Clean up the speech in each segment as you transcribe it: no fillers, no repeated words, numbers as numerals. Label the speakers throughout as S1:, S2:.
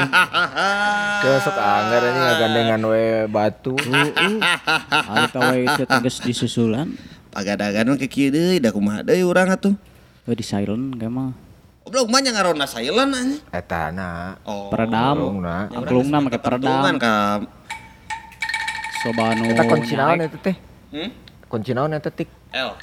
S1: Sok anggar ini ngagandengan we batu.
S2: Ari tawe teh tegas disusulan.
S3: Pagadagan ke kieu deui da kumaha deui urang atuh.
S2: Di silent kayak mah.
S3: Goblok mah nya ngarona silent anjing.
S1: Eta na.
S3: Oh.
S2: Peredam. Angklungna make peredam.
S3: Ka
S2: Sobanu.
S1: Eta kunci naon eta teh? Kunci naon eta tik?
S3: L.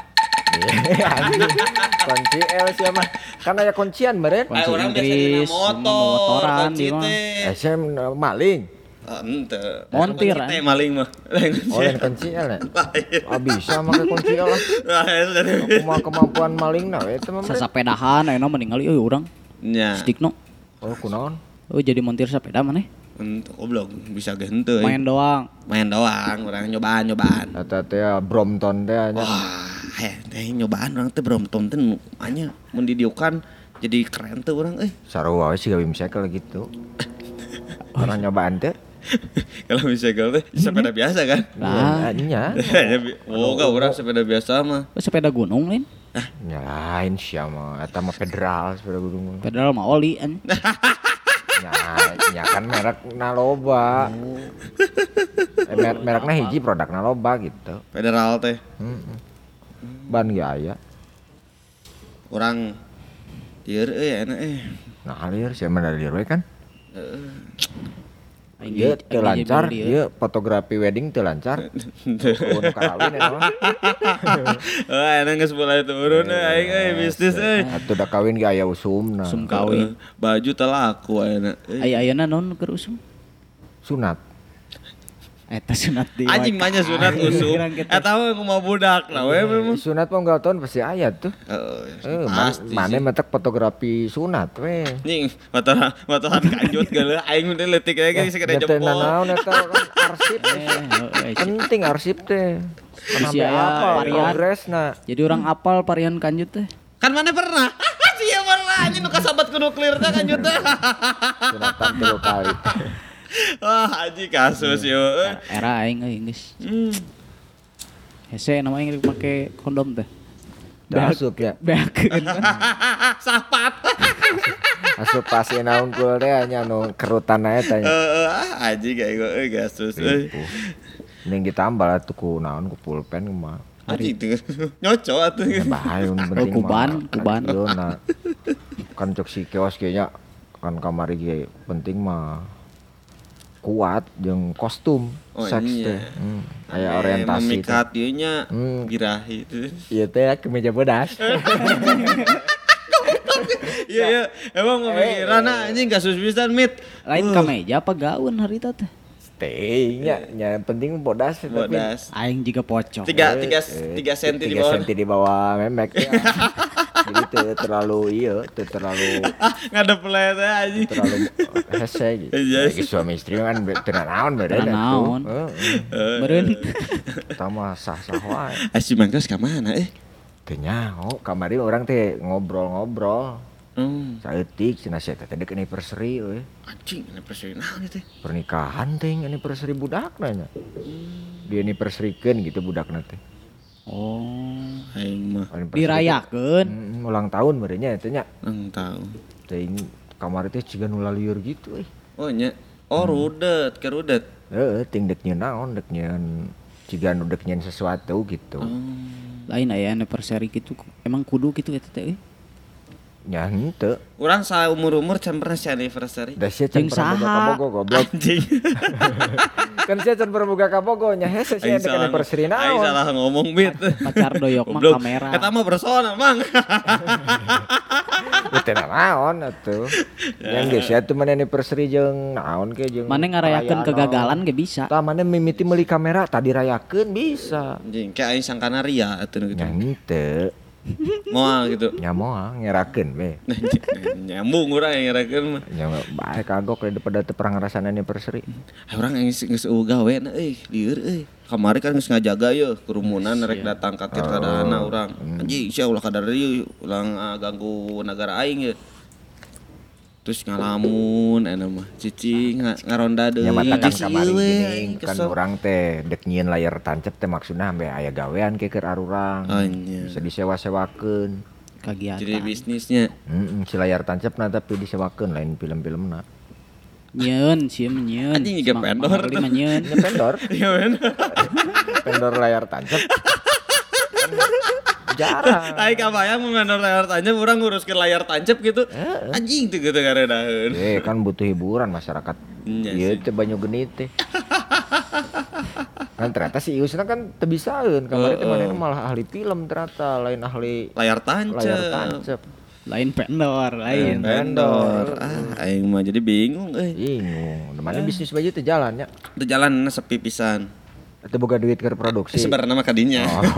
S1: Kunci L sia mah. Kan aya kuncian meureun.
S2: Kunci
S3: Orang
S2: Inggris,
S3: biasa motoran
S2: di mah.
S1: SM maling.
S3: Henteu.
S2: Montir,
S3: Teh maling mah.
S1: Oh, yang kunci L ya? Bisa make kunci L lah. Kumaha kemampuan malingna we eta mah.
S2: Sasapedahan ayeuna meninggal euy urang.
S3: Nya.
S2: Stikno.
S1: Oh, kunaon?
S2: Oh jadi montir sepeda maneh.
S3: Henteu goblok bisa ge henteu.
S2: Main doang.
S3: Main doang, urang nyobaan.
S1: Eta teh Brompton teh nya.
S3: Wah, teh nyobaan urang teh Brompton teh anya mun didiukan jadi keren teh urang euy.
S1: Sarua we siga bimsekal gitu. Orang nyobaan teh.
S3: Kalau bicycle teh sepeda biasa kan?
S2: Lah,
S1: Nya.
S3: Oh, enggak urang sepeda biasa mah.
S2: sepeda gunung lain.
S1: Ya lain sia mah eta mah federal sepeda gunung.
S2: Pedal mah oli an.
S1: Ya kan merekna loba. Merekna hiji produkna loba gitu.
S3: Federal teh.
S1: Ban ge aya.
S3: Urang dieur enak
S1: Nah, alir sia mah dari we kan.
S2: Aing
S1: Ieu teu lancar,
S2: dia.
S1: ieu fotografi wedding teu lancar. Mun kawin eta mah.
S3: Enak geus mulai turun aing bisnis
S1: Atuh da kawin ge aya usumna.
S2: Usum kawin.
S3: Baju teh laku ayeuna.
S2: Aya-ayana naon keur usum?
S1: Sunat.
S2: Eta sunat di.
S3: Anjing mah nya sunat usum. Eta mah kumaha budakna we memang.
S1: Sunat mah unggal tahun pasti aya tuh.
S3: Pasti.
S1: Mane metek fotografi sunat we.
S3: Anjing motoran kanjut geuleuh aing teh leutik we geus sakade
S1: Teu
S3: jempol.
S1: naon eta kan arsip. Penting arsip teh.
S2: Si aya varian.
S1: Progresna.
S2: Jadi orang apal varian kanjut teh.
S3: Kan mana pernah? Sia pernah anjing nu kasabat ku nuklir teh kanjut teh.
S1: Sunatan 3 kali.
S3: Wah, anjing kasus yo.
S2: Era aing euy geus. Hese nama aing rek make kondom teh.
S1: Asup ya.
S2: Beakeun kan.
S3: Sapat.
S1: Asup pas naon kul teh nya nu kerutan eta nya.
S3: Anjing kayak kasus euy.
S1: Mending ditambal atuh ku naon ku pulpen mah.
S3: Anjing teh nyocok atuh.
S1: Bahaya penting
S2: kuban.
S1: Nah. Kan cok si keos ge nya kan kamari ge penting mah kuat jeung kostum seks teh. Aya orientasi.
S3: Memikat ieu nya birahi teh.
S1: Ieu teh kemeja bodas.
S3: Iya, emang pemikiran anjing kasus pisan mit.
S2: Lain kameja apa gaun harita teh?
S1: Teh nya penting bodas tapi
S3: Bodas.
S2: Aing juga pocong.
S3: 3 senti di
S1: 3
S3: bawah.
S1: senti di bawah memek ya. Jadi teu terlalu
S3: Ngadep le teh anjing.
S1: terlalu hese gitu. Lagi suami istri kan teu naon beda
S2: Teu naon. Meureun.
S1: Tama sah-sah wae.
S3: Asih mangkos ka mana
S1: Teu nyaho, kamari orang teh ngobrol-ngobrol. Saeutik cenah sia teh deuk anniversary we.
S3: Anjing anniversary naon teh?
S1: Pernikahan teh anniversary budakna nya. Di anniversary-keun gitu budakna teh.
S2: Oh.
S3: Aing mah
S2: Dirayakeun.
S1: Ulang tahun meureun nya teh nya.
S3: tahu.
S1: Teuing kamari teh ciga nu lalieur gitu euy.
S3: Oh nya. Oh rudet, ke rudet.
S1: Heeh, ting deuk nyeun naon, deuk nyeun ciga nu deuk nyeun sesuatu gitu.
S2: Lain aya anniversary gitu. Emang kudu gitu eta teh euy.
S1: Nya henteu.
S3: Urang saumur-umur can pernah si anniversary.
S1: Da sia can
S2: Jeung
S1: pernah boga
S2: saha?
S1: kabogo goblok.
S3: Anjing.
S1: Kan sia can pernah boga kabogo nya hese sia deuk anniversary
S3: Aing
S1: naon.
S3: salah ngomong mit.
S2: Pacar doyok mah
S3: Goblok.
S2: kamera.
S3: Eta mah personal mang.
S1: Teu naon atuh. Yang geus sia teu mana anniversary jeung naon ke jeung.
S2: Mane ngarayakeun kegagalan ge bisa.
S1: Tah mana mimiti meuli kamera tadi rayakeun bisa.
S3: Anjing kayak aing sangkana ria atuh gitu.
S1: Nya henteu.
S3: Moal gitu.
S1: Nya moal ngerakeun we.
S3: Nyambung urang yang ngerakeun mah.
S1: Nya bae kagok daripada teu pernah ngarasana anniversary.
S3: Urang geus gawe na lieur euy. Kamari kan geus ngajaga ye kerumunan rek datang ka tirtadana urang. Anjing sia ulah kadar ieu ulang ganggu negara aing ye. Terus ngalamun anu mah cicing ngaronda deui.
S1: Nya mata kan
S3: Cicing
S1: kamari
S3: we,
S1: geuning
S3: aing
S1: kan
S3: kesel.
S1: urang teh deuk nyieun layar tancep teh maksudna ambe aya gawean ke keur arurang.
S3: Anya.
S1: Bisa disewa-sewakeun.
S2: Kagiatan.
S3: Jadi bisnisnya.
S1: Si layar tancep tapi disewakeun lain film-filmna.
S2: Nyeun, sieun nyeun.
S3: Anjing juga vendor.
S2: Beli mah nyeun.
S1: Ini vendor,
S3: Iya bener.
S1: vendor layar tancap. Jarang.
S3: Aing kabayang mun nganor layar tancap urang nguruskeun layar tancap gitu. Anjing teu gitu garedaheun.
S1: Kan butuh hiburan masyarakat.
S3: Iya
S1: Iya
S3: sih.
S1: teh banyu genit teh. Kan ternyata si Iusna kan teu bisaeun. Kemarin teh manehna malah ahli film ternyata, lain ahli
S3: Layar tancap.
S1: layar tancap.
S2: Lain vendor, lain.
S3: Vendor. Aing mah jadi bingung
S1: Bingung. Mana bisnis baju teh jalan ya.
S3: Teu jalan sepi pisan.
S1: Atau boga duit ke produksi.
S3: Sebenarnya mah kadinya.
S1: Oh.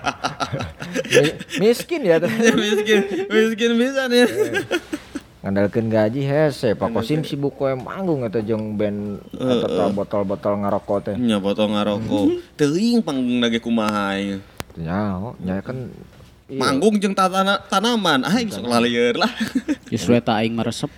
S1: Miskin ya tuh.
S3: miskin pisan ya.
S1: Ngandalkeun gaji hese, Pak Kosim sibuk we manggung eta jeung band atau botol-botol ngarokok teh.
S3: Nya foto ngarokok. Teuing panggung lagi kumaha aing.
S1: Nyaho, nya kan iya.
S3: Manggung jeung tanaman, aing sok laleur lah.
S2: Justru eta aing maresep.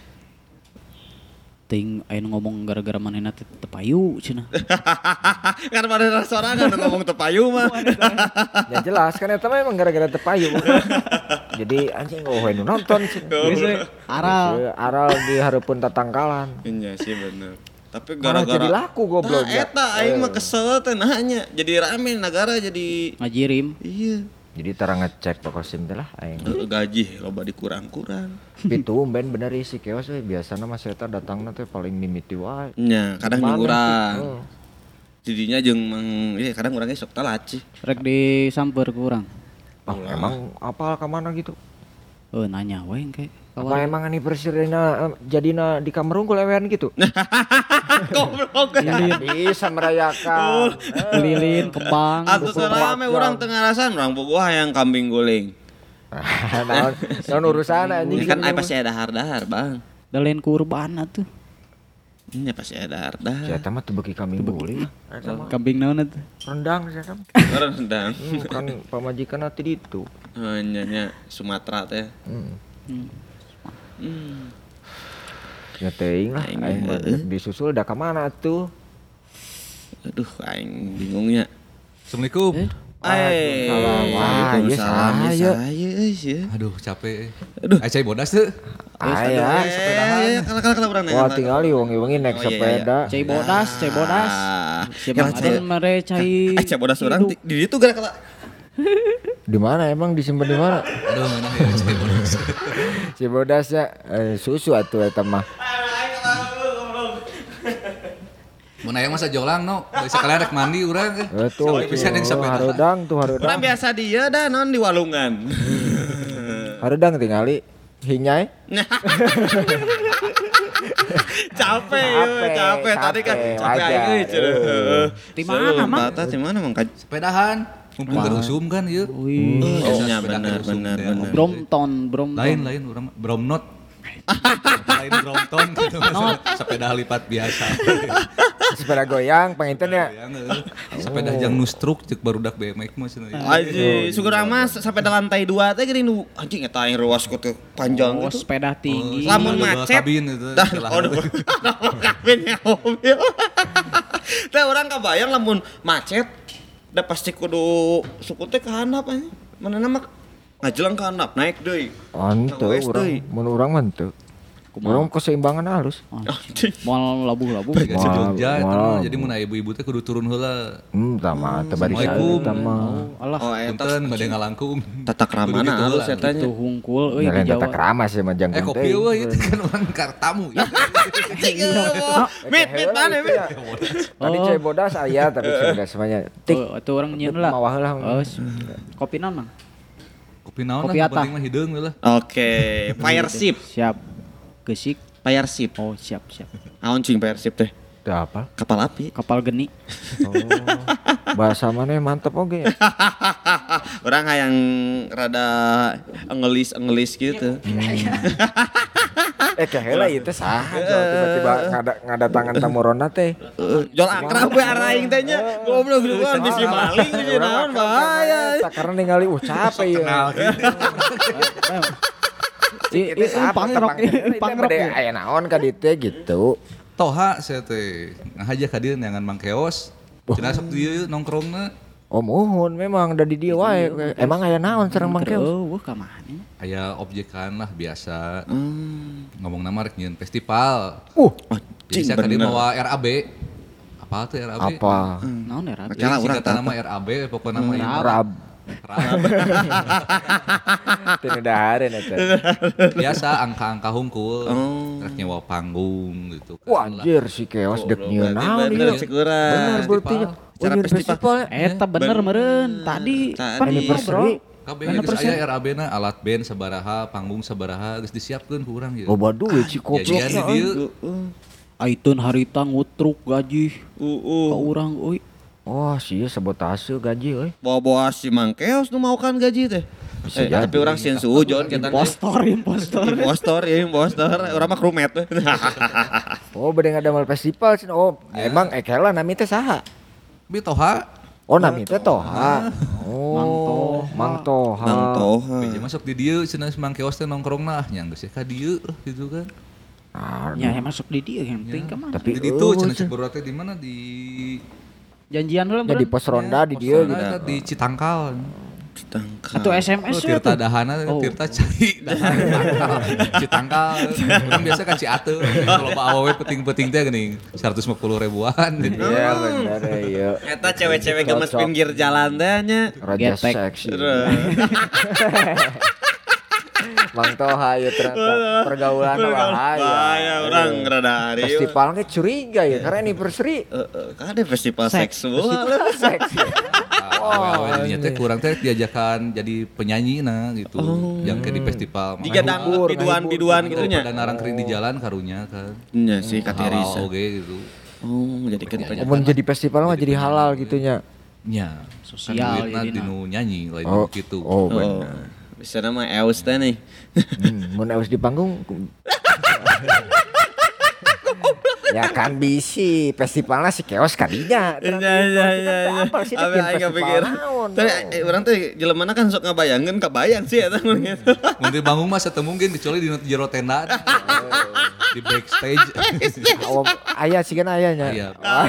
S2: Ting aing ngomong gara-gara manehna teh tepayu cenah.
S3: Kan pada sorangan ngomong tepayu mah.
S1: Ya jelas kan eta mah emang gara-gara tepayu. Jadi anjing we nu nonton sih.
S2: Aral.
S1: Aral di hareupeun tatangkalan.
S3: Iya sih bener. Tapi
S1: Malah
S3: gara-gara
S1: jadi laku goblok.
S3: Nah, eta aing mah kesel teh nahnya. Jadi rame negara jadi
S2: Ngajirim.
S3: iya.
S1: Jadi tara ngecek Pak Kosim teh lah aing.
S3: Gaji loba dikurang-kurang.
S1: Pitu ben bener isi keos we biasana mah eta datangna teh paling mimiti wae.
S3: Nya, kadang
S1: Mana
S3: jeung urang.
S1: sih? Oh.
S3: Jadinya jeung ieu kadang urang ge sok telat sih.
S2: Rek disamper ku urang.
S1: Emang apal ka mana gitu?
S2: Nanya we engke.
S1: Apa emang anniversary-na jadina di kamar unggul ewean gitu?
S3: Goblok.
S1: Ya, bisa merayakan.
S2: Lilin, kembang.
S3: Atuh salame urang teu ngarasan urang bogoh hayang kambing guling.
S1: Naon urusan anjing.
S3: Ini kan aya pasti ada dahar, Bang.
S2: Dalen kurban atuh.
S3: Ini pasti ada dahar.
S1: Saya mah teu beuki kambing guling.
S2: Kambing naon atuh?
S1: Rendang saya mah.
S3: Rendang.
S1: Kan pamajikan ati ditu.
S3: Nya Sumatera teh.
S1: Ya teuing lah aing mah disusul da ka mana atuh?
S3: Aduh, aing bingungnya.
S4: Assalamualaikum.
S3: Waalaikumsalam.
S1: Saya.
S4: Aduh capek.
S3: Aduh.
S4: Cai bodas tuh.
S1: Aya.
S3: Sepedahan. Kala urang
S1: Wah tinggal wengi-wengi naik sepeda.
S2: Cai bodas. Siapa
S3: Cai
S2: aden mere cai.
S3: Cai bodas urang di ditu geura kala.
S1: Di mana emang disimpan di mana?
S4: Aduh mana ya cai bodas.
S1: Si bodas ya susu atuh eta mah.
S4: Mun aya masa jolang no, sekalian rek mandi urang.
S1: Tuh, harudang.
S3: Urang biasa dia dah non di walungan.
S1: Harudang tingali hinyai.
S3: Capek tadi kan capek aing euy cenah.
S2: Di mana, Mang?
S3: Di mana Mang?
S4: Sepedahan. Mumpung gerusum kan ieu.
S2: Wih.
S3: Oh nya bener.
S2: Bromton.
S4: Lain urang Bromnot. Lain Brompton gitu. Sepeda lipat biasa.
S1: Sepeda goyang panginten ya.
S4: Sepeda jang nustruk cek barudak BMX mah cenah.
S3: Anjing, syukurang mas sampai di lantai 2 teh gini nu anjing eta aing ruas ku teh panjang
S2: Oh,
S3: gitu.
S2: sepeda tinggi.
S3: Lamun
S4: Double
S3: macet.
S4: kabin itu.
S3: Dah, kabinnya mobil. Teh urang kabayang lamun macet da pasti kudu suku teh ka handap anjing. Manehna mah ngajelang ka handap naik deui.
S1: Ante mun urang mah teu. Urang keseimbangan halus.
S2: Moal labuh-labuh.
S4: Kayak si Jogja itu mah. Jadi mun aya ibu-ibu teh kudu turun heula.
S1: Tama teu bari
S4: Assalamualaikum.
S1: eta mah.
S2: Alah,
S3: Oh eta
S4: Punten bade ngalangkung.
S3: tata kramana
S4: Kudu gitu
S3: halus
S4: lah.
S3: eta nya.
S2: itu hungkul euy
S1: Jalan
S2: di
S1: tata
S2: Jawa.
S1: krama sih mah jang
S4: Kopi euy itu kan urang kartamu.
S3: Mit mana mit.
S1: Tadi cai bodas aya tapi cai bodas semuanya. Tik
S2: Oh, itu orang nyeun lah.
S1: mawah heula.
S2: Oh, kopi naon, Mang?
S4: Kopi naon
S2: Kopi
S4: lah
S2: atah.
S4: penting mah hideung lah.
S3: Oke, fire ship.
S2: Siap. Gesik.
S3: Fire ship.
S2: Oh, siap.
S3: Naon cing fire ship teh?
S1: Teu apa?
S3: Kapal api.
S2: Kapal geni.
S1: Oh. Bahasa mana mantep oge.
S3: Orang hayang rada enggelis gitu.
S1: Kaheula ieu teh saha tiba-tiba ngadatangan tamuronna teh.
S3: Jol akrab we araing teh nya. Goblok luar bisi maling bisi naon bahaya.
S1: Karena ningali capek ieu.
S2: Pangrok.
S1: Aya naon ka dieu teh gitu.
S4: Toha saya teh ngahaja ka dieu neangan Mang Keos. Cenah sok dieu nongkrongna.
S1: Oh muhun memang dari dia wae. Emang aya naon sareng Mang Keos?
S2: Oh, ka mana?
S4: Aya objekan lah biasa. Ngomong nama rek nyieun festival. Bisa tadi mawa RAB. Apa tuh RAB?
S1: Apa?
S2: Naon ya Rab?
S3: Kalah urang
S4: Singkatan nama RAB pokoknya nama
S1: Rab. Teu dahareun eta.
S4: biasa angka-angka hungkul. Rek nyewa panggung gitu kan.
S1: Wah anjir si Keos dek nyieun naon
S3: Bener
S1: ieu.
S3: cek urang.
S1: Bener berarti nya.
S3: Acara
S1: Nyieun festival.
S2: Eta bener meureun. Tadi pan
S1: Anniversary.
S4: Kabeh geus aya RAB na alat band sabaraha, panggung sabaraha geus disiapkeun ku urang ieu.
S1: Loba duit si
S4: Jajan di
S1: gobloknya.
S4: dieu.
S2: Aitun harita ngutruk gaji ka urang euy.
S1: Wah sih sabotase gaji euy.
S3: Bawa-bawa si Mang Keos nu mau kan gaji teh.
S1: Bisa jadi.
S3: Tapi orang sieun suujon kita.
S2: Impostor.
S3: Impostor. Urang mah krumet we.
S1: Oh bade ngadamel festival cenah. Oh emang ekela nami teh saha?
S4: Bi toha.
S1: Oh nami teh Toha. Oh Mang Toha.
S3: Mang Toha.
S4: Biji masuk di dieu cenah Mang Keos teh nongkrongna nya geus ka dieu gitu kan.
S2: Ya masuk di dia yang penting ka mah.
S1: Tapi
S4: Di ditu cenah cek baru teh di mana di
S2: Janjian heula
S1: jadi
S2: meureun.
S1: pos ronda di dia gitu.
S4: Posana di Citangkal.
S3: Ditangkap.
S2: Atau SMS we
S4: Tirta
S2: tuh.
S4: dahana, Tirta cai dahana. Citangkal. Urang biasa ka Ciateung. Kalau Pak awewe peting-peting teh geuning 150 ribuan gitu.
S1: Iya bener iya.
S3: Eta cewek-cewek gemes pinggir jalan teh nya.
S1: Raja
S2: Getek.
S1: seksi. Mang Toha ya ternyata pergaulan bahaya.
S3: Bahaya urang rada hari.
S1: Festivalnya curiga ya karena anniversary.
S3: Kan ada festival seksual.
S1: Seksi.
S4: Awewe dinya teh kurang teh diajakan jadi penyanyi nah gitu. Yang ke di festival.
S3: Jika dangdut biduan-biduan gitu nya.
S4: Pada narangkeun di jalan karunya kan.
S3: Nya sih katerisa.
S4: Halal oge gitu.
S3: Oh, jadi kan
S1: Mau jadi festival mah jadi halal gitunya.
S4: Nya.
S2: Sosial
S4: Kan duitna
S2: jadina.
S4: dinu nyanyi lain
S1: Oh,
S4: gitu.
S1: oh benar.
S3: Bisa nama Eus teh nih.
S1: Mun harus di panggung. Ya kan bisi festivalnya si Keos kadinya.
S3: Iya.
S1: Apa sih
S3: Abi
S1: bikin
S3: aing
S1: festival
S3: pikir.
S1: naon?
S3: Tapi urang teh jelemana kan sok ngabayangkeun kabayang sih eta mun gitu.
S4: Mun di bangun mah sateu mungkin kecuali di jero tenda. Di backstage.
S1: Oh, aya sih kan ayahnya.
S4: Iya.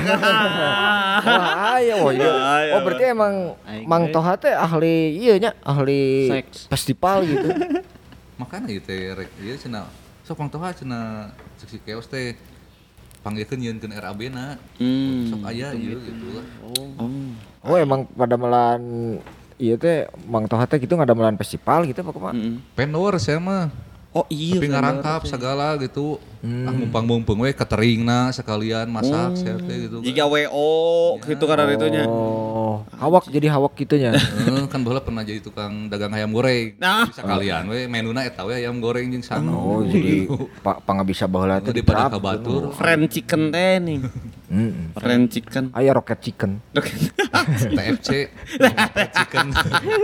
S1: Wah, aya oh iya.
S3: Aya,
S1: Oh berarti emang Mang Toha teh ahli ieu nya, ahli
S2: Seks.
S1: festival gitu.
S4: Makana ieu teh rek ieu cenah sok Mang Toha cenah seksi Keos teh panggilkeun nyieunkeun RAB-na. Sok aya ieu gitu lah.
S1: Oh emang pada melan iya teh Mang Toha teh gitu ngadamelan festival gitu apa kumaha?
S4: Vendor saya mah.
S3: Oh iya.
S4: Tapi ngarangkap segala gitu. Ah mumpang-mumpung we cateringna sekalian masak saya teh gitu.
S3: Jika WO gitu kan ada itunya.
S1: Oh, hawak jadi hawak gitunya.
S4: Kan baheula pernah jadi tukang dagang ayam goreng.
S3: Nah.
S4: Sekalian we menuna eta we ayam goreng jeung sana.
S1: Oh, jadi pangabisa baheula teh
S4: Di pada kabatur.
S3: Friend chicken teh nih. Friend chicken.
S1: Aya rocket chicken.
S4: TFC. Chicken.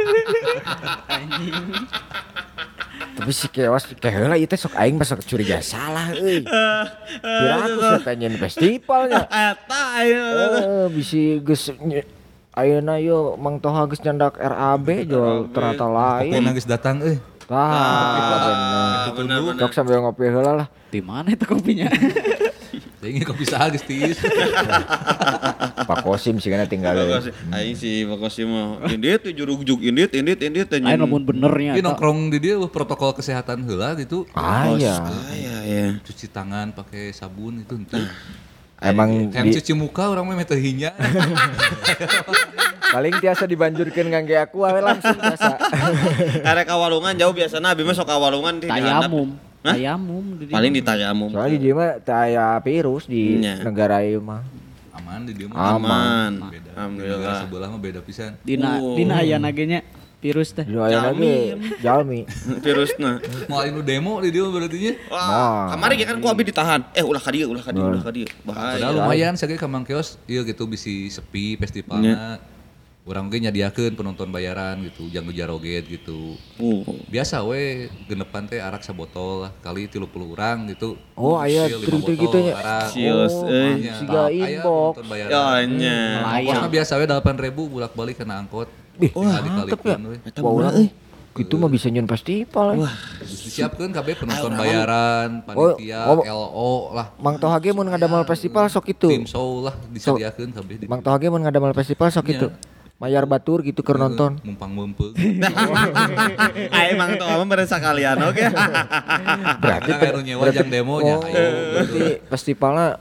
S1: Tapi si Keos kayak heula ieu teh sok aing mah sok curiga salah euy. Kira aku saya nyen festivalnya.
S3: Eta ayo.
S1: Bisi geus ayeuna yeuh Mang Toha geus nyandak RAB jual ternyata lain.
S4: Pokoknya geus datang euy.
S1: Tah, bener. Sok sambil ngopi heula lah.
S2: Di mana itu kopinya?
S4: Ini kopi saha geus tiis.
S1: Pak Kosim sih kana tinggal.
S3: Aing si Bakosi mah indit jurug-jug indit
S2: Lain lamun benernya.
S4: Ini nongkrong di dia protokol kesehatan heula gitu.
S1: Iya.
S3: ya.
S4: Cuci tangan pakai sabun itu henteu.
S1: Emang
S4: Yang cuci muka orang mah teh hinya.
S1: paling tiasa dibanjurkeun ngangge aku we langsung biasa.
S3: Karek kawalungan jauh biasana abi mah sok kawalungan di handap.
S2: Tayamum. Tayamum di dia.
S3: Paling di Tayamum.
S1: Soalnya di dia mah teu aya virus di
S3: Nya.
S1: negara ieu mah.
S4: Aman di dia mah.
S3: Aman.
S4: Beda.
S3: Alhamdulillah.
S4: Di negara sebelah mah beda pisan.
S2: Dina aya nagenya virus teh.
S1: Di aya lagi jalmi.
S3: Virusna.
S4: Mau anu demo di dia berarti nya.
S3: Wah, kemarin kan ku abi ditahan. Ulah ka dieu. Bahaya.
S4: Padahal lumayan saged ka Mang Keos ieu gitu bisi sepi festivalna. Urang ge nyadiakeun penonton bayaran gitu, jang jaroget gitu. Biasa we genepan teh arak sabotol lah, kali 30 urang gitu.
S1: Oh aya
S4: Sil 5
S1: trik-trik
S4: botol
S1: gitu nya.
S4: arak.
S3: Sios euy.
S4: Nya.
S1: Siga
S4: Aya
S1: inbox.
S4: penonton bayaran.
S3: Ya nya.
S4: Ongkosna biasa we 8.000 bolak-balik kena angkot.
S1: Wah,
S4: Dikali-kalikeun we.
S1: Wah, urang itu mah bisa nyeun festival. Wah,
S4: Disiapkeun kabeh penonton bayaran, panitia, LO lah,
S1: Mang Toha ge mun ngadamel festival sok itu.
S4: tim show lah disediakeun kabeh.
S1: Mang Toha ge mun ngadamel festival sok itu. Mayar batur gitu keur nonton.
S4: Mumpang mempeug.
S3: Aing mang tuh mah sekalian oke.
S1: Berarti
S4: Karena anu nyewa jang demo nya.
S1: Oh, berarti festivalnya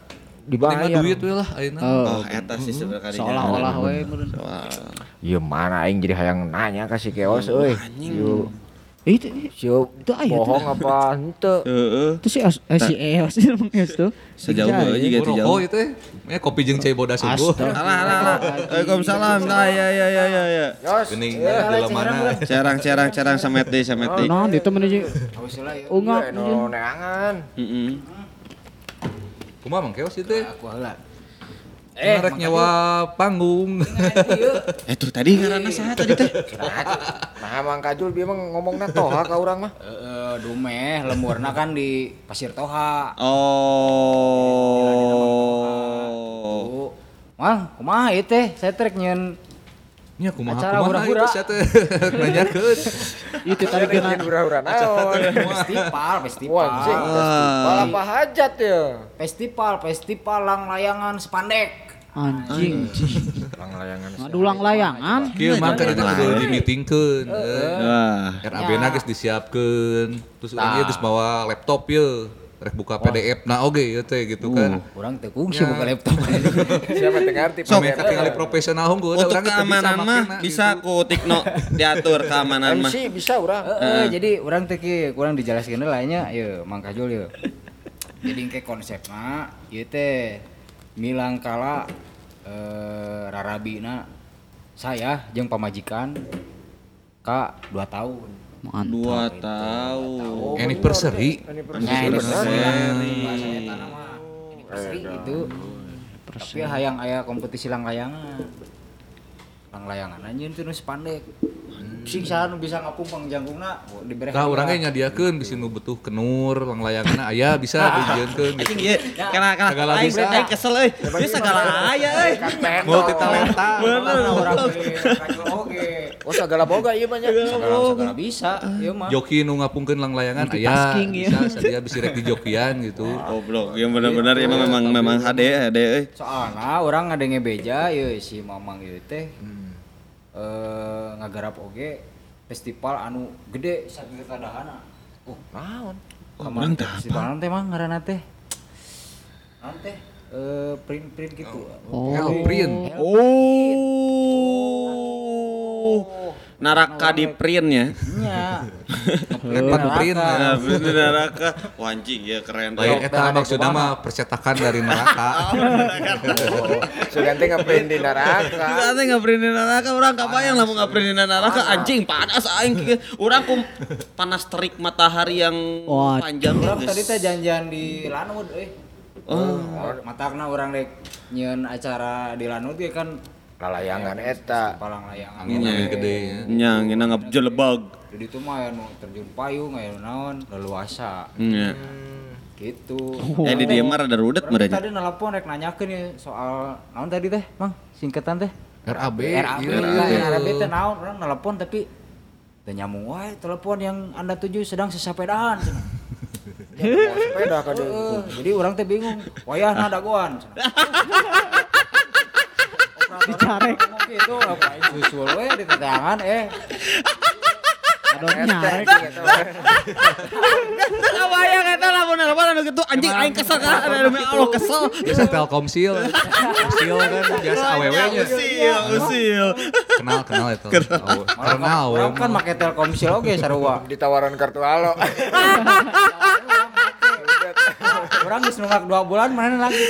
S1: dibayar.
S4: Duit we lah ayeuna.
S3: Eta sih sebenarnya
S2: Seolah-olah we meureun.
S1: Ieu mana aing jadi hayang nanya ka si Keos euy. Ieu
S2: Itu aya
S1: bohong apa henteu?
S3: Heeh.
S2: Itu si Eos emang Eos tuh.
S3: Sejauh aja gitu jauh.
S4: Rokok itu kopi jeung cai bodas sungguh.
S3: Alah. Waalaikumsalam. Ya.
S4: Geuning dalam mana?
S3: Cerang samet deui.
S2: Naon ditu mana sih? Ungap.
S1: Nu neangan.
S3: Heeh.
S4: Kumaha Mang Keos itu?
S5: Aku heula.
S4: Rek nyawa panggung.
S3: Tuh tadi ngaranna saha tadi teh?
S1: Nah, Mang Kajul dia mah ngomongna toha ka urang mah.
S5: Dumeh lemurna kan di Pasir Toha.
S3: Oh.
S5: Mang, kumaha ieu teh? Saya trek nyeun
S4: Nya kumaha
S5: Acara hura-hura.
S4: itu sia teh nanyakeun.
S2: Itu tadi kena
S1: Hura-hura naon.
S5: festival.
S1: Wah, anjing, festival apa hajat ya?
S5: Festival lang layangan sepandek.
S2: anjing.
S1: Lang layangan.
S2: Ngadulang layangan.
S4: Kieu mah kada kudu di-meetingkeun.
S3: Wah.
S4: RAB-na geus disiapkeun. Terus urang geus bawa laptop ye. Rek buka PDF na oge ieu teh gitu kan.
S5: Urang teu kungsi buka laptop.
S1: Siapa teh ngarti
S3: Sok,
S4: Mami katingali profesional hungkul
S3: Untuk keamanan mah bisa ku Tikno diatur keamanan mah.
S1: MC bisa urang.
S5: Jadi urang teh kieu kurang dijelaskeun lah nya ieu Mang Kajul ieu. Jadi engke konsepna ieu teh milang kala rarabina saya jeung pamajikan ka 2 tahun.
S3: 2 tahun.
S4: anniversary.
S5: Anniversary itu. Tapi hayang aya kompetisi lang layangan. Lang layangan anjeun teh nu sepandek. Sing saha nu bisa ngapumpang janggungna dibere.
S4: Tah urang ge nyadiakeun bisi nu butuh kenur lang layanganna aya bisa dijieunkeun gitu.
S3: Anjing ieu kana aing aing kesel euy. Ieu sagala aya euy.
S4: Multi talenta.
S5: Bener urang Kajul oge.
S1: Oh segala boga ieu mah nya.
S5: Segala bisa ieu mah.
S4: Joki nu ngapungkeun lang layangan aya
S2: Multitasking, ya.
S4: bisa sadia bisi rek dijokian gitu.
S3: Goblok, yang benar-benar memang HD euy.
S5: Soalna urang ngadenge beja ieu si Mamang ieu teh. Ngagarap oge festival anu gede saking kadahana.
S1: Naon?
S5: Kamari festival teh mah ngaranna teh. Naon teh? Print gitu.
S4: Print.
S3: Naraka di print ya.
S5: Nya.
S4: Lepat print.
S3: Nah, print di neraka. Wah anjing ya keren.
S4: Lain eta maksudna mah percetakan dari neraka.
S1: Sugan teh ngeprint di neraka.
S3: Kita nge-print di neraka, urang kabayang lamun nge-print di neraka anjing panas aing kieu. Urang panas terik matahari yang panjang
S5: Urang
S3: geus.
S5: tadi teh janjian di Lanut matakna urang rek nyieun acara di Lanut ge kan
S1: Lalayangan eta.
S5: palang layangan.
S4: Angin gede ya.
S3: Nya ngina ngabjelebag.
S5: Jadi itu mah anu terjun payung aya naon leluasa
S3: Nya.
S5: gitu.
S3: Ya di dieu mah rada rudet
S5: Urang
S3: merenya.
S5: tadi nelpon rek nanyakeun ya soal naon tadi teh, Mang? Singkatan teh.
S4: RAB.
S5: RAB
S4: iya.
S5: RAB teh naon? Urang nelpon tapi teu nyambung wae telepon yang Anda tuju sedang sesapedahan cenah.
S1: Sepeda ka deui.
S5: Jadi urang teh bingung, wayahna dagoan cenah.
S2: Dicarek.
S5: Gitu ngapain susul we di tetangan
S2: Ada nyarek.
S3: Kabayang eta lamun nelpon anu kitu anjing aing kesel kan demi Allah kesel.
S4: Biasa Telkomsil. Telkomsil kan biasa awewe-nya.
S3: Usil.
S4: Kenal itu. Kenal we.
S5: Urang kan make Telkomsil oge sarua.
S1: Ditawaran kartu halo.
S5: Urang geus nunggak 2 bulan mana lagi.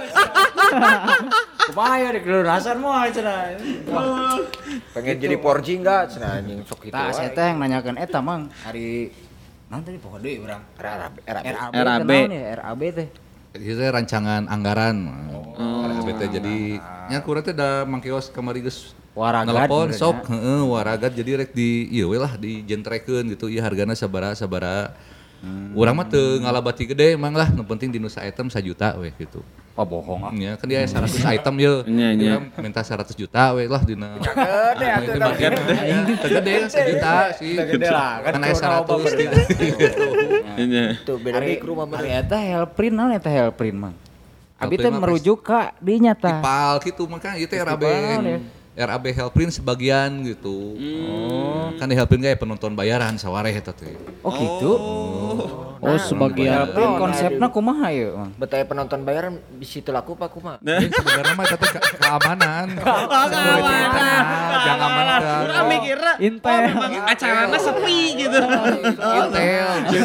S5: Kumaha ya di kelurasan moal cenah.
S1: Pengen jadi 4G enggak? Cenah anjing sok kitu.
S5: Tah saya teh yang nanyakeun eta Mang hari naon tadi pokok deui urang.
S1: RAB.
S3: RAB.
S5: RAB teh.
S4: Itu teh rancangan anggaran. RAB teh jadi nya kurang teh da Mang Kios kamari geus
S5: Waragat
S4: nelpon
S5: benernya.
S4: sok waragat jadi rek di ieu we lah dijentrekeun gitu ieu hargana sabaraha. Urang mah teu ngalabati gede emang lah, nu penting di nu item 1 juta we gitu.
S5: Oh bohong ah.
S4: Nya kan dia 100 item ye.
S3: Nya.
S4: Urang minta 100 juta we lah dina.
S1: Gede atuh
S4: Bagian gede 1 juta sih.
S5: Gede lah
S4: Kan aya 100 gitu.
S3: Nya.
S1: Tuh beda mikro mah
S5: Ari eta Helprint naon eta Helprint Mang? Abi teh
S4: Helprint mah
S5: merujuk ka dinya tah.
S4: Tipal gitu mah kan ieu teh RAB. RAB Helprin sebagian gitu. Kan di Helprin kayak penonton bayaran sawareh eta teh.
S5: Oh gitu.
S2: Oh sebagian.
S5: Konsepnya kumaha ya, Mang?
S1: Betaya penonton bayaran bisa teu laku apa kumaha?
S4: Sebenarnya mah eta teh keamanan.
S3: Keamanan.
S4: Jangan amankan.
S3: Urang mikirna
S2: Intel.
S3: memang acarana sepi gitu.
S4: Intel.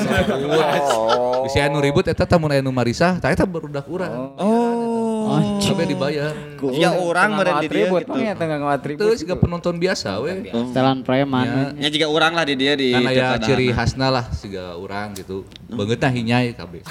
S4: Bisa anu ribut eta tamun aya nu marisah, tah eta barudak urang. Sampai dibayar.
S3: Ya orang meureun di dieu gitu.
S5: Mang tengah ngatribut.
S4: Terus juga penonton biasa we.
S2: Setelan preman.
S3: Nya juga orang lah di dia di
S4: Kan aya
S3: Tirtadana.
S4: ciri khasna lah siga urang gitu. Beungeutna hinyai kabeh.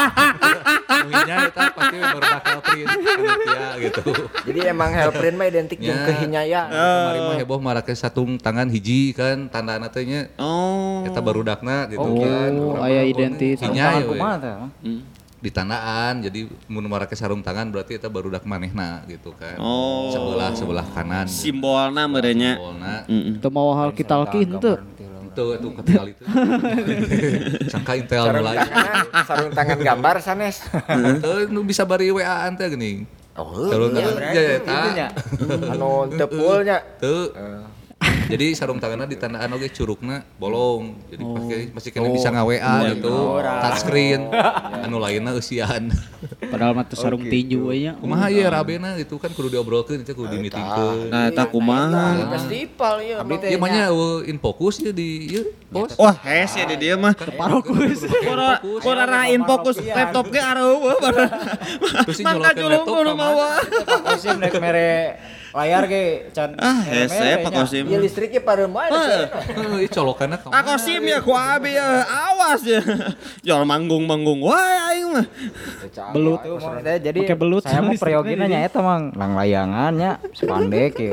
S4: Hinyai eta pasti baru bakal print panitia gitu.
S1: Jadi emang Helprin mah identik jeung kehinyaya.
S4: Kemarin mah heboh marake satung tangan hiji kan tandana teh nya.
S3: Oh.
S4: Eta barudakna gitu.
S2: Oh, aya identitas.
S4: Hinyai we.
S5: Kumaha teh?
S4: Di tandaan jadi mun marake sarung tangan berarti eta barudak manehna gitu kan.
S3: Oh.
S4: Sebelah kanan.
S3: Simbolna meureun nya.
S4: Simbolna.
S2: Teu mau hal kita alkin teu.
S4: Itu ketinggal itu. Sangka Intel mulai.
S1: Sarung tangan gambar sanes.
S4: Tuh nu bisa bari WA-an teh geuning.
S1: Oh,
S4: Sarung tangan ya eta.
S1: anu teu full nya.
S4: Tuh. Jadi sarung tanganna ditandaan oge curugna bolong. Jadi masih kena bisa nga-WA gitu. Touchscreen. Anu lainna eusian.
S2: Padahal mah teu sarung tinju we nya.
S4: Kumaha ieu rabena gitu kan kudu diobrolkeun itu kudu di-meetingkeun.
S3: Nah, eta kumaha?
S1: Festival ieu.
S4: Ieu mah nya in fokus ya di ieu bos.
S3: Wah, hes ya di dia mah.
S2: Parokus.
S3: Korarain fokus laptop ge areueuh.
S4: Terus si
S3: Mangka
S4: nyolokeun
S3: julung
S4: laptop
S3: kudu
S4: ka
S3: mawa.
S5: Kosim naik mere layar ge can.
S3: Hese Pak Kosim.
S1: Ieu listriknya pada main.
S4: Ieu colokanna ka.
S3: Pak Kosim ya ku abi awas ya. Jual manggung-manggung wae aing mah.
S2: Belut.
S5: Jadi
S2: Pakai belut
S5: saya mau
S2: sama
S5: periogina
S2: listriknya
S5: nya eta mang lang layangannya sepandek ya.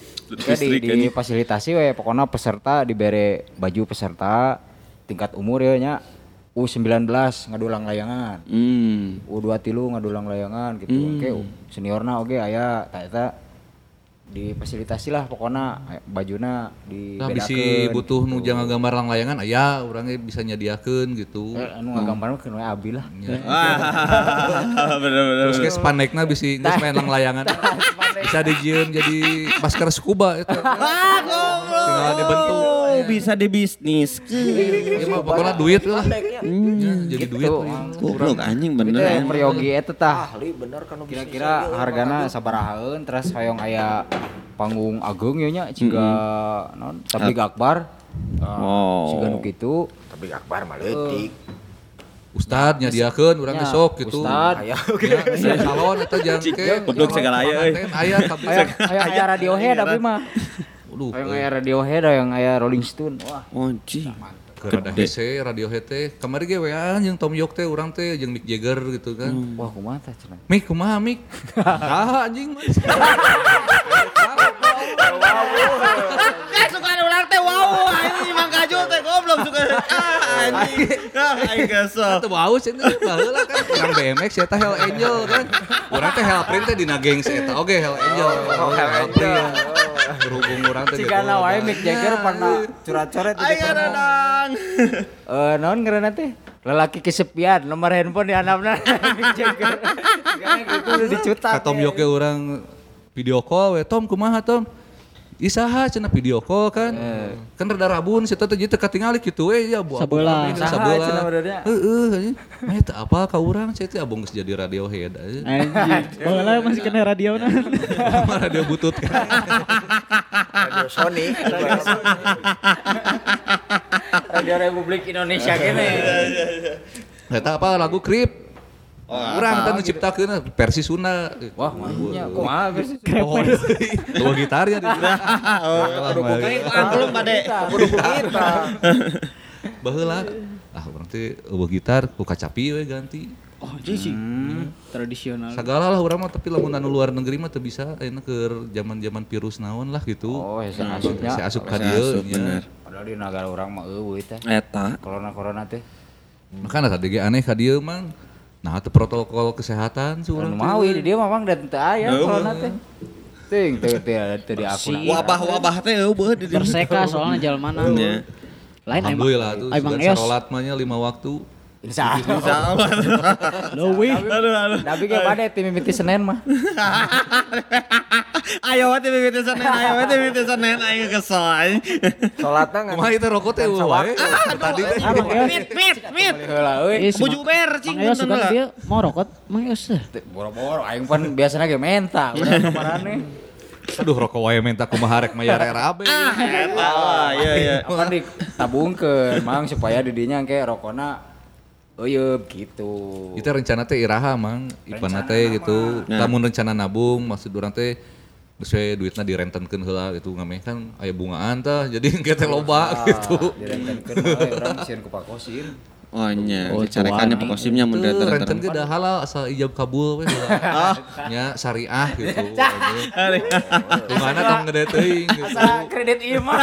S5: Di fasilitasi we pokoknya peserta dibere baju peserta tingkat umur ya nya U19 ngadulang layangan. U23 ngadulang layangan gitu. Oke, seniorna oge aya ta eta difasilitasi lah pokoknya bajuna
S4: Nah,
S5: dibedakeun.
S4: bisi butuh nu jangan gambar lang layangan aya urangnya bisa nyadiakeun gitu.
S5: Anu ngagambar mah keun we abi lah.
S3: Bener-bener.
S4: Terus kayak spandekna bisi geus main lang layangan. Bisa dijieun jadi masker scuba eta. Tinggal dibentuk.
S3: Oh, bisa dibisnis.
S4: Ya mah pokoknya duit lah. Ya, jadi duit.
S3: Goblok anjing bener.
S5: Itu peryogi eta tah.
S1: Ahli bener kan
S5: Kira-kira hargana sabarahaeun terus hoyong aya panggung agung nya ciga naon tablik akbar. Ciga nu kitu.
S1: tapi akbar mah leutik.
S4: Ustad nyadiakeun urang
S5: Ya,
S4: besok gitu.
S5: Ustad.
S1: Aya
S4: Ya, salon eta jangke.
S3: Goblok segala aya euy.
S4: Aya kabeh.
S5: Aya Radiohead abi mah.
S4: Aduh.
S5: Hoyong aya Radiohead hoyong aya Rolling Stone. Wah,
S3: Anjing.
S4: Keur ada hese Radiohead teh. Kamari ge wean jeung Tom York teh urang teh jeung Mick Jagger gitu kan.
S5: wah kumaha tah cenah.
S4: Mik kumaha Mik? Ah anjing mah.
S3: Suka ulang teh wow, anjing Mang Kajul teh goblok suka anjing. Aing kesel.
S4: Teu bau sih baheula kan urang BMX eta Hell Angel kan. Urang teh Hellprint teh dina geng eta oge Hell Angel. Hellprint. Berhubung urang teh
S5: Cigana wae Mick Jagger pernah curat-coret
S3: Aing adang.
S5: naon ngaranna teh? Lelaki kesepian, nomor handphone di handapna Mick Jagger. Karena gitu udah dicutak.
S4: Ka Tom York ge urang video call we Tom kumaha Tom? Isaha cenah video call kan. Kan rada rabun situ teh teu katingali kitu we ya bu.
S2: Sabeula.
S5: Saha cenah benernya?
S4: Heeh. Mah eta apa ka urang saya teh abong geus jadi Radiohead aja.
S2: Anjing. Baheula masih kena radiona.
S4: Radio butut kan.
S1: Radio Sony.
S5: Radio Republik Indonesia kene.
S4: Eta apa lagu Creep? Urang teh nyiptakeun versi Sunda.
S5: Wah, mahnya kumaha versi.
S4: Oh, dua gitarnya di
S3: Angklung pade.
S1: Kudu kita.
S4: baheula. Ah urang teh eueuh gitar ku kacapi we ganti.
S2: Oh, sih. Tradisional.
S4: Sagala lah urang mah tapi lamun anu luar negeri mah teu bisa ayeuna keur zaman-zaman virus naon lah gitu.
S5: Oh, hese asupnya.
S4: Si asup ka dieu nya.
S5: Padahal di negara urang mah eueuh teh.
S3: Eta.
S5: Corona teh.
S4: Makana tadi ge aneh ka dieu mang. Nah, teu protokol kesehatan
S5: Anu
S4: surang
S5: mau di dia mah mang dan teu aya corona teh. Ting teu di akun.
S3: Wabah-wabah teh eueuh di
S2: Terseka soalnya jalan mana. Lain
S4: Alhamdulillah tuh
S2: Emang
S4: sudah
S2: es.
S4: salat mah nya 5 waktu.
S5: Insya Allah.
S2: Leuwih.
S5: Tapi kayak mana tim mimiti Senin mah.
S3: Ayo we mimiti Senin aing kesel.
S1: Salatna ngan.
S4: Kumaha itu rokok teh wae. Tadi teh.
S3: Mit. Bujuber cing
S2: Mang suka dia mau rokok, Mang Yos.
S5: Boro-boro aing pan biasana ge menta, urang kemaraneh.
S4: Aduh rokok wae minta kumaha rek mayar RAB.
S3: Eta iya.
S5: Kan ditabungkeun mang supaya di dinya engke rokona euyeup gitu.
S4: Itu rencana teh iraha mang, ipana teh gitu. Lamun rencana nabung maksud urang teh geus we duitna direntenkeun heula gitu ngameh kan aya bungaan tah jadi engke teh loba gitu.
S5: Direntenkeun mah urang sieun ku pakosim.
S3: Oh nya, carekannya pakosimnya mun
S4: Renten ge da halal asal ijab kabul we heula. Nya syariah gitu. Gimana tong gede teuing gitu.
S5: Asa kredit ieu mah.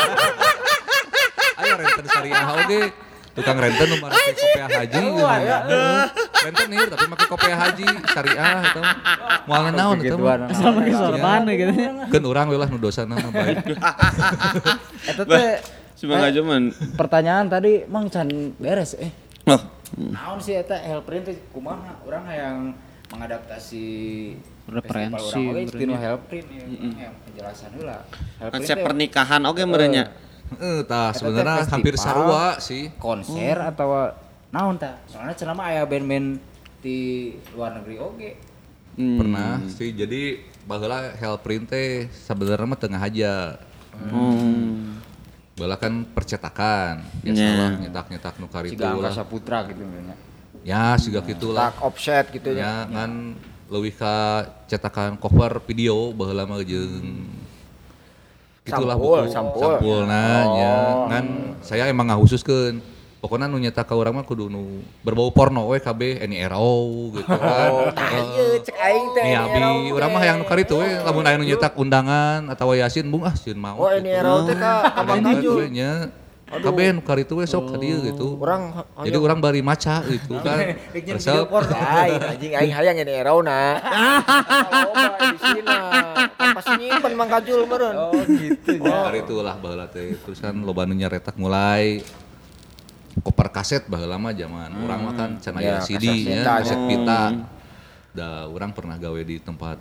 S4: Aya renten syariah oge. Tukang renten nu make kopiah haji gitu. Renten nih tapi make kopiah haji syariah eta moal naon eta mah.
S2: Asal make sorban gitu.
S4: Keun urang we lah nu dosana mah baik.
S5: Eta teh
S3: semoga cuman
S5: pertanyaan tadi mang can beres
S3: oh
S5: naon sih eta Helprint teh kumaha urang hayang mengadaptasi
S2: Referensi
S5: tinu Helprint ya penjelasan heula.
S3: konsep pernikahan oge merenya.
S4: Tah sebenarnya hampir sarua sih.
S5: Konser atau naon tah? Soalnya cenah mah aya band-band di luar negeri oge.
S4: Pernah sih jadi baheula Helprint teh sebenarnya mah tengah aja. Baheula kan percetakan, biasalah nyetak-nyetak nu karitu
S5: Siga
S4: lah.
S5: Angkasa Putra gitu nya.
S4: Ya siga kitulah.
S1: Tak offset gitu
S4: Ya ngan leuwih ka cetakan cover video baheula mah jeung gitulah buku sampulna nya ngan saya emang ngahususkeun pokoknya nu nyetak ka urang mah kudu nu berbau porno we KB NIRO gitu kan.
S1: Ieu cek aing teh.
S4: Abi urang mah hayang nu karitu we lamun aya nu nyetak undangan atawa yasin bung sieun mau.
S1: Oh NIRO teh ka Abang Kajul.
S4: nya KB nu karitu we sok ka dieu gitu.
S1: Urang
S4: Jadi urang bari maca gitu kan. Resep
S1: lain anjing aing hayang NIRO na. Loba di sina. Pasti nyimpen Mang Kajul meureun.
S5: Oh gitu nya.
S4: Karitu lah baheula teh. Terus kan loba nu nyaretak mulai koper kaset baheula mah zaman urang mah kan can aya CD nya, kaset pita. Da urang pernah gawe di tempat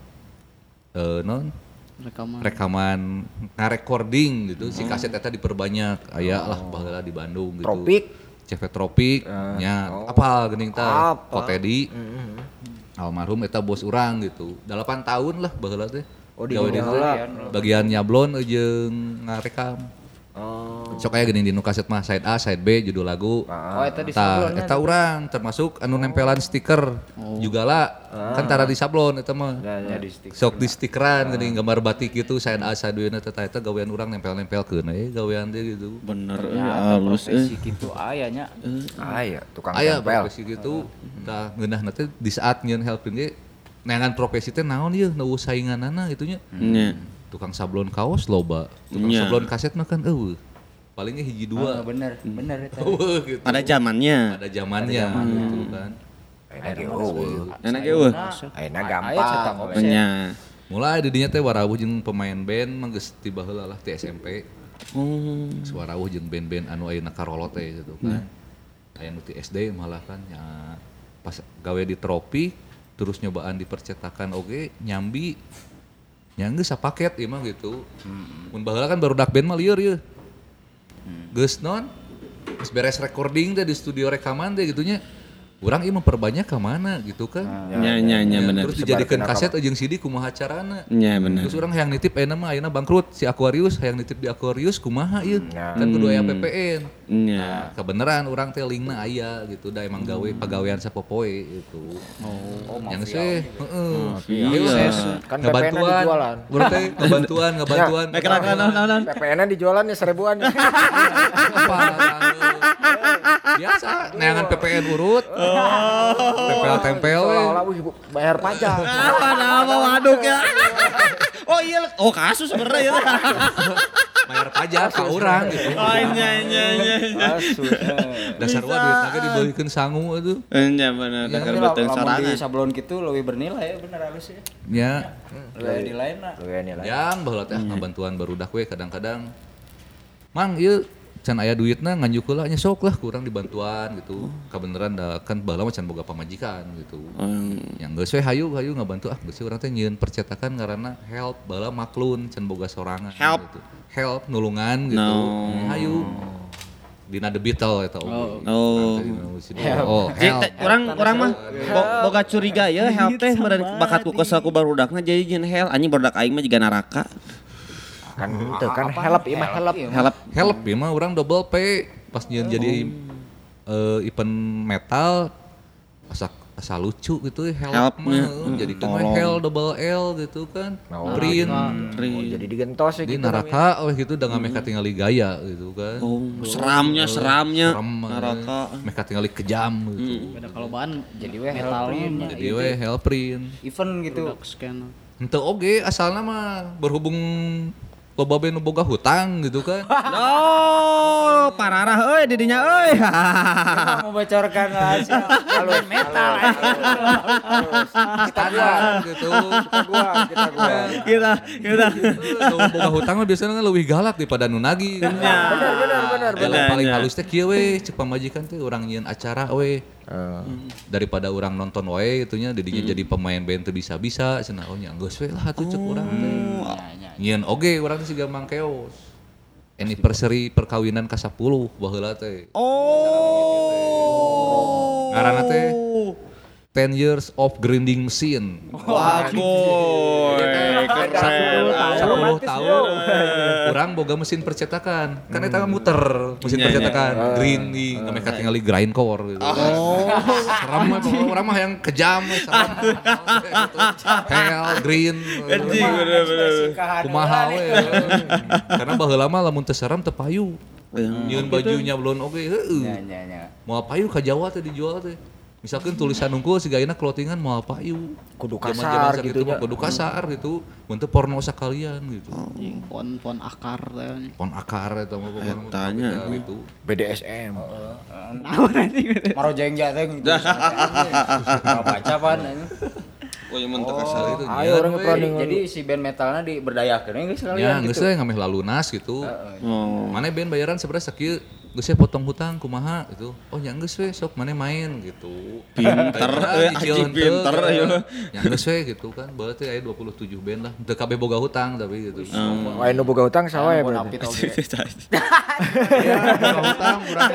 S4: rekaman ngarecording gitu. Si kaset eta diperbanyak aya lah baheula di Bandung gitu.
S1: Tropik.
S4: CV Tropik nya apal geuning teh Kotedi. Almarhum eta bos urang gitu. 8 tahun lah baheula teh. Gawe di bagian nyablon jeung ngarekam. Sok aya geuning di nu kaset mah side A, side B judul lagu.
S5: Eta di sablonnya.
S4: Eta urang termasuk anu nempelan stiker juga lah. Kan tara di sablon eta mah.
S5: Ya di stick.
S4: Sok di stikeran geuning gambar batik gitu side A, side B na eta gawean urang nempel-nempelkeun gawean teh gitu.
S3: Bener
S5: Halus gitu aya nya.
S1: Aya tukang
S4: Aya
S1: tempel.
S4: profesi gitu. Tah ngeunahna teh di saat nyieun helping ge neangan profesi teh naon ieu nu sainganana gitu nya. Tukang sablon kaos loba. Tukang sablon kaset mah kan palingnya hiji dua.
S5: Bener eta.
S4: Gitu.
S3: Pada zamannya.
S4: Ada zamannya gitu kan.
S3: Enak eueuh.
S1: Ayeuna gampang.
S3: Nya.
S4: Mulai di dinya teh warawuh jeung pemain band mah geus tiba heula lah ti SMP. Warawuh jeung band-band anu ayeuna karolo teh gitu kan. Aya nu ti SD malah kan nya pas gawe di Tropik terus nyobaan di percetakan oge nyambi nya geus sapaket ieu mah gitu. Mun baheula kan barudak band mah lieur ieu. Geus non geus beres recording teh di studio rekaman teh gitunya. Urang ieu memperbanyak ka mana gitu kan.
S3: Nya bener.
S4: Terus dijadikeun kaset jeung CD kumaha carana.
S3: Nya bener.
S4: Terus urang hayang nitip ayeuna mah ayeuna bangkrut si Aquarius hayang nitip di Aquarius kumaha ieu. Kan kudu aya PPN.
S3: Nya.
S4: Kebeneran urang teh linkna aya gitu da emang gawe pagawean sapopoe gitu. Yang sih heeh.
S1: Kan PPN dijualan.
S4: Urang teh ngebantuan.
S1: PPN dijualan ya 1000-an.
S4: Biasa neangan PPN urut. Tempel-tempel we.
S1: Seolah-olah bayar pajak.
S3: Apa waduk ya. Oh iya, kasus sebenarnya ya.
S4: Bayar pajak ka urang gitu.
S3: Oh nya.
S4: Dasar duit teh dibeulikeun sangu atuh.
S3: Nya bener, da keur beuteung sorangan.
S5: Di sablon kitu leuwih bernilai bener halus ya.
S4: Nya.
S5: Leuwih nilainya.
S1: Leuwih nilai.
S4: Yang baheula teh ngabantuan barudak we kadang-kadang. Mang ieu can aya duitna nganjuk heula nya sok lah kurang dibantuan gitu. Kabeneran da kan baheula mah can boga pamajikan gitu. Yang geus we hayu ngabantu geus urang teh nyieun percetakan ngaranna help baheula maklun can boga sorangan gitu. Help nulungan gitu. Hayu. Dina The Beatles eta
S3: Orang mah boga curiga ya help teh meureun bakat ku kesel ku barudakna jadi jeung hell anjing barudak aing mah jiga neraka.
S1: Kan itu kan help ieu mah
S4: Help ieu mah urang double P pas nyieun jadi event metal asa lucu gitu help mah jadi kan hell double L gitu kan print
S1: jadi digentos
S4: di neraka gitu da ngameh katingali gaya gitu kan
S3: seramnya neraka
S4: meh katingali kejam gitu
S2: Beda kalobaan
S5: Jadi we
S2: metal
S4: jadi we hell print
S5: event gitu.
S2: scan.
S4: henteu oge asalna mah berhubung loba band nu boga hutang gitu kan
S3: pararah euy di dinya euy.
S5: Mau bocorkan rahasia kalau metal.
S4: kita gitu
S3: Kita
S4: nu boga hutang mah biasana leuwih galak daripada nu nagih bener paling halus teh kieu we cek pamajikan teh urang nyieun acara we daripada urang nonton we itunya didinya jadi pemain band teu bisa-bisa cenah nya geus we lah atuh cek urang teh nyieun oge urang teh siga Mang Keos anniversary perkawinan ka 10 baheula teh ngaranna teh 10 years of grinding machine.
S3: Waduh, keren.
S4: 10 tahun. Urang boga mesin percetakan. Kan eta muter mesin percetakan, grinding, ngameh katingali grindcore gitu. Seram mah urang mah yang kejam, seram. Hell, green.
S3: Anjing bener-bener.
S4: Kumaha we. Karena baheula mah lamun teu seram teu payu. Nyieun bajunya belum oke heueuh. Moal payu ka Jawa teh dijual teh. Misalkan tulisan unggul siga ayeuna clothingan moal payu.
S1: Kudu kasar gitu nya.
S4: Kudu kasar gitu. Mun teu porno sakalian gitu.
S2: Fon akar teh.
S4: Pon akar eta mah
S3: tanya
S4: gitu.
S1: BDSM.
S5: Marojengja teh gitu. Baca pan.
S3: Oh yang mentok kasar itu.
S1: Ayo orang planning.
S5: Jadi si band metalna diberdayakeun geus sekalian
S4: gitu. Ya, geus we ngameh lalunas gitu. Mane band bayaran sebenarnya sakieu geus we potong hutang kumaha gitu. Oh nya geus we sok mane main gitu.
S3: Pinter anjing pinter aya.
S4: Ya geus we gitu kan. Bae teh aya 27 band lah. Teu kabeh boga hutang tapi gitu.
S1: Wae nu boga hutang saha ya berarti.
S4: Ya, boga hutang urang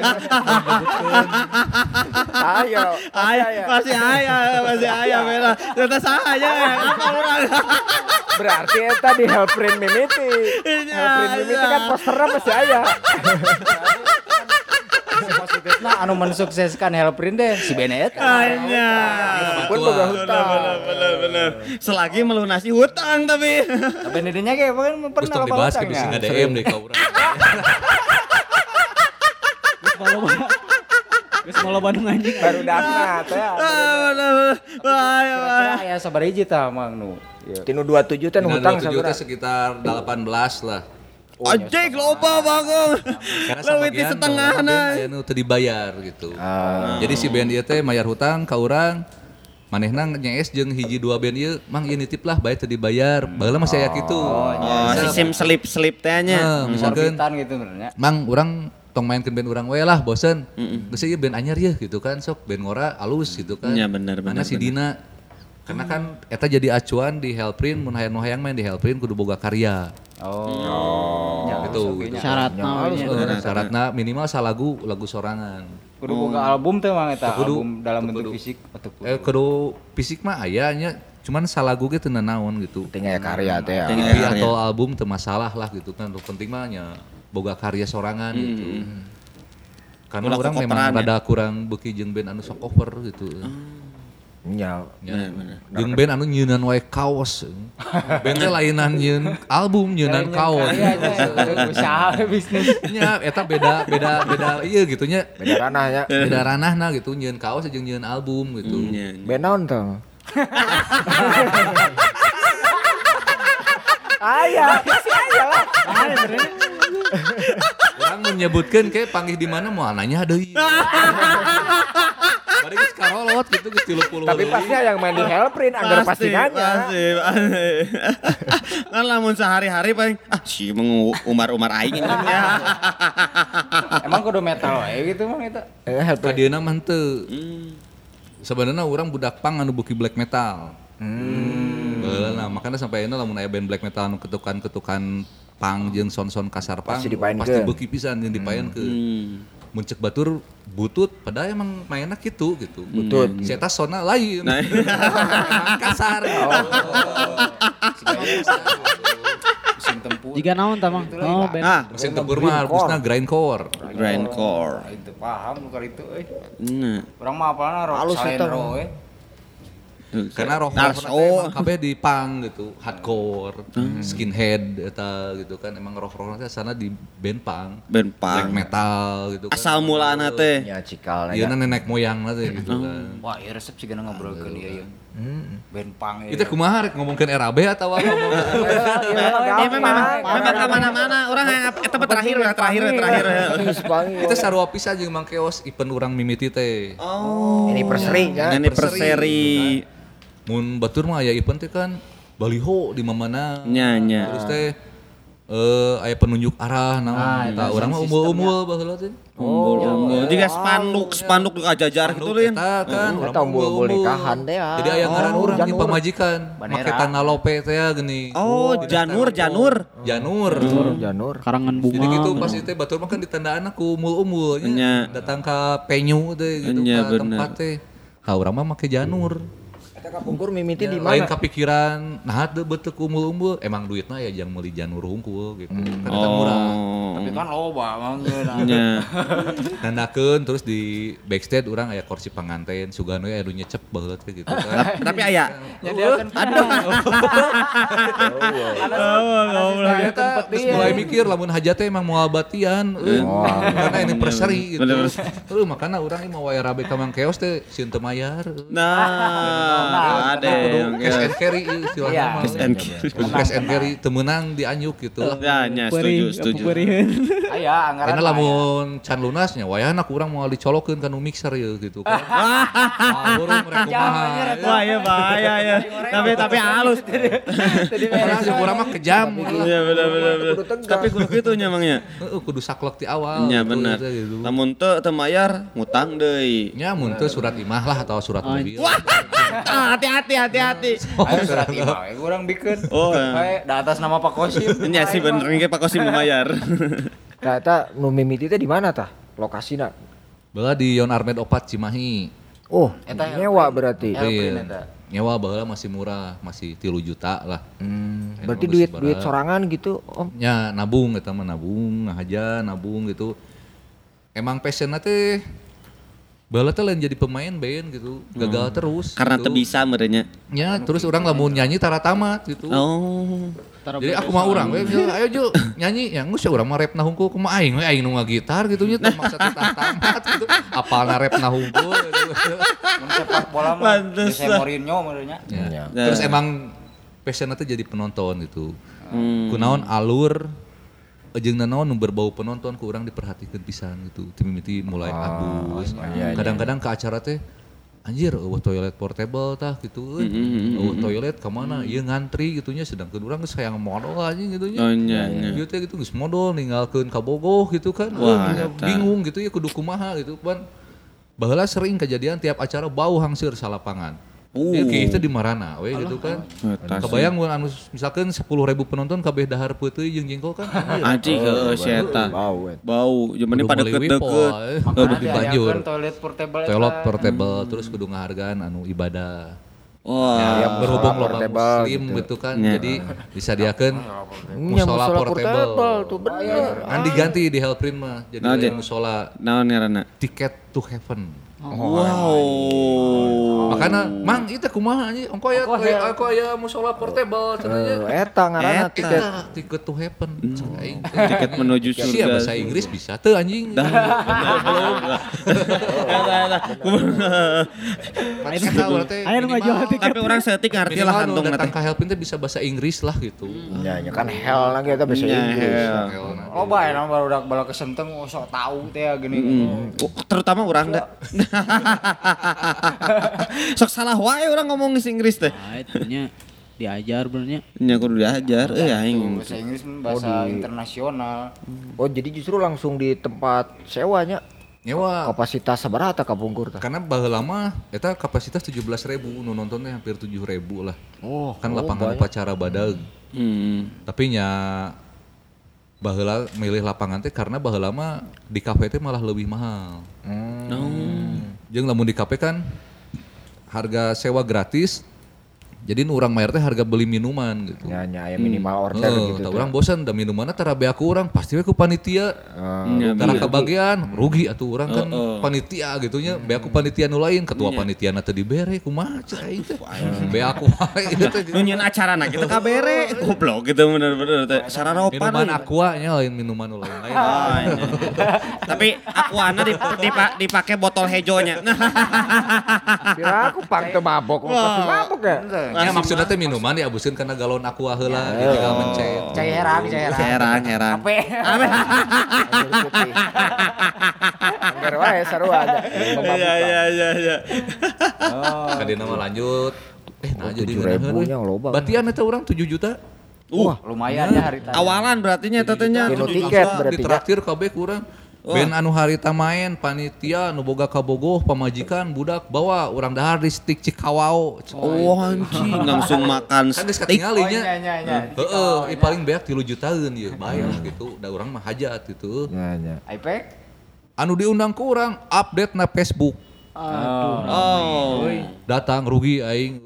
S1: Ayo.
S3: Masih aya bela. Ternyata saha apa urang.
S1: Berarti eta di Hellprint Mimiti. Hellprint Mimiti kan posternya masih aya.
S5: Positifna anu mensukseskan Hellprint deh si Benet.
S3: Anya.
S1: Pun boga hutang.
S3: Bener. Selagi melunasi hutang tapi.
S5: Tapi didinya ge pernah
S4: terus tong dibahas ke sing DM deh ka urang.
S2: Geus malah Bandung anjing.
S1: Baru daftar teh.
S5: Ya sabar hiji tah Mang nu.
S1: Tinu 27 teh hutang
S4: sabaraha? Sekitar 18 lah.
S3: Anjing loba Bagong.
S4: Karena
S3: leuwih setengahna.
S4: Aya nu teu dibayar gitu. Jadi si band ieu teh mayar hutang ka urang. Manehna nyees jeung hiji dua band ieu, Mang ieu nitip lah bae teu dibayar. Baheula masih aya kitu.
S3: Sistem selip-selip teh nya.
S4: Misalkeun
S5: gitu benernya.
S4: Mang urang tong mainkeun band urang we lah bosen. Geus ieu band anyar yeuh gitu kan sok band ngora alus gitu kan.
S3: Iya bener.
S4: Mana si Dina. Karena kan eta jadi acuan di Hellprint mun hayang main di Hellprint kudu boga karya. Gitu. Syaratna minimal salagu lagu sorangan.
S5: Kudu boga album teh Mang eta album dalam bentuk fisik atau
S4: kudu fisik mah aya nya cuman salagu ge teu naon gitu.
S1: Penting aya karya teh.
S4: EP atau album teu masalah lah gitu kan. Penting mah nya boga karya sorangan gitu. Karena orang memang rada kurang beuki jeung band anu sok cover gitu.
S1: Nya.
S4: Jeung band anu nyeunan wae kaos. Band teh lainan nyieun album nyeunan kaos.
S5: Usaha bisnis.
S4: Nya eta beda ieu gitu nya.
S1: Beda ranahnya.
S4: Beda ranahna gitu nyieun kaos jeung nyieun album gitu.
S1: Band naon teh? Aya, si aya lah.
S4: Orang menyebutkan kayak panggih di mana mau nanya deui. Bari geus karolot gitu geus 30.
S1: Tapi pasti yang main di Hellprint anggar pasti nanya.
S3: Kan lamun sehari-hari paling si umar aing ya.
S5: Emang kudu metal wae gitu Mang eta.
S4: Ka dieuna mah henteu. Sebenarnya orang budak pang anu beuki black metal. Nah, makanya sampai ayeuna lamun aya band black metal anu ketukan-ketukan pang jeung son-son kasar pang
S1: Pasti
S4: beuki pisan jeung dipaenkeun. Mun ceuk batur butut padahal emang mainna kitu gitu.
S1: Butut.
S4: Si eta sonna lain. Kasar.
S5: Mesin tempur.
S2: Jika naon tah Mang? Oh, band.
S4: Mesin tempur mah harusna grindcore.
S3: Grindcore.
S5: Itu paham lu itu euy.
S3: Nah.
S5: Urang mah apalna rock
S1: Halus eta.
S5: salendro we.
S4: Karena rock kabeh di punk gitu, hardcore, skinhead eta gitu kan emang rock teh sana di band punk, black metal gitu kan.
S3: Asal mulana teh.
S1: Ya cikal.
S4: Ieu nenek moyangna teh gitu kan.
S5: Wah, ieu resep sigana ngobrolkeun ieu. Band punk
S4: Itu kumaha rek ngomongkeun RAB atau apa
S3: Memang kemana-mana orang yang eta terakhir.
S4: Itu sarua pisan jeung Mang Keos event urang mimiti teh.
S3: Oh.
S1: Anniversary kan.
S3: Anniversary.
S4: Mun batur mah aya event teh kan baliho di mana.
S3: Nya.
S4: Terus teh aya penunjuk arah naon eta urang mah umbul-umbul baheula teh.
S3: Umbul. Juga spanduk di kajajar gitu Lin.
S4: Eta kan urang
S1: Eta umbul nikahan teh.
S4: Jadi aya ngaran urang di pamajikan. Make tanah lope teh geuning.
S3: Oh, Janur.
S2: Karangan bunga.
S4: Jadi gitu pas itu batur mah kan ditandaan aku umbul-umbul nya. Datang ka penyu teh gitu ka tempat teh. Ha urang mah make janur.
S1: Eta kapungkur mimiti di
S4: Lain
S1: mana?
S4: kepikiran nah teu beuteuk umbul-umbul emang duitna ya jang meuli janur hungkul gitu. Kan eta murah.
S5: Tapi kan loba Mang geus.
S3: Nya.
S4: Nandakeun terus di backstage urang aya kursi panganten sugano aya nu nyecep baheula teh gitu kan.
S3: Tapi aya.
S5: Nyadiakeun
S4: Ternyata terus mulai mikir lamun hajat teh emang moal batian karena anniversary gitu. Makanya urang ieu mau wae rabe ka Mang Keos teh sieun teu mayar.
S3: Nah, ada
S4: Cash and carry istilahnya mah. Cash and carry teu meunang dianyuk gitu.
S3: Ya, setuju.
S5: Aya anggaran.
S4: Karena lamun can lunasnya wayahna kurang moal dicolokeun ka nu mixer ieu gitu kan. Burung mereka kumaha.
S3: Wah, ya bahaya ya. Tapi halus.
S4: Karena jeung urang mah kejam.
S3: Iya benar. Tapi kudu kitu nya Mang nya.
S4: Heeh kudu saklek ti awal.
S3: Nya bener. Lamun teu mayar ngutang deui.
S4: Nya mun teu surat imah lah atau surat mobil.
S3: Hati-hati.
S5: Ayo surat imah we urang bikeun.
S3: Oh.
S5: Bae da atas nama Pak Kosim.
S3: Nya sih bener ge Pak Kosim bayar.
S1: Nah, eta nu mimiti teh di mana tah? Lokasina?
S4: Baheula di Yon Armed 4 Cimahi.
S1: Oh,
S5: Eta
S1: nyewa berarti.
S5: Hellprint eta.
S4: Nyewa baheula masih murah, masih 3 juta lah.
S1: Berarti duit sorangan gitu, Om.
S4: Ya nabung eta mah nabung, ngahaja nabung gitu. Emang passionna teh baheula teh lain jadi pemain band gitu, gagal terus.
S3: Karena
S4: gitu.
S3: teu bisa merenya.
S4: Ya, terus orang lamun nyanyi tara tamat gitu.
S3: Oh.
S4: Jadi aku mah urang we ayo Ju nyanyi ya geus urang mah rapna hungkul kumaha aing we aing nu ngagitar gitu nya teu maksa teh tamat gitu. Apalna rapna hungkul gitu.
S5: Mun sepak bola mah Jose Mourinho merenya.
S4: Ya. Terus emang passionnya teh jadi penonton gitu. Kunaon alur jeung nanaon nu berbau penonton ku urang diperhatikeun pisan gitu. Timimiti mulai abus. Kadang-kadang ke acara teh anjir toilet portable tah gitu toilet ka mana ieu ngantri gitunya sedangkeun urang geus hayang modal anjing gitu nya.
S3: Oh nya.
S4: Ieu teh gitu geus modal ninggalkeun ka bogoh gitu kan. Bingung gitu ya kudu kumaha gitu kan. Baheula sering kejadian tiap acara bau hangseur salapangan. Ieu kieu di marana we gitu kan. Kebayang mun anu misalkeun 10.000 penonton kabeh dahar peuteuy jeung jengkol kan.
S3: Anjing heueuh si eta. Bau. Jeung pada deket-deket.
S4: Kudu dibanjur.
S5: Toilet portable.
S4: Toilet portable terus kudu ngahargaan anu ibadah.
S3: Wah,
S4: Ya berhubung loba muslim gitu kan. Jadi disadiakeun musola portable.
S1: Tuh bener.
S4: Kan diganti di Hellprint mah. Jadi musola
S3: naon ngaranna?
S4: Ticket to Heaven.
S3: Wow.
S4: Makanya Mang itu kumaha anjing engko aya musola portable cenah.
S1: Eta ngaranna tiket.
S4: Ticket to Heaven.
S3: Tiket menuju surga.
S4: Sia bahasa Inggris bisa teu anjing.
S2: Ayo ngajual tiket.
S3: Tapi orang setik ngarti lah kantong
S4: datang ka Hellprint teh bisa bahasa Inggris lah gitu.
S1: Ya kan hell lagi eta bahasa Inggris.
S5: Oh bae baru udah bala kesenteng sok tahu teh gini.
S3: Terutama mah urang da. Sok salah wae urang ngomong Inggris teh.
S2: Nah, itunya diajar benernya.
S3: Nya kudu diajar aing.
S5: Bahasa Inggris bahasa internasional.
S1: Oh jadi justru langsung di tempat sewanya.
S4: Nyewa.
S1: Kapasitas sabaraha kapungkur tah?
S4: Karena baheula mah eta kapasitas 17.000 nu nontonnya hampir 7.000 lah. Kan lapangan upacara badag. Tapi nya baheula milih lapangan teh karena baheula mah di kafe teh malah lebih mahal. Jeung lamun di kafe kan harga sewa gratis. Jadi nu urang mayar teh harga beli minuman gitu.
S1: Ya aya minimal order gitu.
S4: Tah urang bosan da minumanna tara bea ku urang pasti we ku panitia. Tara kebagian rugi atuh urang kan panitia gitu nya. Bea ku panitia nu lain ketua panitiana teh dibere kumaha cai teh. Bea ku wae ieu teh.
S3: Nu nyeun acarana kitu kabere goblok gitu bener-bener teh sararopan.
S4: Minuman aqua nya lain minuman nu lain.
S3: Tapi aquana dipake botol hejonya.
S1: Kira aku pang teu mabok, pasti mabok ya.
S4: Ya maksudnya teh minuman diabuskeun kana galon aqua heula tinggal mencet.
S5: Cairan.
S3: Ape?
S1: Anggar wae sarua aja.
S3: Iya.
S4: Kadina mah lanjut. Nah jadi
S1: 7.000 nya loba.
S4: Batian eta urang 7 juta.
S5: Wah, lumayan ya hari tadi.
S3: Awalan berarti nya tetenya
S1: Kilo tiket berarti.
S4: Ditraktir kabeh kurang. Ben anu harita main panitia nu boga kabogoh pamajikan budak bawa urang dahar di stick Cikawao.
S3: Oh anjing langsung makan
S4: Kan geus
S3: steak.
S4: katingali nya.
S5: Heeh.
S4: Paling beak 3 jutaan ieu bae lah gitu. Da urang mah hajat gitu.
S1: Nya.
S5: iPad?
S4: Anu diundang ku urang update na Facebook.
S3: Oh.
S4: Datang rugi aing.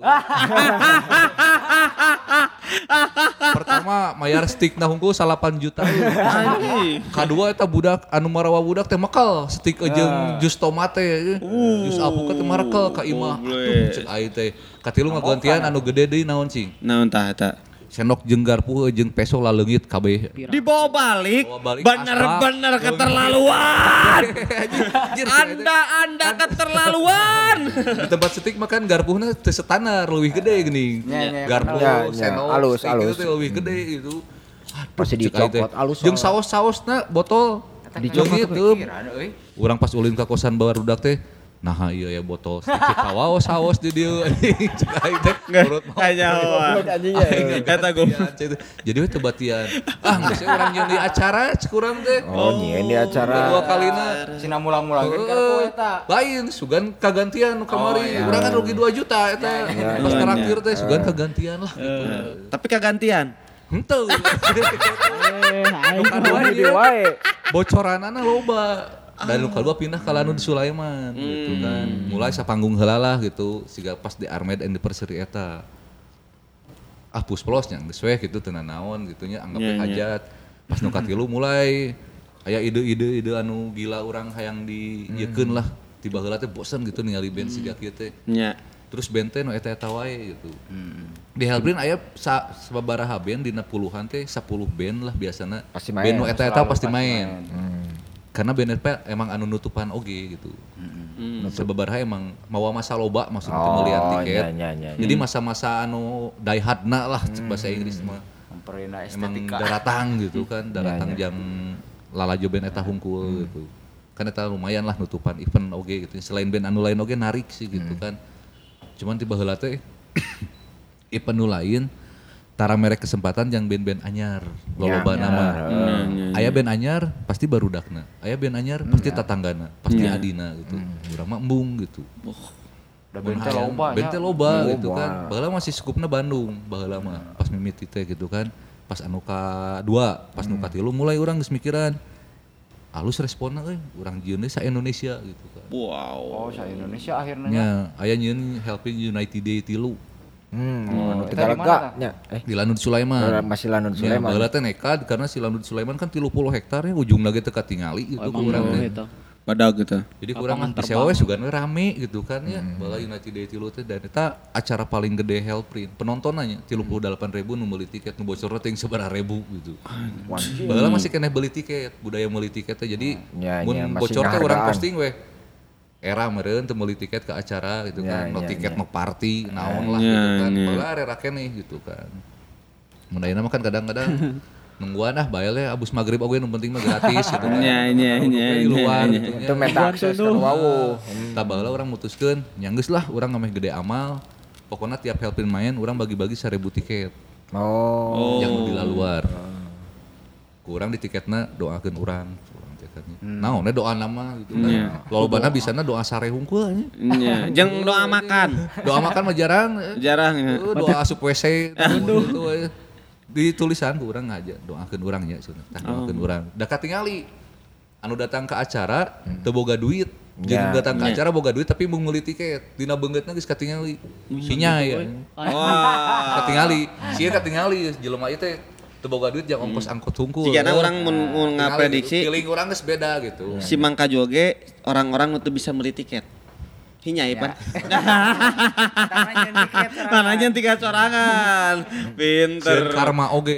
S4: Pertama mayar stick na hungkul 8 juta. Kadua eta budak anu marawa budak teh mekel stick jeung jus tomate. Jus alpukat teh marekel ka imah. Aduh cek aing teh. Katilu ngagantian anu gede deui naon cing.
S3: Naon tah eta?
S4: Sendok jeung garpu jeung peso laleungit kabeh.
S3: Dibawa balik.
S4: balik
S3: Bener-bener keterlaluan. Anda keterlaluan.
S4: Di tempat stick makan garpuhna teu standar leuwih gede geuning. Garpu sendok
S1: alus.
S4: teh leuwih gede gitu.
S1: Pasti dicopot alus.
S4: Jeung saos-sausna botol
S1: dicopot
S4: gitu. Urang pas ulin ka kosan barudak teh nah iya ya botol stick Cikawao saos di dieu cek aing teh urut mau eta jadi we teu batian geus urang nyeun di acara cek urang teh
S1: nyeun di acara
S4: dua kalina
S5: Cina mulang-mulang kartu eta.
S4: lain sugan kagantian nu kamari urang kan rugi 2 juta eta pas traktir teh sugan kagantian lah gitu.
S3: Tapi kagantian.
S4: Henteu
S1: nu kadua di wae
S4: bocoranana loba. Dan luka dua pindah ke Lanud Sulaiman gitu kan. Mulai sapanggung heula lah gitu. Siga pas di Armed and the Perseri eta. Pusplos nya geus we gitu teu naon gitu nya anggap hajat. Pas nu katilu mulai aya ide-ide anu gila urang hayang dieukeun lah. Tiba heula teh bosen gitu ningali band siga kieu teh.
S3: Nya.
S4: Terus band teh nu eta-eta wae gitu. Di Hellbrand aya sababaraha band dina puluhan teh 10 band lah biasana. Band nu eta-eta pasti main. Karena BNP emang anu nutupan oge gitu. Sababaraha emang mawa masa loba maksudnya pembelian tiket. Jadi masa-masa anu die hardna lah bahasa Inggris mah. Emang daratang gitu kan, daratang jam lalajo band eta hungkul gitu. Kan eta lumayan lah nutupan event oge gitu. Selain band anu lain oge narik sih gitu kan. Cuman tiba heula teh event nu lain tara merek kesempatan yang band-band anyar loba nama. Aya band anyar pasti barudakna. Aya band anyar pasti tatanggana, pasti adina gitu. Urang mah embung gitu. Band teh loba gitu kan. Baheula masih skupna Bandung, baheula mah pas mimiti teh gitu kan. Pas anu ka-2, pas nu ka-3 mulai urang geus mikiran. Alus responna euy, urang jieun sa Indonesia gitu kan.
S3: Wow.
S5: Oh, sa Indonesia akhirnya.
S4: Nya, aya nyieun Helping United Day 3.
S1: anu Tegalega nya
S4: di Lanud Sulaiman.
S1: Masih Lanud Sulaiman.
S4: Baheula teh nekad karena si Lanud Sulaiman kan 30 hektar ya ujungna ge teu katingali gitu kurang teh.
S3: Badag gitu.
S4: Jadi kurang disewa we sugan rame gitu kan ya. Baheula United Day 3 teh dan eta acara paling gede Hellprint. Penontonannya 38.000 nu meuli tiket nu bocorna teh sabaraha ribu gitu. Baheula masih keneh beli tiket, budaya meuli tiket teh. Jadi mun bocor teh urang posting we. Era meureun teu meuli tiket ke acara gitu kan. No tiket no party naon lah gitu kan. Baheula arek keneh gitu kan. Mun ayeuna mah kan kadang-kadang nungguan bae le abus magrib oge nu penting mah gratis gitu kan.
S3: Nya.
S4: Di luar gitu nya.
S1: Itu meta akses kan wawu.
S4: Tah baheula urang mutuskeun nya geus lah urang ngameh gede amal. Pokoknya tiap helpin main urang bagi-bagi 1.000 tiket. Yang di luar. Kurang di tiketna doakeun urang. Naon doa nama gitu kan. Lolobana bisana doa sare hungkul
S3: nya. Jeung doa makan.
S4: Doa makan mah jarang.
S3: Jarang ya.
S4: Doa asup WC gitu. Di tulisan ku urang aja doakeun urang nya cenah. Tah doakeun urang. Da katingali anu datang ke acara teu boga duit. Jeung datang ke acara boga duit tapi mau meuli tiket. Dina beungeutna geus katingali. Sinya ya. Wah. Katingali jelema ieu teh teu boga duit jeung ongkos angkot hungkul.
S3: Jigana urang mun ngaprediksi
S4: feeling urang geus beda gitu.
S3: Si Mangka Joge orang-orang teu bisa meuli tiket. Hinya Ipan. Mana jeung tiket sorangan. Pinter.
S4: Karma oge.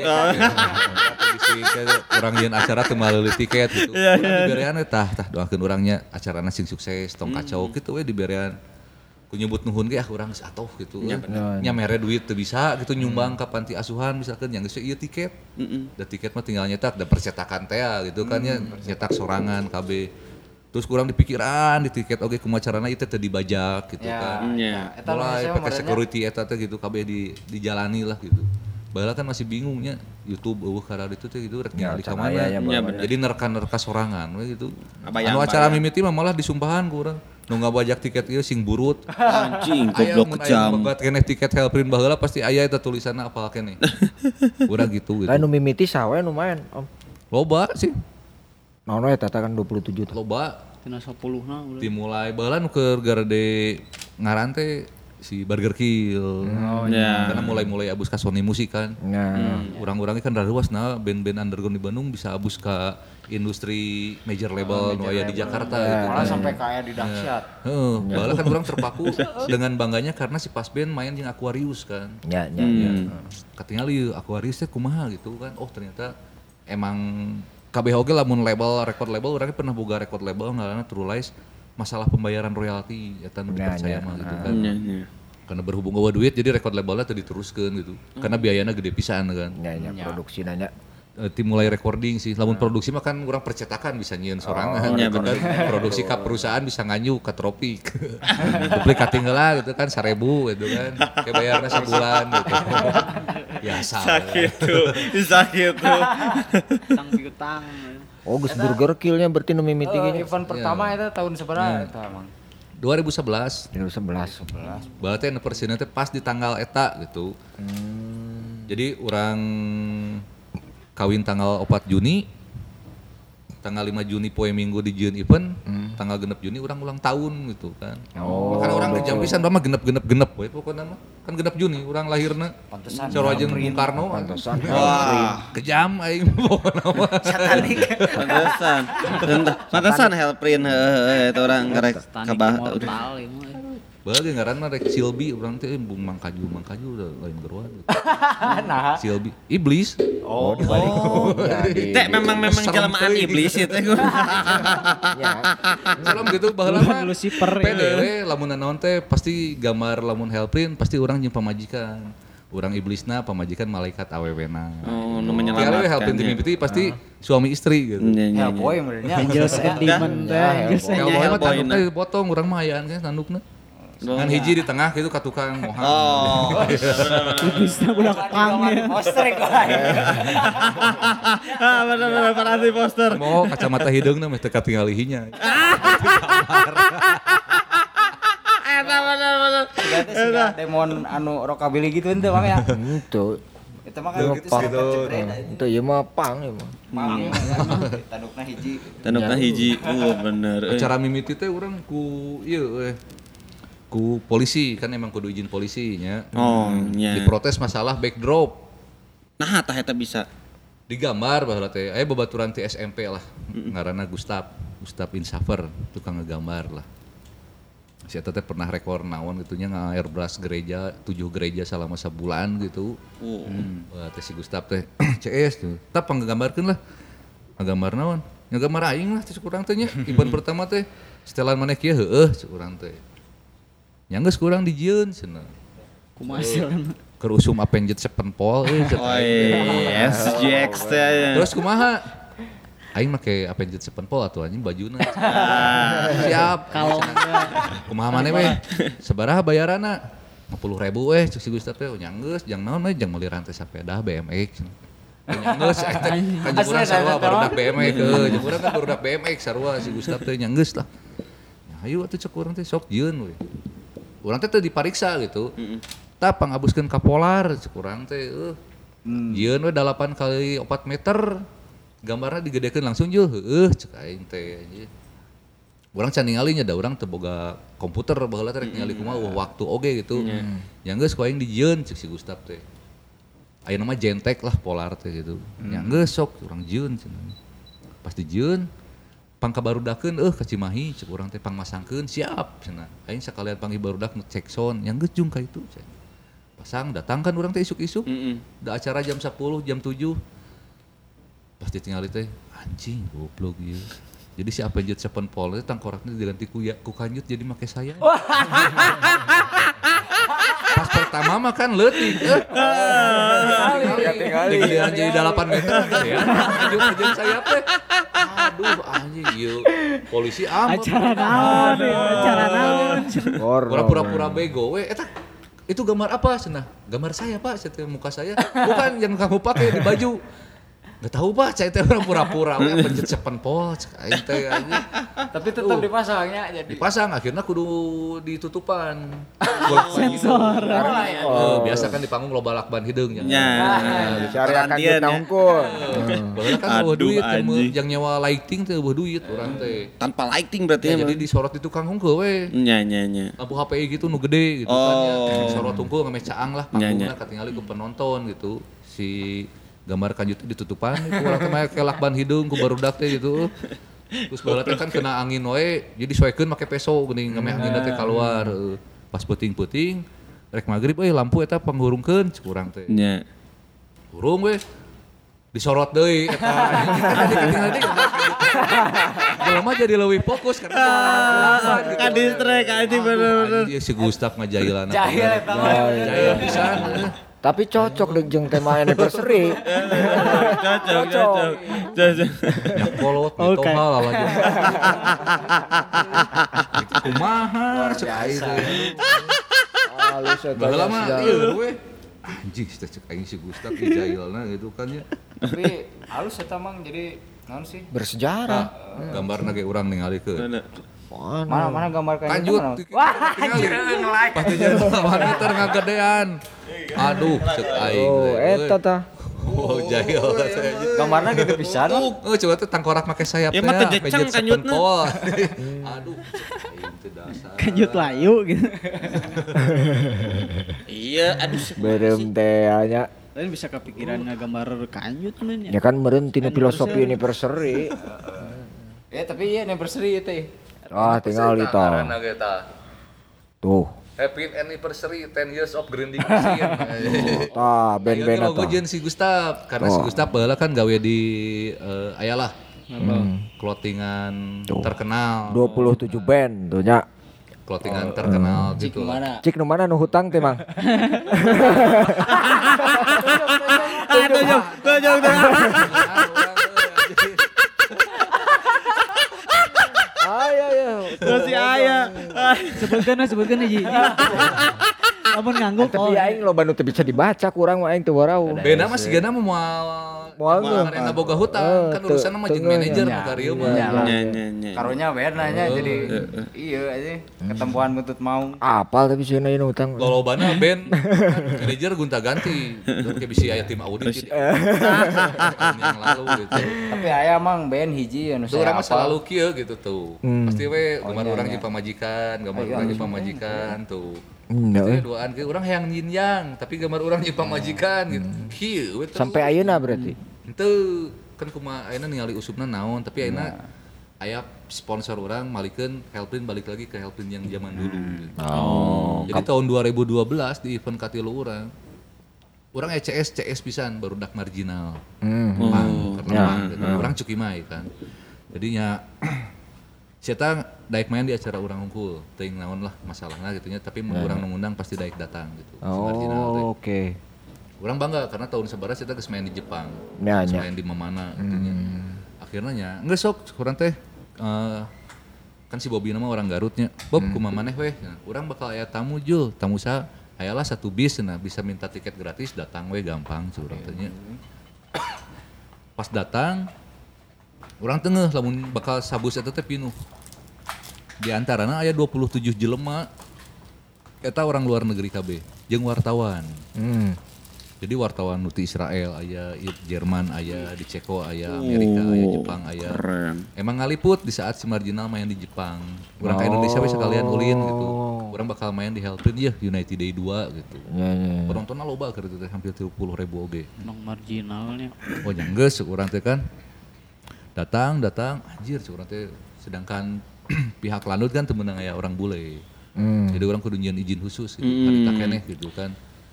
S4: Urang ieun acara teu meuli tiket gitu. Urang diberean tah doakeun urangnya acarana sing sukses tong kacau kitu we diberean. Ku nyebut nuhun ge urang geus atuh gitu. Nya mere duit teu bisa gitu nyumbang ka panti asuhan misalkan yang geus ieu tiket. Da tiket mah tinggal nyetak da percetakan teh gitu kan nya nyetak sorangan KB. Terus kurang dipikiran di tiket oge kumaha carana ieu teh dibajak gitu kan. Mulai pakai security eta teh gitu KB dijalani lah gitu. Baheula kan masih bingungnya YouTube eueuh karena itu teh gitu rek ningali ka mana. Jadi nerka-nerka sorangan we gitu. Anu acara mimiti mah malah disumpahan ku urang. Nu ngabajak tiket ieu sing burut.
S3: Anjing goblok kecam.
S4: Aya keneh tiket helprin baheula pasti aya eta tulisanna apal keneh. Urang gitu.
S1: Lain nu mimiti sawe nu main Om.
S4: Loba sih.
S1: Naon we tata kan 27
S4: Loba.
S2: Tina 10-na udah.
S4: Dimulai baheula nu keur garade ngaran teh si Burger Kill. Karena mulai abus ka Sony Musik kan. Urang-urangnya kan rareuasna band-band underground di Bandung bisa abus ka industri major label nu aya di Jakarta gitu.
S5: Malah sampai kaya di dahsyat.
S4: Baheula kan urang terpaku dengan bangganya karena si pas band main jeung Aquarius kan. Katingali Aquarius teh kumaha gitu kan. Oh ternyata emang KBH oge lamun label, record label urangnya pernah boga record label ngaranna True Lies. Masalah pembayaran royalti eta nu dipercaya mah gitu kan. Karena berhubung eueuh duit jadi record labelnya teu diteruskeun gitu. Karena biayana gede pisan kan.
S1: Produksina nya.
S4: Tim mulai recording sih. Lamun produksi mah kan urang percetakan bisa nyieun sorangan gitu kan. Produksi ka perusahaan bisa nganyu ka Tropik. Duplik katinggalan gitu kan 1.000 gitu kan. Kayak bayarna sebulan gitu. Biasa.
S3: Sakit tuh.
S2: Tang piutang.
S1: Oh, geus Burger Kill-nya berarti nu mimiti ge.
S5: Event pertama eta tahun sabaraha eta emang?
S4: 2011. Berarti anniversary teh pas di tanggal eta gitu. Jadi urang kawin tanggal 4 Juni. Tanggal 5 Juni poe Minggu di Jieun event. Tanggal 6 Juni urang ulang tahun gitu kan. Makanya urang kejam pisan mah genep we pokona mah. Kan 6 Juni urang lahirna.
S5: Pantesan.
S4: Sarojeng Bung Karno.
S1: Pantesan.
S4: Wah, kejam aing pokona mah.
S5: Satanik.
S3: Pantesan helprin eta urang karek kabah.
S4: Bagi ngaranna rek Silbi urang teh Bung Mangkaju udah lain geruan.
S5: Nah,
S4: Silbi iblis.
S5: Oh, dibalik.
S3: Teh memang jelmaan iblis itu.
S4: Salam gitu baheula mah.
S2: Lucifer.
S4: PDW lamun naon teh pasti gambar lamun helprin pasti urang jeung pamajikan. Urang iblisna pamajikan malaikat awewena.
S3: Oh, nu menyelamatkan.
S4: Kalau helprin tim mimpi pasti suami istri gitu.
S5: Hellboy benernya.
S2: Angels and Demon teh. Angels and
S4: Hellboy mah tanduk teh potong urang mah ayaan kan tandukna. Kan hiji di tengah gitu ka tukang mohan.
S3: Oh.
S2: Iblisna budak pang ya.
S5: Poster kok.
S3: Bener parasi poster.
S4: Mau kacamata hideungna meh teu katingali hinya.
S3: Eta bener.
S5: Eta demon anu rockabilly gitu ente Bang ya.
S1: Itu.
S5: Eta mah kan gitu.
S1: Itu ieu mah pang ieu mah.
S5: Tandukna hiji.
S3: Bener.
S4: Acara mimiti teh urang ku ieu ku polisi kan emang kudu izin polisi nya.
S3: Oh, nya.
S4: Diprotes masalah backdrop.
S3: Nah, tah eta bisa
S4: Digambar baheula teh aya babaturan ti SMP lah. Ngaranna Gustaf Insafer, tukang ngegambar lah. Si eta teh pernah rekor naon gitu nya nga-airbrush gereja 7 gereja selama sebulan gitu. Wah, teh si Gustaf teh CS tuh. Tah panggambarkeun lah. Ngagambar naon? Ngagambar aing lah teh kurang teh nya. Event pertama teh setelan maneh kieu heueuh kurang teh. Nya geus kurang di Jieun cenah.
S2: Kumaha
S4: kerusum Avenged Sevenfold
S3: SGX teh.
S4: terus kumaha aing make Avenged Sevenfold atuh anjing bajuna siap
S2: Kalau
S4: kumaha maneh we sabaraha bayaranna 50.000 cek si Gustaf teh nyanggeus jang naon we jang meuli rantai sepeda BMX nyanggeus kan jeung urang sarua barudak BMX jeung urang kan barudak BMX sarua si Gustaf teh nyanggeus lah ayo atuh cek urang teh sok jieun we urang teh dipariksa gitu tah pangabuskeun ka Polar cek urang teh jieun we 8 kali 4 meter gambarna digedekeun langsung jeung cek aing teh anjing urang can ningali nya da urang teu boga komputer baheula teh rek ningali kumaha waktu oge gitu yang geus ku aing dijieun cek si Gustaf teh ayeuna mah Gentek lah Polar teh gitu yang geus sok urang jieun cenah pas dijieun pang kabarudakeun ka Cimahi cek urang teh pang masangkeun siap cenah aing sakalian panggih barudak cek sound yang geus jung ka itu cenah pasang datang kan urang teh isuk-isuk da acara jam 10 jam 7 pas ditingali teh anjing goblok ieu jadi si Avenged Sevenfold itu tangkoraknya diganti ku Kanjut jadi make saya. Pas pertama mah kan leutik. Tinggal jadi 8 meter ya. Kanjut aja saya teh. Aduh anjing ieu. Polisi amat.
S2: Acara naon.
S4: Pura-pura bego we eta itu gambar apa cenah? Gambar saya Pak, saya muka saya. Bukan yang kamu pakai di baju. Gak tahu Pak, saya teh orang pura-pura Avenged Sevenfold aing teh anjing.
S5: Tapi tetap dipasangnya jadi.
S4: Dipasang akhirnya kudu ditutupan.
S2: Sensor.
S4: Biasa kan di panggung loba lakban hideung nya.
S1: Cari akan duit nangkul.
S4: Padahal kan eueuh duit yang nyewa lighting teh eueuh duit urang teh.
S3: Tanpa lighting berarti
S4: ya. Jadi disorot di tukang hungkul we.
S3: Nya.
S4: Lampu HPI gitu nu gede gitu kan ya. Disorot hungkul ngame caang lah panggungna katingali ku penonton gitu. Si gambar Kanjut ditutupan itu urang teh make lakban hidung ku barudak teh gitu. Terus baheula teh kan kena angin we jadi soekeun make peso geuning ngame anginna teh kaluar. Pas peuting-peuting rek magrib lampu eta panghurungkeun cek urang teh.
S3: Nya.
S4: Hurung we disorot deui eta tinggal deui. Jelema jadi leuwih fokus karena
S3: ka distrek anjing bener-bener.
S4: Si Gustaf ngajailan.
S5: Jahil eta.
S4: Jahil pisan.
S1: Tapi cocok deh jeung tema anniversary.
S3: Cocok.
S4: Nyak kolot gitu hal lagi. Kumaha cek aing teh.
S1: Halus eta.
S4: Baheula mah ieu we. Anjing cek aing si Gustaf jailna gitu kan ya.
S5: Tapi halus eta mang jadi naon sih?
S1: Bersejarah.
S4: Gambarna ge urang ningalikeun.
S5: Mana gambar
S4: Kanjut. Wah, pasti jadi monitor ngagedean. Aduh, cek aing.
S1: Oh, eta tah.
S4: Oh, jahil.
S5: Gambarna gitu pisan.
S4: Coba tuh tangkorak make sayap teh.
S3: Ya mah teh jeceng Kanjutna.
S4: Aduh, cek aing teh dasar.
S2: Kanjut layu gitu.
S3: Iya, aduh.
S1: Berem teh nya.
S2: Lain bisa kepikiran ngagambar Kanjut kan
S1: Ya kan meureun tina filosofi anniversary.
S5: Ya tapi iya anniversary teh.
S1: Ah, tinggal itu. Tuh.
S4: Happy anniversary 10 years of grinding machine.
S1: Tah, band-band
S4: eta. Ayo si Gustaf karena si Gustaf baheula kan gawe di ayalah. Clothingan terkenal.
S1: 27 band tuh nya.
S4: Clothingan terkenal gitu.
S1: Cik nu mana nu hutang teh, Mang?
S3: Tunjuk.
S1: Terus
S3: aya.
S2: Sebutkeun hiji. Lamun ngangguk
S1: tapi aing loba nu teu bisa dibaca kurang mah aing teu warau.
S4: Beda mah sigana moal marena boga hutang kan urusanna mah jeung manajer nu kareu mah.
S5: Karunya beda nya jadi iya aja ketempuan buntut mau.
S1: Apal tapi sieuna ieu hutang.
S4: Lolobana band manajer gonta-ganti. Kayak bisi aya tim audit gitu. Yang lalu gitu.
S5: Tapi aya mang band hiji anu saya
S4: urang mah selalu kieu gitu tuh. Pasti we gambar urang jeung pamajikan, gambar urang jeung pamajikan tuh. Jadi duaan ke orang yang yin yang, tapi gambar orang jeung pamajikan gitu. Kieu we
S1: sampai ayeuna berarti.
S4: Henteu kan kumaha ayeuna ningali usupna naon, tapi ayeuna aya sponsor orang malikeun Helprin balik lagi ke Helprin yang zaman dulu. Jadi tahun 2012 di event katilu urang. Urang CS pisan barudak marginal. Karena urang cuki mai kan. Jadinya saya daek main di acara urang hungkul, teuing naon lah masalahna gitu nya, tapi mun urang ngundang pasti daek datang gitu.
S1: Oh, oke.
S4: Urang bangga karena tahun sabaraha kita geus main di Jepang.
S1: Geus
S4: main di Mamana gitu nya. Akhirna nya geus sok urang teh kan si Bobby nama orang Garutnya. Bob kumaha maneh weh? Nah, urang bakal aya tamu Jul, tamu saha? Hayalah 1 bis nah bisa minta tiket gratis datang we gampang curang teh nya. Pas datang urang tengeuh lamun bakal sabus eta teh pinuh. Di antarana aya 27 jelema eta orang luar negeri kabeh jeung wartawan. Jadi wartawan nu ti Israel aya, Jerman aya, di Ceko aya, Amerika aya, Jepang aya.
S3: Keren.
S4: Emang ngaliput di saat si Marginal main di Jepang. Urang ka Indonesia we sekalian ulin gitu. Urang bakal main di Helprin ya United Day 2 gitu. Penontonnya loba keur teh hampir 30.000 oge.
S2: Nong marginalnya.
S4: Oh nya geus urang teh kan. Datang anjir urang teh sedangkan pihak lanut kan teu meunang aya orang bule. Jadi orang kudu nyieun izin khusus gitu. Harita keneh gitu kan.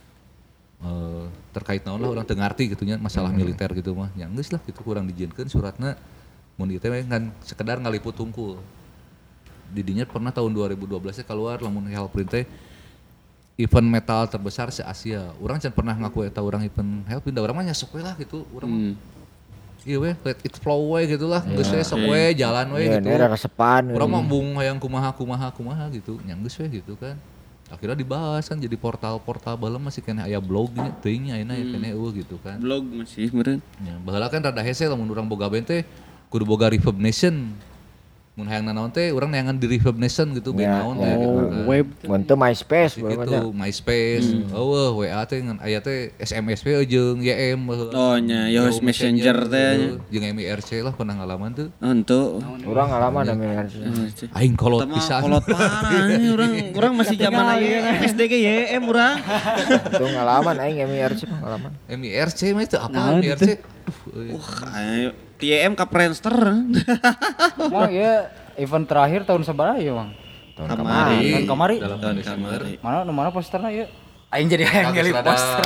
S4: Terkait naon lah orang teu ngarti gitu nya masalah militer gitu mah. Nya geus lah gitu kurang dijieunkeun suratna mun ieu teh kan sekedar ngaliput hungkul. Didinya pernah tahun 2012 keluar lamun Helprin teh event metal terbesar se Asia. Urang can pernah ngaku eta urang event Helprin da urang mah nya sok we lah gitu. Urang iya we let it flow we gitu lah. Geus we sok we jalan we gitu.
S1: Iya, resepan.
S4: Urang mah embung hayang kumaha gitu. Nya geus we gitu kan. Akhirnya dibahas kan jadi portal-portal baheula masih kena aya blognya teuing nya ayeuna kene gitu kan.
S3: Blog masih meureun.
S4: Ya, baheula kan rada hese lamun urang boga band teh kudu boga Reverb Nation. Mun hayang nanaon teh urang neangan di Reverb Nation gitu band naon teh gitu kan.
S2: Web
S1: Mun teu MySpace
S4: Gitu, MySpace. WA teh ngan aya teh SMS we jeung YM baheula.
S3: Oh nya Yahoo Messenger teh.
S4: Jeung MIRC lah pernah ngalaman tuh.
S3: Henteu.
S1: Urang ngalaman da memang.
S4: Aing kolot pisan.
S3: Kolot parah urang masih zaman aya SD ge YM urang.
S1: Itu ngalaman aing MIRC pengalaman.
S4: MIRC mah itu apa MIRC?
S3: Ayo TM ka Friendster.
S5: Oh iya, event terakhir tahun sabaraha ya, Bang?
S1: Tahun
S5: Tahun kamari.
S4: Tahun kamari.
S5: Mana posterna ieu? Aing jadi hayang ngelih poster.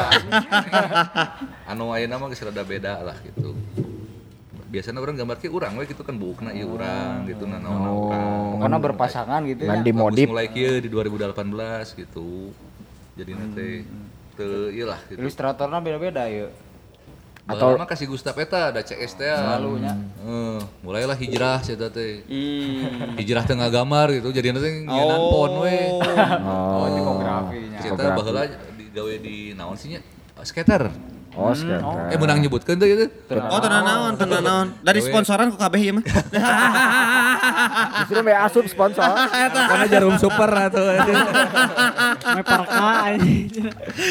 S4: Anu ayeuna mah geus rada beda lah gitu. Biasanya orang gambar ke urang we gitu kan buukna ieu urang gitu nanaonna urang.
S5: Pokona berpasangan gitu ya.
S1: Ngan dimodif.
S4: Mulai kieu di 2018 gitu. Jadi nanti teu ieu lah gitu.
S5: Ilustratorna beda-beda ieu.
S4: Atau mah kasih Gustaf eta ada CS teh.
S5: Selalu nya.
S4: Mulailah hijrah sia teh. Hijrah teh ngagambar gitu. Jadi nanti nyeunaan pon we.
S5: Oh, tipografinya.
S4: Kita baheula digawe di naon sih nya? Skater.
S1: Oh, skater.
S4: Menang nyebutkeun teh itu.
S3: Oh tenan naon. Dari sponsoran ku kabeh ieu mah.
S1: Justru we asup sponsor.
S4: Karena Jarum Super atau
S2: Meparka anjing.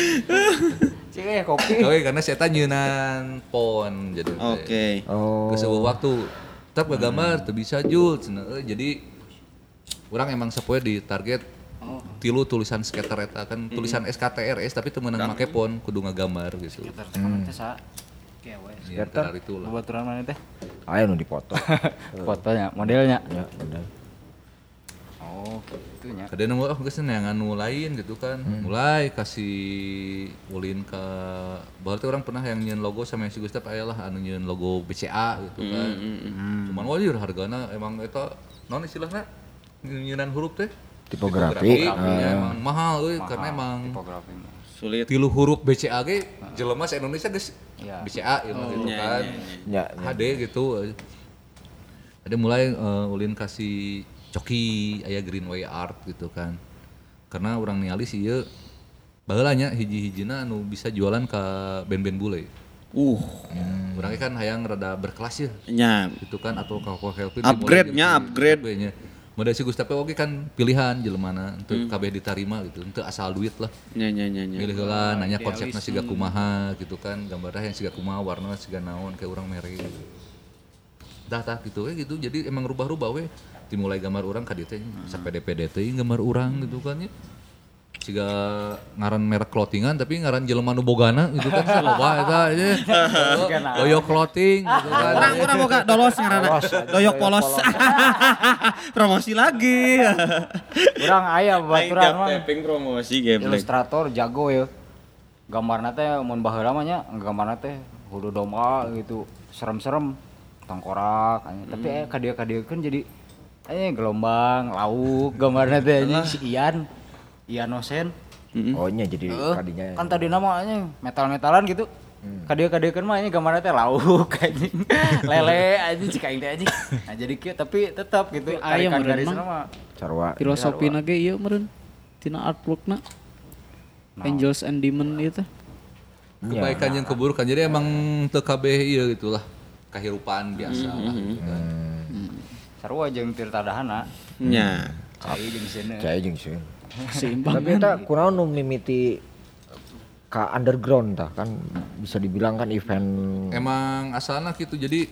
S5: Cih kopi.
S4: Oke, karena saya nyeunan pon jadi.
S3: Oke.
S4: Ke sebuah waktu tetap gambar teu bisa Jul cenah. Jadi urang emang sapoe di target tilu tulisan skater eta kan tulisan SKTRS tapi teu meunang make pon kudu ngagambar gitu.
S5: Skater teh sa. Kewe.
S4: Skater itu lah.
S5: Baturan mana teh?
S1: Aya nu dipoto.
S5: Fotonya, modelnya.
S1: Ya, bener.
S5: Oh, gitu nya.
S4: Kadang nemu geus neangan nu lain gitu kan. Mulai kasih ulin ke bahwa teh urang pernah yang nyieun logo sama si Gustaf aya lah anu nyieun logo BCA gitu kan. Cuman wajur hargana emang eta naon istilahna nyieunnan huruf teh
S1: Tipografi.
S4: emang mahal euy karena emang
S5: Tipografi.
S3: Sulit.
S4: tilu huruf BCA ge jelema sa Indonesia geus
S5: Iya.
S4: BCA gitu kan.
S1: Ya,
S4: HD gitu. Ada mulai ulin kasih coki aya Greenway Art gitu kan. Karena orang ningali sih ieu baheula nya hiji-hijina anu bisa jualan ke band-band bule. Urang kan hayang rada berkelas ya.
S3: Nya.
S4: Gitu kan atau ka Helpin
S3: Upgrade-nya upgrade.
S4: nya. Model si Gustaf oge kan pilihan jelemana untuk kabeh ditarima gitu. Henteu asal duit lah.
S3: Nya.
S4: Milih heula nanya konsepna siga kumaha gitu kan. Gambarna yang siga kumaha, warna siga naon kayak urang mere gitu. Tah gitu we gitu. Jadi emang rubah-rubah we. Dimulai gambar urang ka dieu teh sampai DPD teuing gambar urang gitu kan ya. Siga ngaran merek clothingan tapi ngaran jelema nu bogana gitu kan loba eta aja. Doyok clothing gitu kan.
S3: Urang boga dolos ngaranna. Doyok polos. Promosi lagi.
S5: Urang aya baturan mah.
S3: Tapping promosi geblek.
S5: Ilustrator jago ya. Gambarna teh mun baheula mah nya gambarna teh hulu domba gitu. Serem-serem tengkorak tapi kadieu-kadieun jadi Gelombang, lauk, gambarnya teh anjing si Ian Osen.
S1: Oh nya jadi kadinya.
S5: Kan tadi namanya metal-metalan gitu. Kadia-kadiakeun mah ini gambarnya teh lauk anjing. Lele anjing cik aing teh anjing. Nah jadi kieu tapi tetap gitu
S2: Aya meureun
S5: garis
S2: mah.
S5: nama.
S1: Sarua.
S2: Filosofina ge ieu meureun. Tina artworkna. Angels and Demon ieu teh.
S4: Kebaikan yang keburukan. Jadi emang teu kabeh ieu gitulah. Kahirupaan biasa lah gitu kan.
S5: Sarua jeung Tirta Dahana.
S3: Nya.
S5: Cai jeung seuneu.
S1: Cai jeung sieun.
S2: Seimbang.
S1: Tapi eta kunaon nu mimiti ka underground tah kan bisa dibilang kan event
S4: Emang asalna gitu. Jadi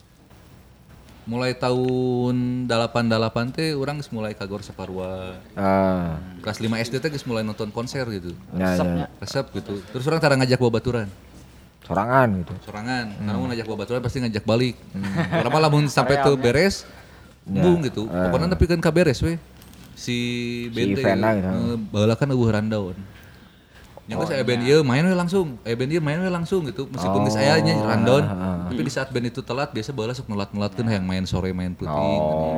S4: mulai tahun 88 teh urang geus mulai ka Gor Saparua. Kelas 5 SD teh geus mulai nonton konser gitu. Resep gitu. Terus urang tara ngajak babaturan.
S1: sorangan gitu.
S4: Sorangan. Karena mau ngajak babaturan pasti ngajak balik. Urang mah lamun sampai teu beres embung gitu. Pokoknya nepikeun ka beres we. Si band teh baheula kan eueuh rundown. Yang saya band ieu main we langsung. Band ieu main we langsung gitu. Meskipun geus aya nya rundown, tapi di saat band itu telat biasa baheula sok nulat-nulatkeun hayang main sore main peuting.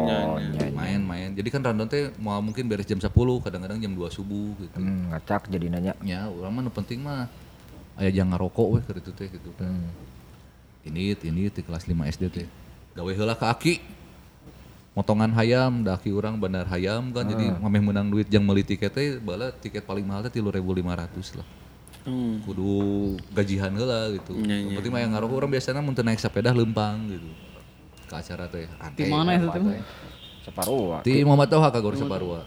S4: Main. Jadi kan rundown teh mau mungkin beres jam 10, kadang-kadang jam 2 subuh gitu.
S1: Ngacak jadi nanya.
S4: Ya, urang mah nu penting mah aya jang ngarokok we keur itu teh gitu kan. Ini di kelas 5 SD teh. Gawe heula ka aki. Motongan hayam, daki urang bandar hayam kan, jadi ngameh menang duit jang meuli tiket teh, bala tiket paling mahal teh 3.500 lah. Kudu gajihan heula gitu. Penting mah yang ngarokok urang biasana mun teu naik sepeda leumpang gitu. Ke acara teh.
S2: Di mana itu teh?
S1: Saparua.
S4: Di Muhammad Toha ka Gor Saparua.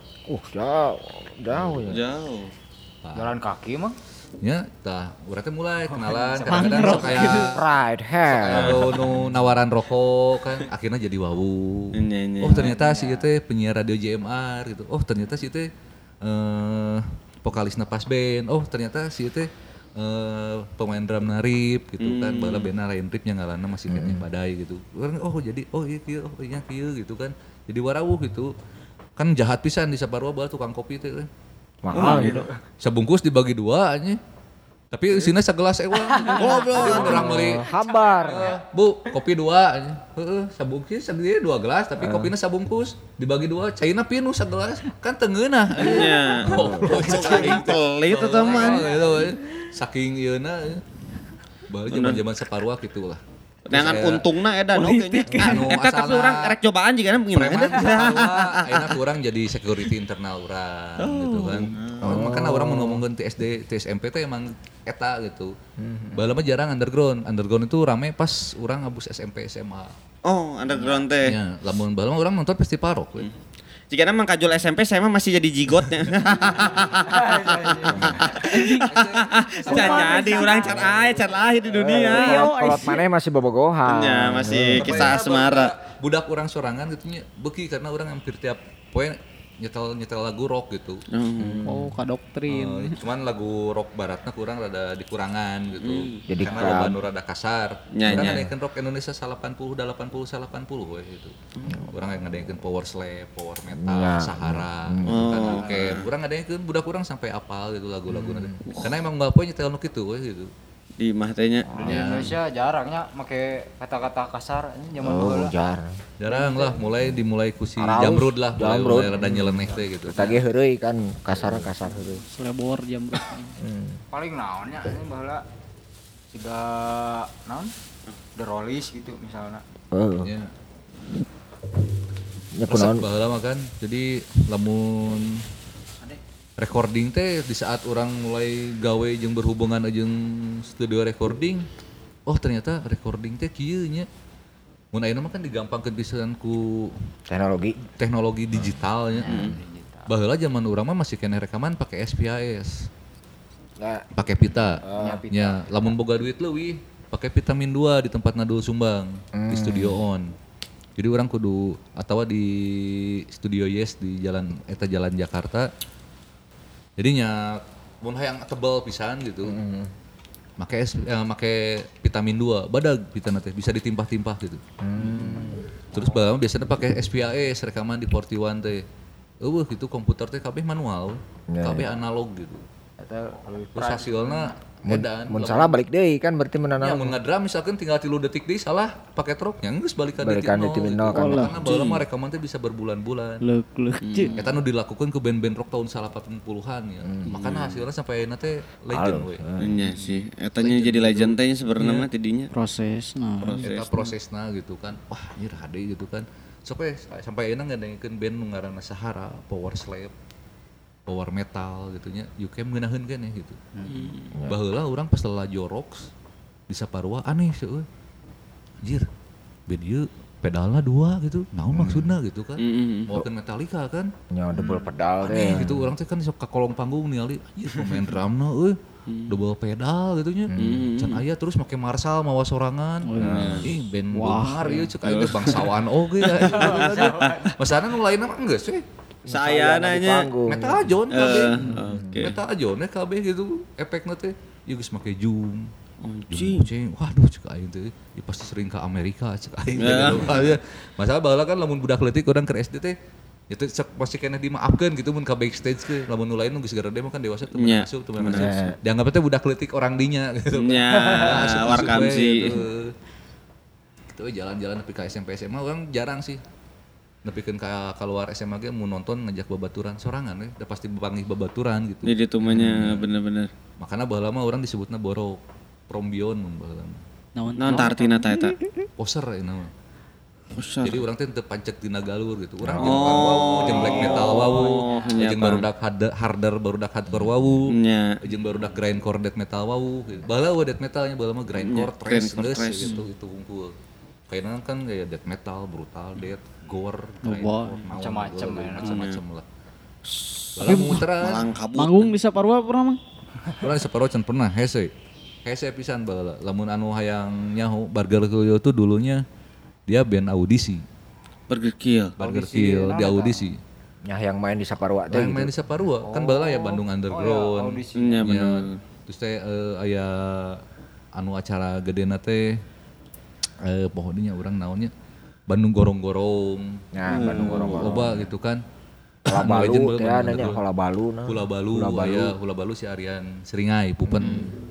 S1: Jauh ya.
S3: Jauh.
S5: Jalan kaki mah.
S4: Ya, tah urang teh mulai kenalan, kadang-kadang sok aya
S1: Right hand.
S4: nu nawaran rokok kan, akhirnya jadi wawu. Oh ternyata si ieu teh penyiar radio JMR gitu. Oh ternyata si teh vokalisna pas band. Oh ternyata si teh pemain drum narip gitu kan. Bala bandna lain rip nya ngaranna masih keneh badai gitu. Jadi iya kieu gitu kan. Jadi warawuh gitu. Kan jahat pisan di Saparua bala tukang kopi teh.
S1: Mahal gitu.
S4: Sebungkus dibagi 2 nya. Tapi isinya segelas eueuh. Goblok. Urang meuli
S1: Hambar.
S4: Bu, kopi 2 nya. Heeh, sabungkus segede 2 gelas tapi kopinya sabungkus dibagi 2. Caina pinu segelas. Kan teu ngeunah.
S3: Nya. Saking pelit eta mah.
S4: Saking ieuna. Bae zaman-zaman Saparua kitu lah.
S3: Dengan untungna edan oke nya. Eta tapi urang rek cobaan jiga gimana?
S4: Ayeuna urang jadi security internal urang gitu kan. Makanya urang mun ngomongkeun ti SD, ti SMP teh emang eta gitu. Baheula mah jarang underground. Underground itu rame pas urang abus SMP SMA.
S3: Oh, underground teh.
S4: Ya, lamun baheula mah urang nonton festival rock we.
S3: Jika nama kajol SMP saya mah masih jadi jigotnya. Jadi orang cat lahir di dunia.
S1: Kalau mana masih bobogohan.
S3: Ya masih kisah asmara.
S4: Budak orang sorangan gitu nya beuki karena orang hampir tiap poe nyetel lagu rock gitu.
S2: Oh, kadoktrin.
S4: Cuman lagu rock baratna kurang rada dikurangan gitu.
S1: Jadi
S4: karena lagu rada kasar.
S3: Nya,
S4: Urang
S3: nya.
S4: ngadekeun rock Indonesia 80 we gitu. Urang ngadekeun power slave, power metal, Sahara. Kan oke. Urang ngadekeun budak urang sampai apal gitu lagu-laguna. Karena emang enggak poe nyetel nu kitu we gitu.
S3: Di mah teh nya.
S5: Di Indonesia jarangnya make kata-kata kasar zaman baheula.
S1: Jarang
S4: lah, dimulai ku si
S1: Araus,
S4: Jamrud lah,
S1: Jamrud.
S4: mulai rada nyeleneh teh gitu.
S1: Tadi heureuy kan kasar heureuy.
S2: Selebor jam
S5: Paling naonnya ini baheula siga naon? The Rollies gitu misalnya.
S4: Ya.
S1: Ya
S4: Resep
S1: kunaon?
S4: baheula mah kan. Jadi lamun recording teh di saat orang mulai gawe jeung berhubungan jeung studio recording, oh ternyata recording teh kieu nya. Mun ayeuna mah kan digampangkeun pisan ku teknologi digital nya. Baheula zaman urang mah masih keneh rekaman pakai SPAS. Pakai pita. Nya, lamun boga duit leuwih pakai vitamin 2 di tempat Nadul Sumbang di Studio On. Jadi orang kudu atawa di Studio Yes di Jalan Jakarta. Jadinya mun hayang tebal pisan gitu. Make vitamin 2, badag pitana teh bisa ditimpah-timpah gitu. Terus biasanya pakai SPAS rekaman di 41 teh. Gitu komputer teh kabeh manual, kabeh analog gitu. Terus hasilna
S1: Mun salah balik deui kan berarti menanam.
S4: Ya mun ngadram misalkan tinggal 3 detik deui salah pakai truknya geus balikan di
S1: Balikan di
S4: titik
S1: titik
S4: nol.
S1: nol kan.
S4: Karena baheula mah rekaman teh bisa berbulan-bulan.
S2: Leuk
S4: Eta nu dilakukan ke band-band rock tahun 80-an ya. Makanya hasilnya sampai ayeuna teh legend we.
S3: Nya sih, etanya jadi legend teh sebenarnya mah tidinya.
S2: proses. Nah,
S4: Eta prosesna gitu kan. Wah, anjir hade gitu kan. Sampai ayeuna ngadengkeun band nu ngaranna Sahara, Power Slave, Power Metal gitu nya. You can ngeunaheun keneh gitu. Baheula urang pas lala Jorox di Saparua aneh sih euy. Anjir. Band ieu pedalna 2 gitu. Naon maksudna gitu kan. Bawakeun Metallica kan.
S1: Nya double pedal
S4: Aneh
S1: teh.
S4: gitu urang teh kan sok ka kolong panggung ningali anjir pemain drumna euy. Double pedal gitu nya. Can aya terus make Marshall mawa sorangan. Ih band Bongkar ieu ceuk aya bangsawan oge ya. Masana nu lainna mah geus we.
S3: Saya nanya.
S4: Metal John KB.
S3: Oke.
S4: Metal John KB gitu efekna teh. Ieu geus make zoom.
S3: Anjing.
S4: Cing, waduh cek aing teh. Ya pasti sering ke Amerika cek aing teh. Gitu. Masalah baheula kan lamun budak leutik urang keur SD teh itu pasti kena dimaafkan gitu mun ka backstage ke lamun nu lain nu geus garede mah kan dewasa teu
S3: Nya.
S4: masuk teu masuk. Dianggap teh budak leutik orang dinya gitu.
S3: Nya, warkam sih.
S4: Gitu jalan-jalan nepi ka SMP SMA orang jarang sih. Nepikeun ka keluar SMA ge mun nonton ngajak babaturan sorangan we, udah pasti bepanggih babaturan gitu.
S3: Jadi tumanya bener-bener.
S4: Makanya baheula mah urang disebutna borok prombion mun baheula mah.
S3: Naon artina teh eta?
S4: Poser ya nama.
S3: Poser.
S4: Jadi orang teh teu pancet dina galur gitu. Urang jeung wow, jeung black metal wow, jeung barudak harder barudak hardcore wow,
S3: Nya.
S4: jeung barudak grindcore death metal wow. Baheula we death metalnya baheula mah grindcore thrash geus gitu itu kumpul. Kayaknya kan kayak death metal, brutal death, gore, grindcore,
S5: macam-macam ya.
S4: macam-macam lah. Tapi muteran.
S3: Malang kabut.
S2: manggung di Saparua pernah mang?
S4: Urang Saparua can pernah hese. Hese pisan baheula. Lamun anu hayang nyaho Burger Kill itu dulunya dia band audisi.
S3: Burger Kill.
S4: Burger Kill di audisi.
S1: Nya yang main di Saparua teh.
S4: Yang main di Saparua kan baheula ya Bandung Underground.
S3: Nya
S4: Ya,
S3: bener.
S4: terus teh aya anu acara gedena teh pohonnya urang naonnya Bandung Gorong-Gorong.
S1: Nah, Bandung Gorong-Gorong.
S4: Loba gitu kan.
S1: Hula
S4: Anu legend
S1: Balu
S4: bae
S1: teh
S4: Bandung
S1: nanya
S4: Underground.
S1: Hula Balu nah.
S4: Hula Balu si Aryan Seringai Pupen.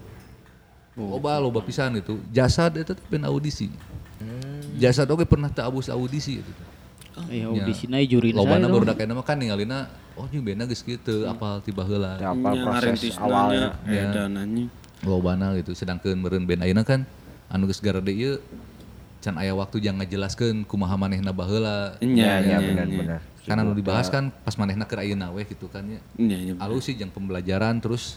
S4: Loba pisan itu. Jasad eta teh band audisi. Jasad oge pernah teu abus audisi gitu.
S2: Ya audisina jurina
S4: Lobana
S2: saya.
S4: barudak kana mah kan ningalina oh ini bandna geus kitu apal ti baheula.
S1: Teh apal proses awalnya.
S3: Edananya.
S4: Lobana gitu sedangkeun meureun band ayeuna kan anu geus garede ieu can aya waktu jang ngajelaskeun kumaha manehna baheula.
S3: Nya
S1: Benar.
S4: Kan anu dibahas kan pas manehna keur ayeuna we gitu kan ya.
S3: Nya.
S4: Alus sih jeung pembelajaran terus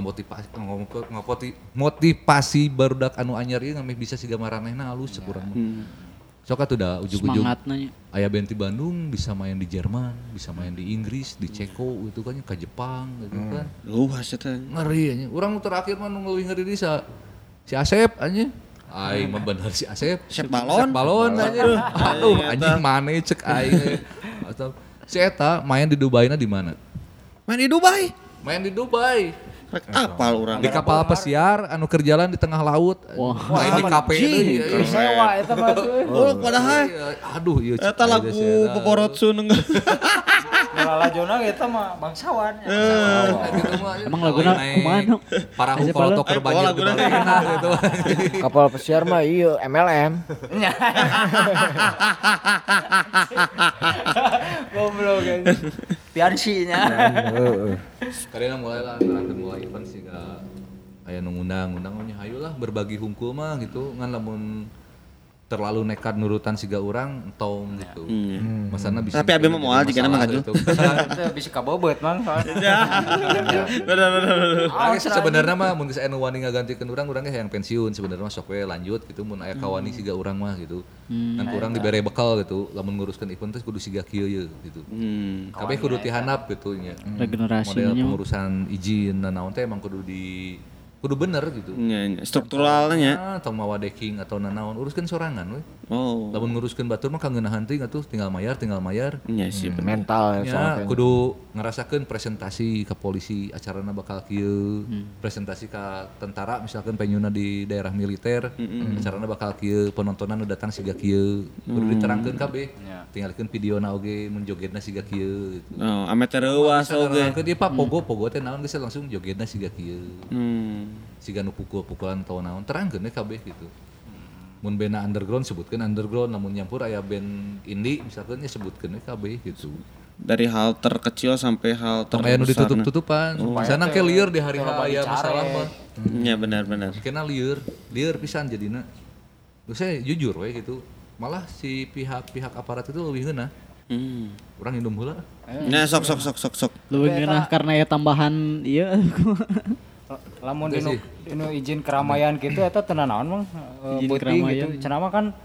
S4: motivasi barudak anu anyar ieu ngameh bisa siga maranehna alus sekurang mah. Sok atuh da ujug-ujug
S2: Semangatna nya.
S4: aya band di Bandung bisa main di Jerman, bisa main di Inggris, di Ceko gitu kan, ke Jepang gitu kan.
S3: Luas eta.
S4: Ngeri nya. Urang nu terakhir mah nu leuwih ngeri di si Asep anya. Aing mah bener si Asep.
S3: Sep balon.
S4: Balon aja. Aduh anjing maneh cek aing. Atau si eta main di Dubai-na di mana?
S3: Main di Dubai.
S4: Main di Dubai.
S3: Rek apal urang.
S4: Di kapal pesiar anu keur jalan di tengah laut. Main di kafe deui.
S5: Sewa eta mah tuh.
S3: Oh, padahal
S4: Aduh ieu cek
S3: eta lagu Boborotsun enggak.
S5: Lala Jona eta mah bangsawan.
S2: Emang laguna kumaha nu?
S4: Parahu kalau toker banjir di Balena gitu.
S1: Kapal pesiar mah ieu MLM.
S5: Goblok kan. Piansinya.
S1: Heeh.
S4: Karena mulai lah, mulai event sih gak aya nu ngundang nya hayulah berbagi hungkul mah gitu ngan lamun terlalu nekat nurutan siga urang entong gitu. Masana bisa.
S3: Tapi abi mah moal jigana mah kaju.
S5: Itu bisa kabobot mang.
S3: Bener.
S4: Sebenarnya mah mun geus anu wani ngagantikeun urang ge hayang pensiun sebenarnya mah sok we lanjut gitu mun aya kawani siga urang mah gitu. Ngan urang dibere bekal gitu lamun nguruskeun event teh kudu siga kieu ye gitu. Kabeh kudu tihanap gitu nya.
S2: Regenerasinya
S4: Model pengurusan izin dan naon teh emang kudu bener gitu.
S3: Nya strukturalnya.
S4: Atau mawa decking atau nanaon uruskeun sorangan we.
S3: Oh.
S4: Lamun nguruskeun batur mah kangeunahan teuing atuh tinggal mayar.
S3: Nya sih bener.
S1: Mental
S4: Ya, kudu ngerasakeun presentasi ke polisi acarana bakal kieu, presentasi ke tentara misalkan penyuna di daerah militer, acarana bakal kieu, penontonan nu datang siga kieu, kudu diterangkeun kabeh. Tinggalkeun videona oge mun jogetna siga kieu gitu.
S3: Oh, ame teu reuas oge.
S4: Ke dia Pak pogo teh naon geus langsung jogetna siga kieu. siga nu pukul-pukulan atau naon terangkeun we kabeh gitu. Mun band underground sebutkeun underground, namun nyampur aya band indie misalkan ya sebutkeun we kabeh gitu.
S3: Dari hal terkecil sampai hal terbesar.
S4: Aya nu ditutup-tutupan. Sana ke lieur di hari aya masalah mah.
S3: Iya benar-benar.
S4: Kena lieur pisan jadina. Terus saya jujur we gitu. Malah si pihak aparat itu lebih ngeunah. Urang indum heula.
S3: Nah, sok.
S2: Lebih ngeunah karena ya tambahan ieu.
S5: Lamun dinu izin keramaian gitu eta teu naon Mang. Beuting gitu. Cenah mah kan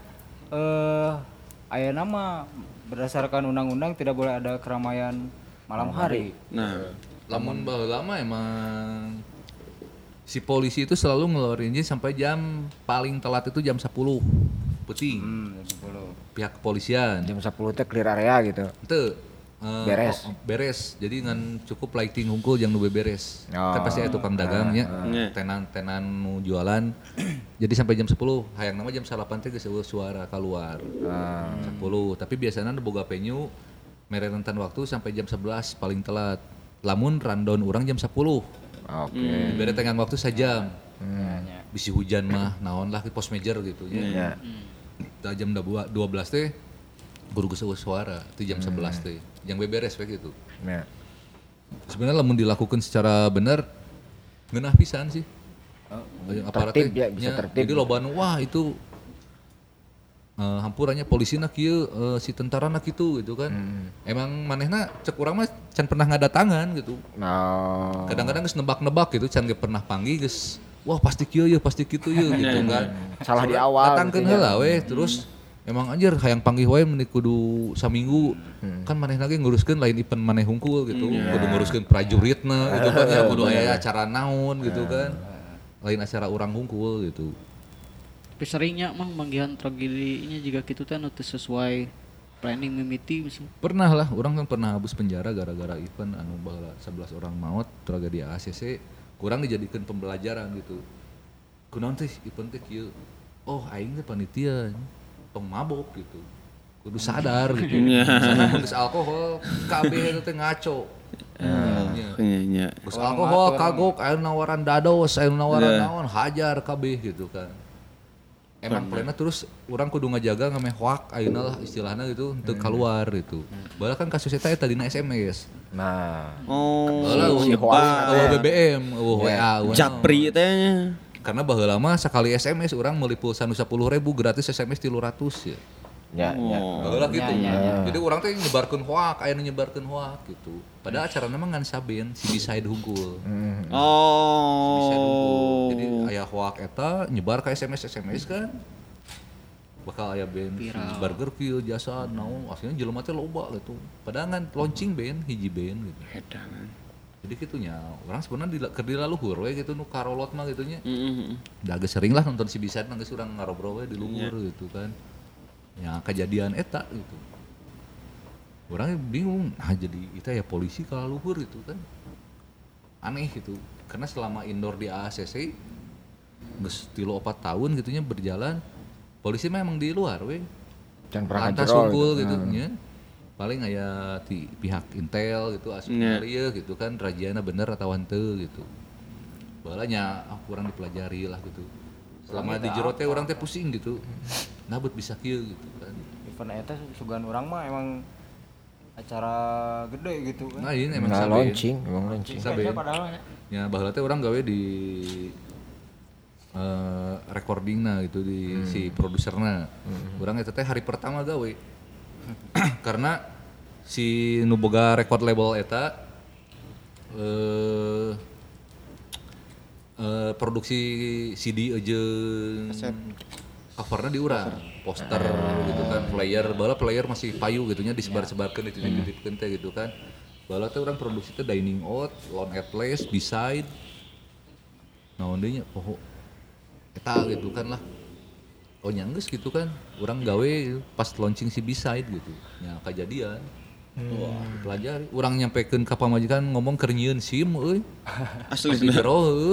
S5: aya nama berdasarkan undang-undang tidak boleh ada keramaian malam hari.
S3: Nah,
S4: Lamun baheula mah emang si polisi itu selalu ngeluarin izin sampai jam paling telat itu jam 10. Penting. Pihak kepolisian.
S1: Jam 10 teh clear area gitu.
S4: Teu.
S1: Beres.
S4: Beres. Jadi ngan cukup lighting hungkul yang nu beberes. Kan pasti aya tukang dagang nya. Tenan nu jualan. Jadi sampai jam 10, hayang nama jam 8 teh geus eueuh suara keluar. 10. Tapi biasanya nu boga venue mere rentan waktu sampai jam 11 paling telat. Lamun rundown urang jam 10.
S1: Oke.
S4: Bere tenggang waktu sajam. Bisi hujan mah naon lah di pos major gitu nya. Da jam 12 teh guru geus eueuh suara itu jam 11 teh. Yang beberes we gitu.
S1: Ya.
S4: Sebenarnya lamun dilakukan secara benar ngeunah pisan sih.
S1: Tertib ya, bisa tertib.
S4: Jadi loba nu wah itu hampurannya polisina kieu si tentarana kitu gitu kan. Emang manehna cek urang mah can pernah ngadatangan gitu. Kadang-kadang geus nebak-nebak gitu can ge pernah panggil geus wah pasti kieu ye pasti kitu ye gitu kan.
S1: Salah di awal.
S4: Datangkeun heula we terus emang anjir hayang panggih wae meni kudu saminggu. Kan manehna ge nguruskeun lain event maneh hungkul gitu. Kudu nguruskeun prajuritna gitu kan ya kudu aya acara naon gitu kan. Lain acara urang hungkul gitu.
S2: Tapi seringnya mang manggihan tragedinya juga gitu teh anu teu sesuai planning mimiti misalnya.
S4: Pernah lah, orang kan pernah habis penjara gara-gara event anu baheula 11 orang maut tragedi ACC. Kurang dijadikan pembelajaran gitu. Kunaon teh event teh kieu. Oh aing teh panitia tong mabok gitu. Kudu sadar gitu. Sana geus alkohol kabeh itu teh ngaco.
S3: Nya.
S4: Geus alkohol kagok aya nawaran dados, aya nawaran naon hajar kabeh gitu kan. Emang plena terus urang kudu ngajaga ngameh hoak ayeuna lah istilahna gitu untuk keluar gitu. Baheula kan kasus eta dina SMS.
S1: Nah.
S4: Baheula
S1: si hoak
S4: BBM, WA,
S3: Japri teh nya.
S4: Karena baheula mah sakali SMS urang meuli pulsa nu 10.000 gratis SMS 300 ya.
S1: Ya.
S4: Baheula gitu. Jadi urang teh nyebarkeun hoak, aya nu nyebarkeun hoak gitu. Padahal acarana mah ngan saben si Beside hungkul. Jadi aya hoak eta nyebar ka SMS kan. Bakal aya band burger kieu jasa naon aslinya jelema teh loba gitu. Padahal ngan launching band hiji band gitu.
S3: Edan.
S4: Jadi kitunya orang sebenarnya keur dilaluhur we gitu nu karolot mah gitu nya. Da geus sering lah nonton si Beside mah geus urang ngarobrol we di luhur gitu kan. Ya kejadian eta gitu. Orangnya bingung, nah jadi itu ya polisi kalau luhur gitu kan. Aneh gitu, karena selama indoor di ACC geus 3-4 tahun gitunya berjalan, polisi memang di luar we.
S1: Can pernah
S4: lantas unggul gitu nya. Paling aya di pihak Intel gitu asup gitu kan rajiana bener atau henteu gitu. Baheula nya kurang dipelajari lah gitu. Selama di jero teh urang teh pusing gitu. Nah bet bisa kieu gitu kan.
S5: Event eta sugan urang mah emang acara gede gitu kan.
S4: Nah ini emang
S1: launching.
S5: Saben padahal
S4: ya baheula teh urang gawe di recordingna gitu di si produserna. Urang eta teh hari pertama gawe. Karena si nu boga record label eta produksi CD aja covernya di urang, poster gitu kan, player masih payu gitunya disebar-sebarkeun dititip-titipkeun teh gitu kan. Baheula teh urang produksi teh Dining Out, Lone at Place, Beside. Naon deui nya poho eta gitu kan lah. Oh nyanggeus gitu kan, urang gawe pas launching si Beside gitu. Nya kejadian. Wah, pelajari. Urang nyampekeun ka pamajikan ngomong keur nyieun SIM euy. Asli jero heuh.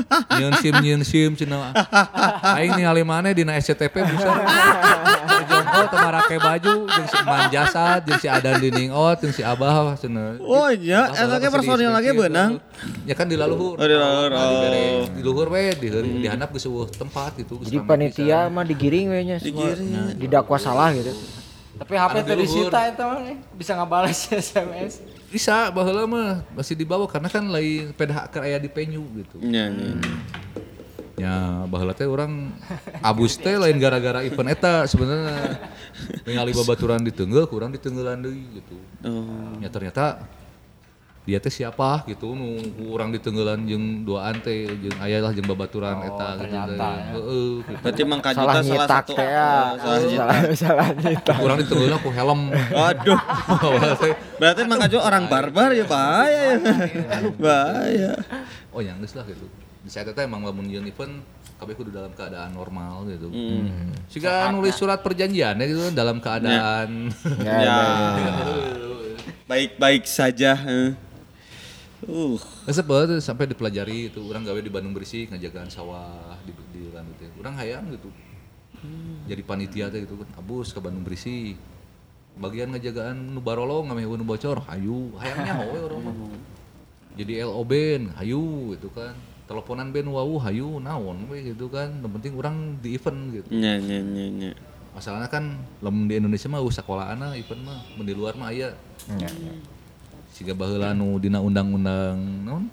S4: Nyieun SIM cenah. Aing ningali maneh dina SCTP bisa. Oh teu marake baju jeung si Eman Jasad jeung si Adan Diningot jeung si Abah cenah.
S3: Oh iya, eta ge personil lagi beunang.
S4: Ya kan di laluhur.
S3: Oh di laluhur.
S4: Di luhur we di handap geus eueuh tempat gitu.
S1: Jadi panitia mah digiring we nya semua. Didakwa salah gitu.
S5: Tapi HP teh disita eta mah bisa ngabales SMS.
S4: Bisa baheula mah masih dibawa karena kan lain peda keur aya di venue gitu.
S3: Nya.
S4: Ya baheula teh urang abus teh lain gara-gara event eta sebenarnya ningali babaturan di Teunggel kurang di Teunggelan deui gitu. Ya ternyata dia teh siapa gitu nu urang di Teunggelan jeung duaan teh jeung aya lah jeung babaturan eta gitu teh. Heeh.
S3: Berarti Mang Kajuta salah satu.
S1: Salah nyetak.
S4: Urang di Teunggelan ku helm.
S3: Aduh. Berarti Mang Kajuta orang barbar ya bahaya ya. Bahaya.
S4: Oh yang geus lah gitu. Di saat itu emang lamun yeun event kabeh kudu dalam keadaan normal gitu. Siga nulis surat perjanjian ya gitu dalam keadaan
S3: baik-baik saja.
S4: Sebab sampai dipelajari itu orang gawe di Bandung Bersih ngajagaan sawah di lan teh. Urang hayang gitu. Jadi panitia teh gitu kan abus ke Bandung Bersih. Bagian ngajagaan nu barolong ngameh nu bocor, hayu, hayangnya we urang mah. Jadi LO band, hayu gitu kan. Teleponan band wau hayu naon we gitu kan. Yang penting orang di event gitu.
S3: Nya.
S4: Masalahnya kan lamun di Indonesia mah sakolaana event mah, mun di luar mah aya.
S1: Nya.
S4: Siga baheula nu dina undang-undang naon?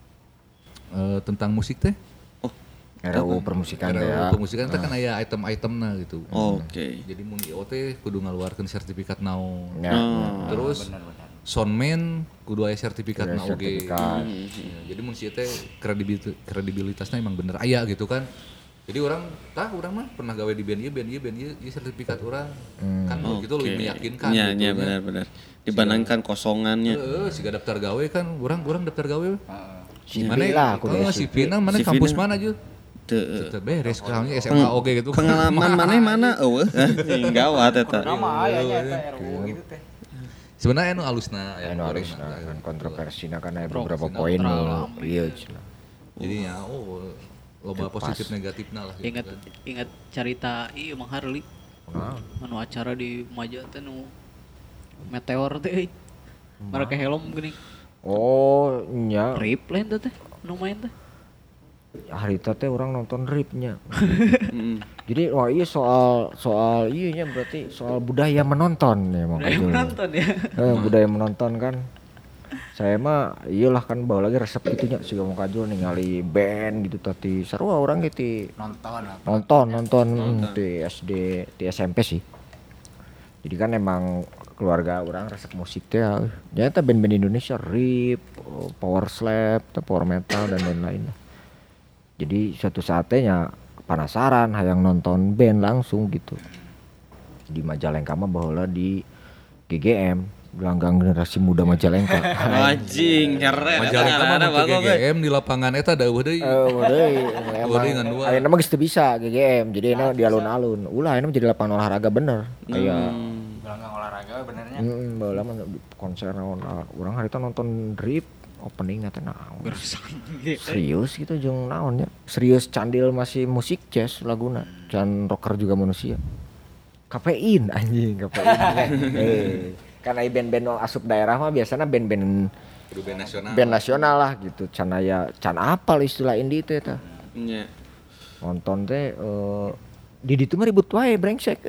S4: Tentang musik teh.
S1: RUU permusikan teh ya.
S4: Permusikan teh kan aya item-itemna gitu.
S3: Oke.
S4: Jadi mun IO teh kudu ngaluarkeun sertifikat naon.
S1: Ya.
S4: Terus soundman kudu aya sertifikatna oge.
S1: Sertifikat.
S4: Jadi mun sieu teh kredibilitasna emang bener aya gitu kan. Jadi orang mah pernah gawe di band ieu sertifikat orang. Kan begitu lebih meyakinkan
S3: Nya,
S4: gitu.
S3: Nya benar. Dibandingkan kosongannya.
S4: Siga daftar gawe kan urang daftar gawe.
S1: CV lah aku deh.
S4: CV na mana kampus mana aja? Teu beres kayaknya SMA oge gitu.
S3: Pengalaman mana eueuh. Gawat eta.
S5: Nama aya nya eta RUU gitu teh.
S4: Sebenarnya anu alusna
S1: kan kontroversina kan ada beberapa poin iya cenah.
S4: Jadi ya loba positif negatifna lah gitu.
S2: Ingat cerita ieu Mang Harli. Anu acara di Maja teh nu meteor teh. Mereka helm geuning.
S1: Oh nya.
S2: Rip lain teh nu main teh.
S1: Harita teh orang nonton ripnya. Jadi wah iya soal iya nya berarti soal budaya menonton ya Mang Kajul.
S2: Menonton ya.
S1: Budaya menonton kan. Saya mah iyalah kan bawa lagi resep gitunya si Mang Kajul ningali band gitu tadi sarua orang gitu nonton di SD di SMP sih. Jadi kan emang keluarga orang resep musik teh ya eta band-band Indonesia rip, power slap, power metal dan lain-lain. Jadi suatu saatnya penasaran hayang nonton band langsung gitu. Di Majalengka mah baheula di GGM, gelanggang generasi muda Majalengka.
S3: Anjing, keren.
S4: Majalengka mah ke GGM di lapangan eta deueuh deui.
S1: Emang ayeuna mah geus teu bisa GGM. Jadi enak di alun-alun. Ulah ayeuna jadi lapangan olahraga bener. Kayak
S5: gelanggang olahraga benernya.
S1: Baheula mah konser naon urang harita nonton drip opening teh naon. Serius gitu jeung naon nya. Serius candil masih musik jazz laguna. Can rocker juga manusia. Kafein anjing, kafein. Kan aya band-band asup daerah mah biasana band-band
S4: nasional.
S1: Band nasional lah gitu. Can aya can apal istilah indie teh eta.
S3: Nya.
S1: Nonton teh di ditu mah ribut wae brengsek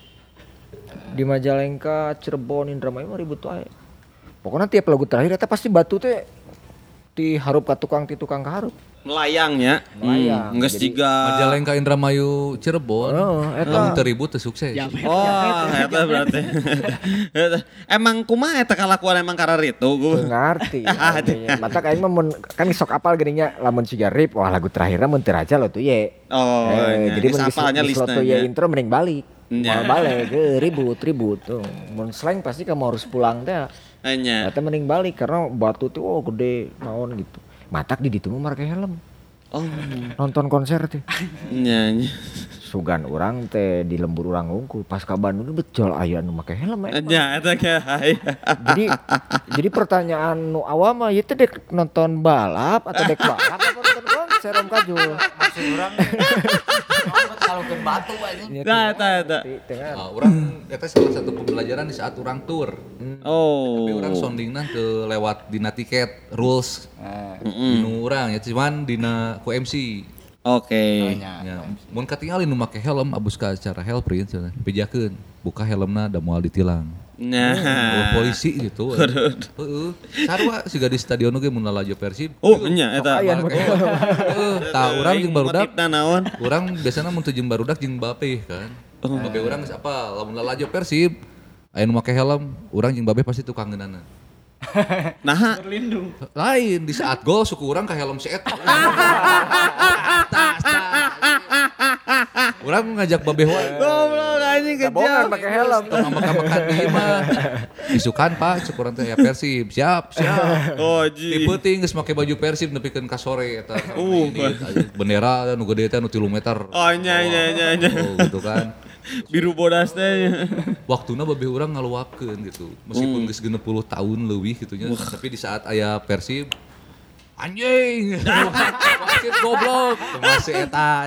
S1: Di Majalengka, Cirebon, Indramayu mah ribut wae. Pokoknya tiap lagu terakhir eta pasti batu teh diharup ka tukang kaharup.
S3: Melayang nya. Geus jiga
S4: Majalengka, Indramayu, Cirebon. Lamun teu ribut teu sukses.
S3: Eta berarti. Emang kumaha eta kalakuan emang karena itu gua.
S1: Ngarti. Mata aing mah mun kan sok apal geuning nya lamun siga rip wah lagu terakhirna mun teu raja lo tuh ye. Jadi mun geus lo tuh ye intro mending balik. Mau balik ribut tuh. Mun slang pasti kamu harus pulang teh. Eta mending balik karena batu tuh gede naon gitu. Matak di ditu mah make helm. Nonton konser teh.
S3: Nya.
S1: Sugan urang teh di lembur urang unggul pas ka Bandung betul aya nu make helm.
S3: Nya eta
S1: Jadi pertanyaan nu awal mah ieu teh dek nonton balap atau dek balap apa nonton konser Om Kajul?
S5: Maksud urang Kalungkeun batu anjing.
S3: Tah.
S4: Orang eta salah satu pembelajaran di saat orang tour.
S3: Oh.
S4: Tapi orang soundingna teu lewat dina tiket rules. Dinu urang ya cuman dina ku MC.
S3: Oke.
S4: Ya, mun katingali nu make helm abus ka acara Hellprint cenah. Pijakeun, buka helmna da moal ditilang.
S3: Nah.
S4: Polisi gitu. Heeh. Sarua siga di stadion oge mun lalajo Persib.
S3: Oh, nya eta.
S4: Tah urang jeung barudak.
S3: Motifna naon?
S4: Urang biasana mun teu jeung barudak jeung Bape kan. Bape urang geus apa lamun lalajo Persib aya nu make helm, urang jeung Babe pasti tukang ngeunana.
S3: Nah,
S4: Lain di saat gol suku urang ka helm si eta. Urang ngajak Babe wae.
S3: goblok anjing kejam.
S1: pakai helm.
S4: Makan di imah. Isukan Pak, cek urang teh ya Persib. Siap.
S3: Oh,
S4: Di
S3: ji.
S4: peuting geus make baju Persib nepikeun ka sore eta. Bendera nu gede teh nu 3 meter.
S3: Oh, nya.
S4: Oh, gitu kan.
S3: Biru bodas teh.
S4: Waktuna Babe urang ngaluapkeun gitu. Meskipun geus 60 tahun leuwih gitu nya, tapi di saat aya Persib anjing. Wasit goblok. Masih eta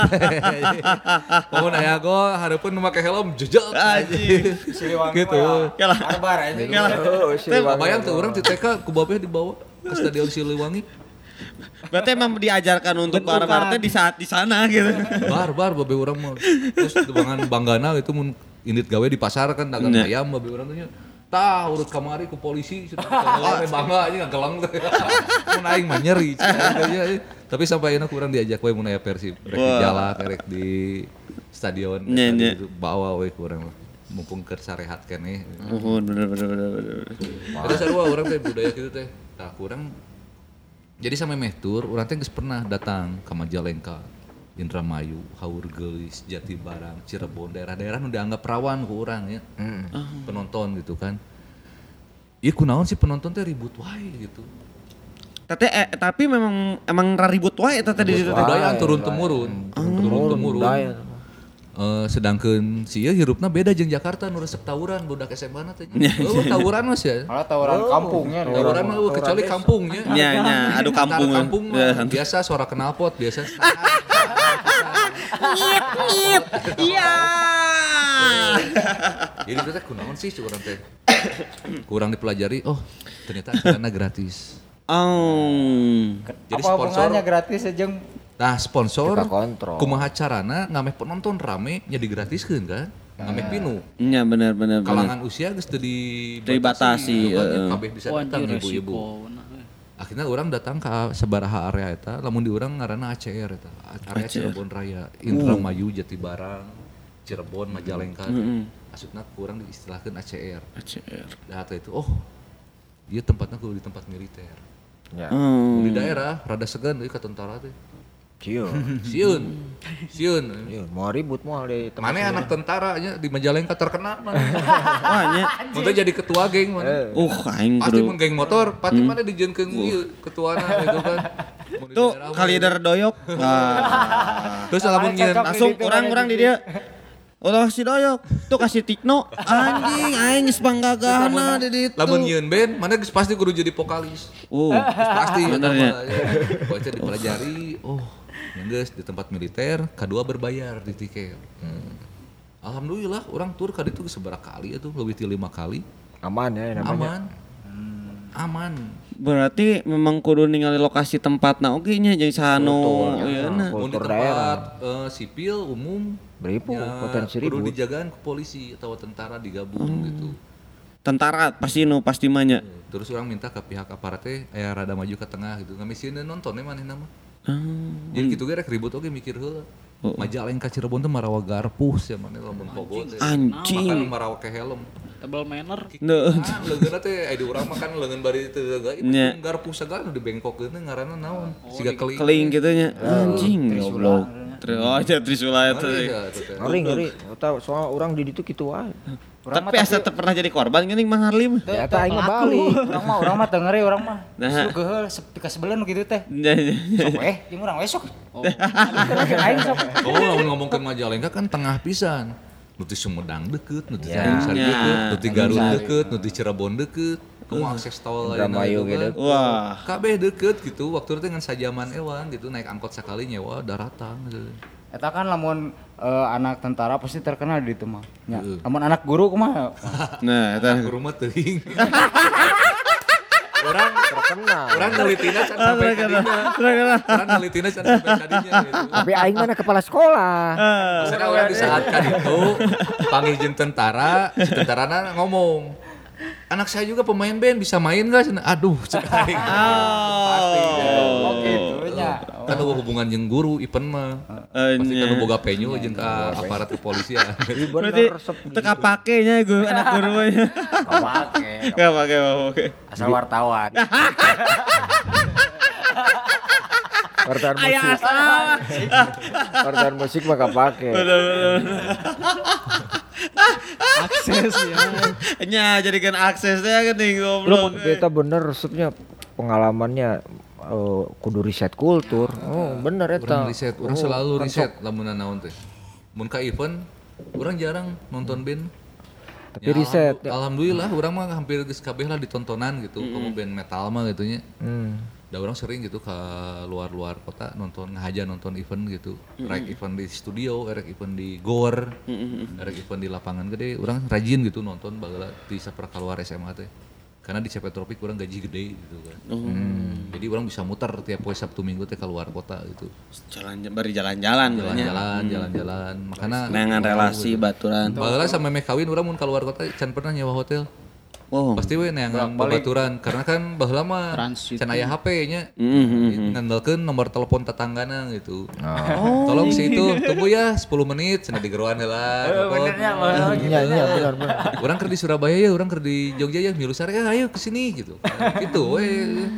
S4: Mun aya gol hareupeun nu make helm jejeg
S3: Anjing.
S4: gitu.
S3: Kalah.
S5: Barbar anjing.
S4: Bayang tuh orang di TK ku Babe dibawa ke Stadion Siliwangi.
S3: Berarti emang diajarkan untuk barbar teh di saat di sana gitu.
S4: Barbar Babe urang mah. Terus dengan banggana itu mun indit gawe di pasar kan dagang ayam Babe urang teh nya. Tah urut kamari ku polisi bangga aja ngagelang teh. Mun aing mah nyeri. Tapi sampai ayeuna kurang diajak we mun aya Persib rek di jalak rek di stadion gitu bawa we kurang mumpung keur sarehat keneh.
S3: Oh, bener.
S4: Ada sarua urang teh budaya kitu teh. Tah kurang jadi sampai meh tur urang teh geus pernah datang ka Majalengka. Indramayu, Haur Geulis, Jatibarang, Cirebon, daerah-daerah nu dianggap rawan ku urang ya. Penonton gitu kan. Ieu kunaon sih penonton teh ribut wae gitu.
S3: Tapi emang raribut wae eta tadi di situ teh.
S4: Budaya turun temurun. Sedangkeun si ieu hirupna beda jeung Jakarta nu resep tawuran budak SMA na teh. Tawuran mas ya.
S5: Malah tawuran kampungnya.
S4: Tawuran mah kecuali kampungnya.
S3: Nya, adu kampung.
S4: Kampung mah biasa suara knalpot biasa.
S3: Ngip. Iya.
S4: Jadi teh kunaon sih urang teh. Kurang dipelajari, oh ternyata acarana gratis.
S3: Oh.
S4: Jadi
S5: Apa hubungannya gratis aja?
S4: Nah sponsor
S1: Kita kontrol.
S4: kumaha carana ngameh penonton rame nya digratiskeun kan. Ngameh pinu.
S3: Nya bener.
S4: Kalangan usia geus teu
S3: Dibatasi,
S4: kabeh bisa datang ibu-ibu. Akhirnya orang datang ke sabaraha area eta, lamun di urang ngaranna ACR eta. Area Cirebon Raya, Indramayu, Jatibarang, Cirebon, Majalengka. Maksudna kurang diistilahkeun ACR. Da itu ieu tempatna kudu di tempat militer.
S1: Ya.
S4: Di daerah rada segan deui ka tentara teh.
S1: Sieun.
S4: Sieun.
S1: Mau ribut mau di tempat.
S4: Mana anak tentara nya di Majalengka terkenal mana.
S3: Wah nya.
S4: Mun teh jadi ketua geng mana.
S3: Aing
S4: Pasti
S3: kudu.
S4: mun geng motor, pasti mana dijieunkeun ieu ketuana gitu kan. Mun di
S3: Tuh
S4: daerah mah.
S3: kalider doyok.
S4: Terus lamun nyeun
S3: Langsung orang di dia. Ulah si doyok. Tuh kasih tikno. Anjing aing geus panggagahna di ditu.
S4: lamun nyeun band, mana geus pasti kudu jadi vokalis. Geus pasti
S3: bener ya.
S4: Pokoknya dipelajari, yang geus di tempat militer, kedua berbayar di tiket. Alhamdulillah orang tur ka ditu geus sabaraha kali atuh, leuwih ti 5 kali.
S1: Aman ya namanya.
S4: Aman.
S3: Berarti memang kudu ningali lokasi tempatna oge nya jeung sanu ieuna.
S4: Mun di
S1: Kultur
S4: tempat sipil umum
S1: Beribu,
S4: ya,
S1: potensi
S4: kudu
S1: ribut.
S4: dijagaan ke polisi atau tentara digabung gitu.
S3: Tentara pasti mah nya.
S4: Terus orang minta ke pihak aparat teh aya rada maju ke tengah gitu. Ngamisieun nontonnya manehna mah. Jadi gitu ge rek ribut oge mikir heula. Majalengka Cirebon teh marawa garpus ya maneh lamun pogo teh.
S3: Anjing.
S4: Makan marawa ke helm.
S2: Tebal manner.
S4: Leungeunna teh aya di urang makan leungeun bari teu teuga
S3: Nya.
S4: itu garpus sagala nu dibengkokeun teh ngaranna naon? Siga keling.
S3: Keling gitu nya. Anjing goblok. Trisula eta.
S1: Ngeri. Tahu soal orang di ditu kitu wae.
S3: Tapi asa teu pernah jadi korban geuning Mang Harlim.
S1: Ya eta aing mah Bali.
S5: Urang mah teu ngeri urang mah.
S3: Nah.
S5: Su geheul sepi ka sebelen kitu teh.
S3: Nya.
S5: Sok jeung urang we sok. Aing sok.
S4: Lamun ngomongkeun Majalengka kan tengah pisan. Nu ti Sumedang deukeut, nu ti Tanjung Sari deukeut, nu ti Garut deukeut, nu ti Cirebon deukeut. Kumaha akses tol
S1: Indramayu gitu.
S3: Wah.
S4: Kabeh deukeut gitu. Waktu itu dengan sajaman ewan gitu naik angkot sekali nyewa daratang gitu.
S5: Eta kan lamun anak tentara pasti terkenal di itu mah. Ya. Amun anak guru kumaha?
S3: Nah, eta
S4: Guru mah teuing.
S1: Orang terkenal.
S4: Orang nelitina can sampai kadinya. Orang nelitina can sampai kadinya gitu.
S1: Tapi aing mana kepala sekolah.
S4: Maksudnya orang di saat kan itu panggil jeung tentara, si tentarana ngomong, anak saya juga pemain band bisa main gak? Aduh, cek aing. Pasti.
S5: Oh gitu nya.
S4: Kan ada hubungan jeung guru event mah. Pasti kan boga penyu jeung ka aparat kepolisian.
S3: berarti teka pake nya gue anak guru nya. Gak pake.
S5: Asal wartawan.
S1: Wartawan musik. Wartawan musik mah kapake.
S2: Akses ya.
S3: Nya jadikan aksesnya kan nih
S1: Lu
S3: goblok.
S1: kita bener resepnya pengalamannya kudu riset kultur. Oh, bener eta.
S4: Urang riset, urang selalu riset lamun naon teh. Mun ka event, urang jarang nonton band.
S1: Tapi riset.
S4: Alhamdulillah urang mah hampir geus kabeh lah ditontonan gitu, kamu band metal mah gitu nya. Da urang sering gitu ke luar-luar kota nonton ngahaja nonton event gitu. Rek event di studio, rek event di gor, rek event di lapangan gede, urang rajin gitu nonton bageula di saperka keluar SMA teh. Karena di CP Tropik urang gaji gede gitu kan. Jadi urang bisa muter tiap poe Sabtu Minggu teh keluar kota gitu.
S3: Bari jalan-jalan.
S4: Jalan-jalan. Makanya
S3: Nengan relasi baturan.
S4: bageula sampe meh kawin urang mun keluar kota can pernah nyewa hotel.
S3: Oh.
S4: Pasti we neangan babaturan karena kan baheula mah
S2: Transit.
S4: can aya HP nya. Ngandalkeun nomor telepon tetanggana gitu. Tolong si itu tunggu ya 10 menit cenah digeroan heula.
S5: Benernya
S1: Iya benar.
S4: Urang keur di Surabaya ya, urang keur di Jogja ya, milu sare ayo ke sini gitu. Gitu we.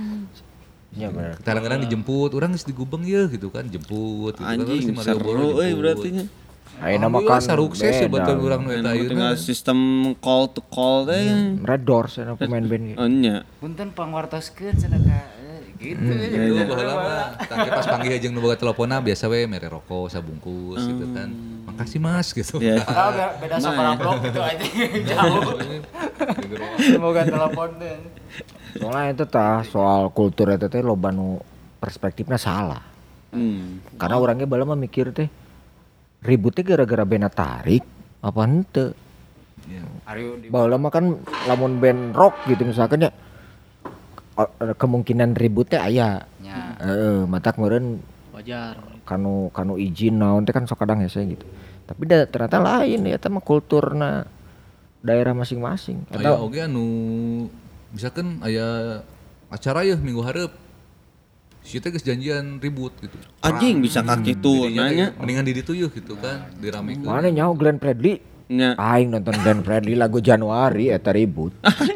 S1: Iya benar.
S4: Kadang-kadang dijemput, urang geus di Gubeng ya gitu kan, jemput gitu kan.
S3: Anjing seru berarti nya.
S1: Ayeuna mah
S4: Alhamdulillah
S1: kan
S4: sarukses ya
S1: beda.
S4: betul urang nu eta
S3: Tinggal
S4: ayeuna.
S3: sistem call to call teh.
S1: Red Doors cenah pemain band gitu.
S3: Nya.
S5: Punten pangwartoskeun cenah ka gitu.
S4: Itu baheula mah tangke pas panggih jeung nu boga teleponna biasa we mere rokok sabungkus gitu kan. Makasih Mas gitu.
S3: Ya.
S5: Padahal beda sabar blok gitu aja. Jauh. Semoga telepon teh.
S1: Soalnya itu tah soal kultur eta teh loba nu perspektifnya salah. Karena orangnya bala mah mikir teh ributnya gara-gara band tarik apa henteu. Baheula mah kan lamun band rock gitu misalkan ya kemungkinan ributnya aya.
S5: Ya.
S1: Heeh, matak meureun
S2: Wajar.
S1: kanu izin naon teh kan sok kadang hese gitu. Tapi ternyata lain ya eta mah kulturna daerah masing-masing.
S4: Aya oge anu misalkan aya acara ya minggu hareup. Si teh geus janjian ribut gitu.
S3: Anjing bisa ka kitu nanya.
S4: Mendingan di ditu yeuh gitu kan, diramekeun.
S1: Mana nyaho Glenn Fredly?
S3: Nya.
S1: Aing nonton Glenn Fredly lagu Januari eta ribut.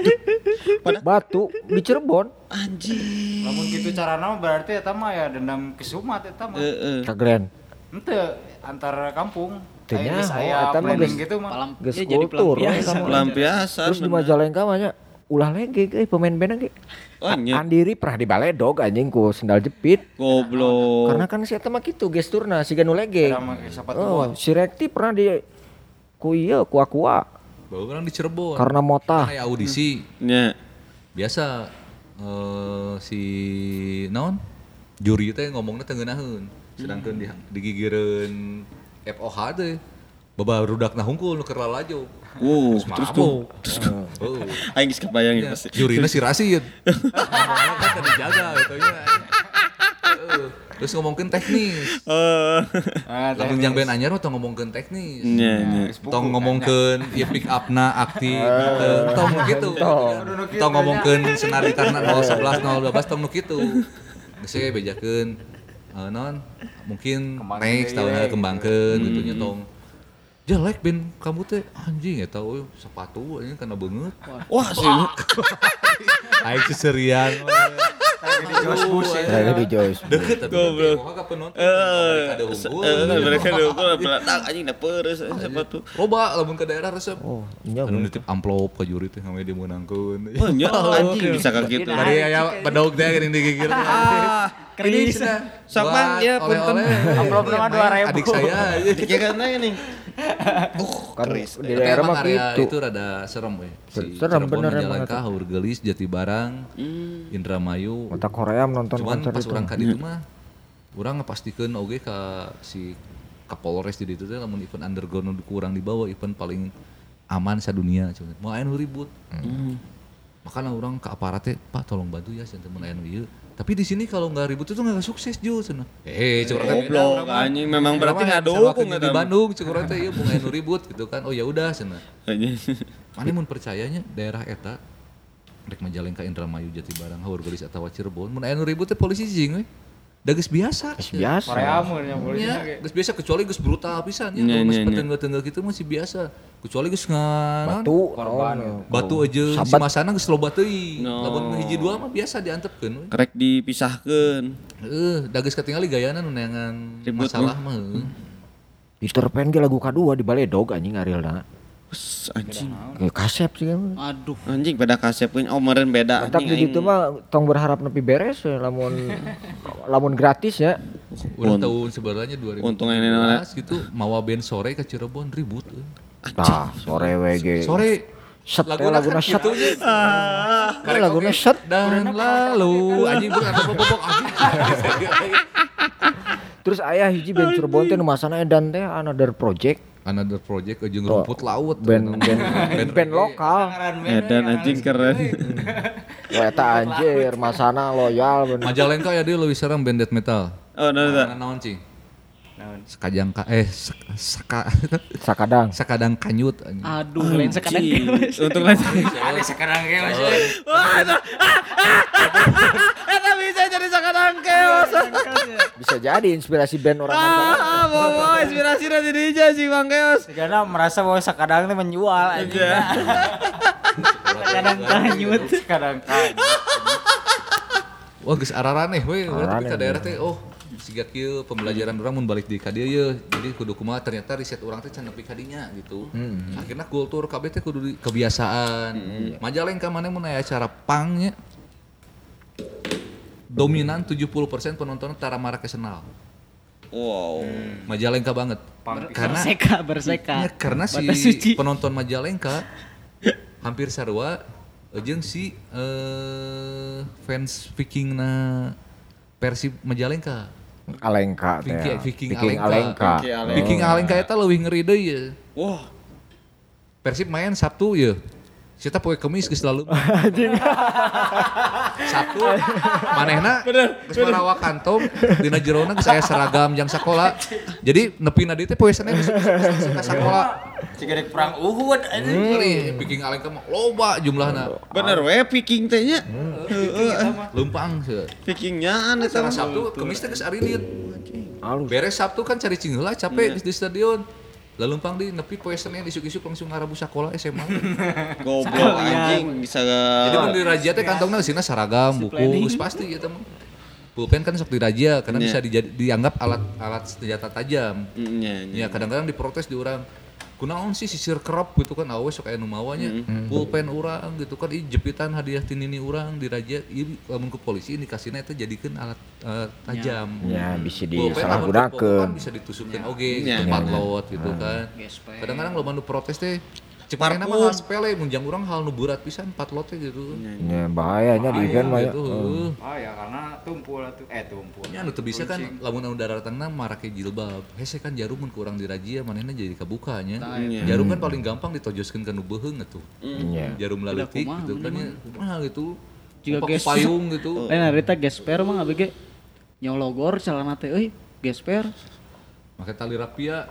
S1: Batu di Cirebon.
S3: Anjing.
S5: Lamun gitu carana mah berarti eta mah ya dendam kesumat eta mah.
S1: Ka Glenn.
S5: Henteu antar kampung.
S1: Teu
S5: Aya geus
S1: nyaho,
S5: aya
S1: eta mah
S5: planning
S1: geus-
S5: gitu mah.
S1: Geus
S2: Ya, jadi
S1: kultur we
S2: pelampiasan.
S1: eta mah.
S3: Pelampiasan.
S1: Terus di Majalengka mah nya ulah lege pemain band ge.
S3: Oh nya.
S1: Andiri pernah di baledog anjing ku sendal jepit.
S3: Goblok.
S1: Karena kan si eta mah kitu gesturna si ganu lege.
S5: Eta mah sepatu
S1: Oh, si Rekti pernah di ku ieu ku Aqua
S4: Bawa orang di Cirebon.
S1: karena motah.
S4: Aya audisi.
S3: Nya.
S4: Biasa si naon? Juri teh ngomongna teu ngeunaheun. Sedangkan digigireun FOH teh babarudakna hungkul nu keur lalajo.
S3: Terus tuh.
S4: Oh.
S3: Aing geus kebayang ya pasti.
S4: Jurina si Rasid. Ngomongna kan tadi jaga gitu nya. Terus ngomongkeun teknis. Lamun yang band anyar mah tong ngomongkeun teknis.
S3: Nya.
S4: Tong ngomongkeun ieu pick up-na aktif gitu. Tong nu kitu. Tong ngomongkeun senar gitarna 011 012 tong nu kitu. Geus we bejakeun naon mungkin next tahun kembangkeun gitu nya tong. Jelek band kamu teh anjing eta we sepatu anjing kana beungeut.
S3: Wah sih.
S4: Aing seserian.
S1: Lagi di Joyce.
S4: Deket tapi
S3: Goblok.
S4: moga ka penonton. Ada unggul.
S3: Mereka dulu belatak anjing da peureus sepatu.
S4: Loba lamun ke daerah resep.
S1: Oh, iya.
S4: Anu nitip amplop ke juri teh ngame dimenangkeun.
S3: Oh nya anjing bisa ka kitu.
S4: Bari aya pedog teh geuning digigir. Kredit
S3: Sok Bang, ya, punten.
S5: Amplop nama 2.000.
S4: Adik saya.
S3: Dikira nih.
S1: Kan
S3: Keris.
S1: di daerah mah
S4: area
S1: gitu.
S4: itu rada serem we.
S1: Serem bener emang
S4: Majalengka, Haurgelis, Jatibarang, Indramayu.
S1: Otak Korea nonton
S4: Cuman
S1: konser
S4: pas
S1: itu.
S4: urang ka ditu mah urang ngapastikeun oge ka si Kapolres di ditu teh lamun event underground nu kurang dibawa event paling aman sadunia cenah. Mau aya nu ribut. Makanya orang ke aparat teh, Pak tolong bantu ya cenah mun aya nu ieu. Tapi di sini kalau nggak ribut itu nggak sukses Jo cenah. Curang
S3: goblok anjing memang berarti ngadukung
S4: di Bandung curang teh ieu mun aya nu ribut gitu kan. Oh ya udah cenah. Mane mun percayanya daerah eta rek Majalengka, Indramayu, Jatibarang, Haur Gelis atawa Cirebon mun aya nu ribut teh polisi jing we. Da geus biasa.
S1: Geus biasa.
S5: Pareamun nya polisi ge.
S4: Geus biasa kecuali geus brutal pisan nya. Kalau geus petengah-tengah kitu masih biasa. Kecuali geus batu aja si masana geus loba teuing. Lamun hiji dua mah biasa diantepkeun we.
S3: Rek dipisahkeun.
S4: Da geus katingali gayana nu neangan masalah mah.
S1: Diterpen ge lagu kadua di Baledog anjing arealna.
S3: Anjing.
S1: Kasep sih.
S2: Aduh.
S3: Anjing beda kasepkeun meureun beda
S1: anjing. Tapi gitu mah tong berharap nepi beres lamun gratis ya.
S4: Udah tahun sebenarnya 2015 gitu mawa band sore ke Cirebon ribut.
S1: Tah, sore WG.
S4: Sore
S1: set laguna set. Laguna set
S4: dan lalu anjing bukan bobok anjing.
S1: Terus aya hiji band Cirebon teh nu masana edan teh Another Project
S4: jeung rumput laut
S1: band lokal
S3: edan anjing keren.
S1: Eta anjir masana loyal bener.
S4: Majalengka ya dia leuwih sareng band death metal.
S3: Oh
S4: naon cing? Sakadang kanyut anjing.
S2: Aduh, lain sakadang keos.
S3: Untuk lain
S5: Sakadang keos.
S3: Wah, eta bisa jadi sakadang keos.
S1: Bisa jadi inspirasi band orang Majalengka.
S3: Bawa inspirasi dari DJ si Bang Keos.
S5: Karena merasa bahwa sakadang teh menjual anjing.
S2: Sakadang kanyut.
S5: Sakadang kanyut.
S4: Wah geus araraneh we, tapi ka daerah teh siga kieu pembelajaran urang mun balik di ka dieu ye. Jadi kudu kumaha ternyata riset urang teh can nepi ka dinya gitu. Akhirna kultur kabeh teh kudu kebiasaan. Majalengka maneh mun aya acara pang nya dominan 70% penontonnya tara marake senal.
S3: Wow.
S4: Majalengka banget. Karena
S2: berseka.
S4: Ya, karena si penonton Majalengka hampir sarua jeung si fans Vikingna Persib Majalengka.
S1: Alengka teh.
S4: Viking Alengka. Viking Alengka eta leuwih ngeri deui ye.
S3: Wah.
S4: Persib main Sabtu ye. Sita poe Kemis geus lalu. Sabtu manehna geus marawa kantong dina jerona geus aya seragam jang sakola. Jadi nepina dieu teh poe Senin geus ka sakola.
S5: Ciga dek perang Uhud anjing.
S4: Viking Alengka mah loba jumlahna.
S3: Bener we Viking teh nya.
S4: Leumpang seueur.
S3: Vikingnya anu
S4: Secara Sabtu Kemis teh geus arilit. Beres Sabtu kan cari cing heula capek di stadion. Lalu pang di nepi poe Senin isuk-isuk langsung ngarabu sakola SMA.
S3: Goblok anjing bisa.
S4: Jadi mun di razia teh kantongna eusina saragam, buku, geus pasti ya teman. Pulpen kan sok dirazia karena bisa dianggap alat senjata tajam. Ya kadang-kadang diprotes di urang. Kunaon sih sisir kerap gitu kan awe sok aya nu mawanya. Pulpen urang gitu kan jepitan hadiah ti nini urang dirazia ieu lamun ku polisi dikasihna eta jadikeun alat tajam.
S1: Ya bisa
S4: Pulpen
S1: disalahgunakeun.
S4: Bisa ditusukkeun oge tempat lot gitu kan. Kadang-kadang loba nu protes teh cek manehna mah hal sepele mun jang urang hal nu berat pisan 4 lot teh gitu.
S1: Ya bahayanya di event mah ya.
S5: Ya karena tumpul atuh tumpul.
S4: Nya anu teu bisa kan lamun anu daratangna marake jilbab. Hese kan jarum mun ku urang dirazia manehna jadi kabuka nya. Jarum kan paling gampang ditojoskeun ka nu beuheung atuh. Jarum laletik gitu kan ya. Kumaha gitu.
S2: Juga
S4: payung gitu.
S2: Lain harita gesper mah abg nyologor celana teh euy gesper.
S4: Make tali rapia.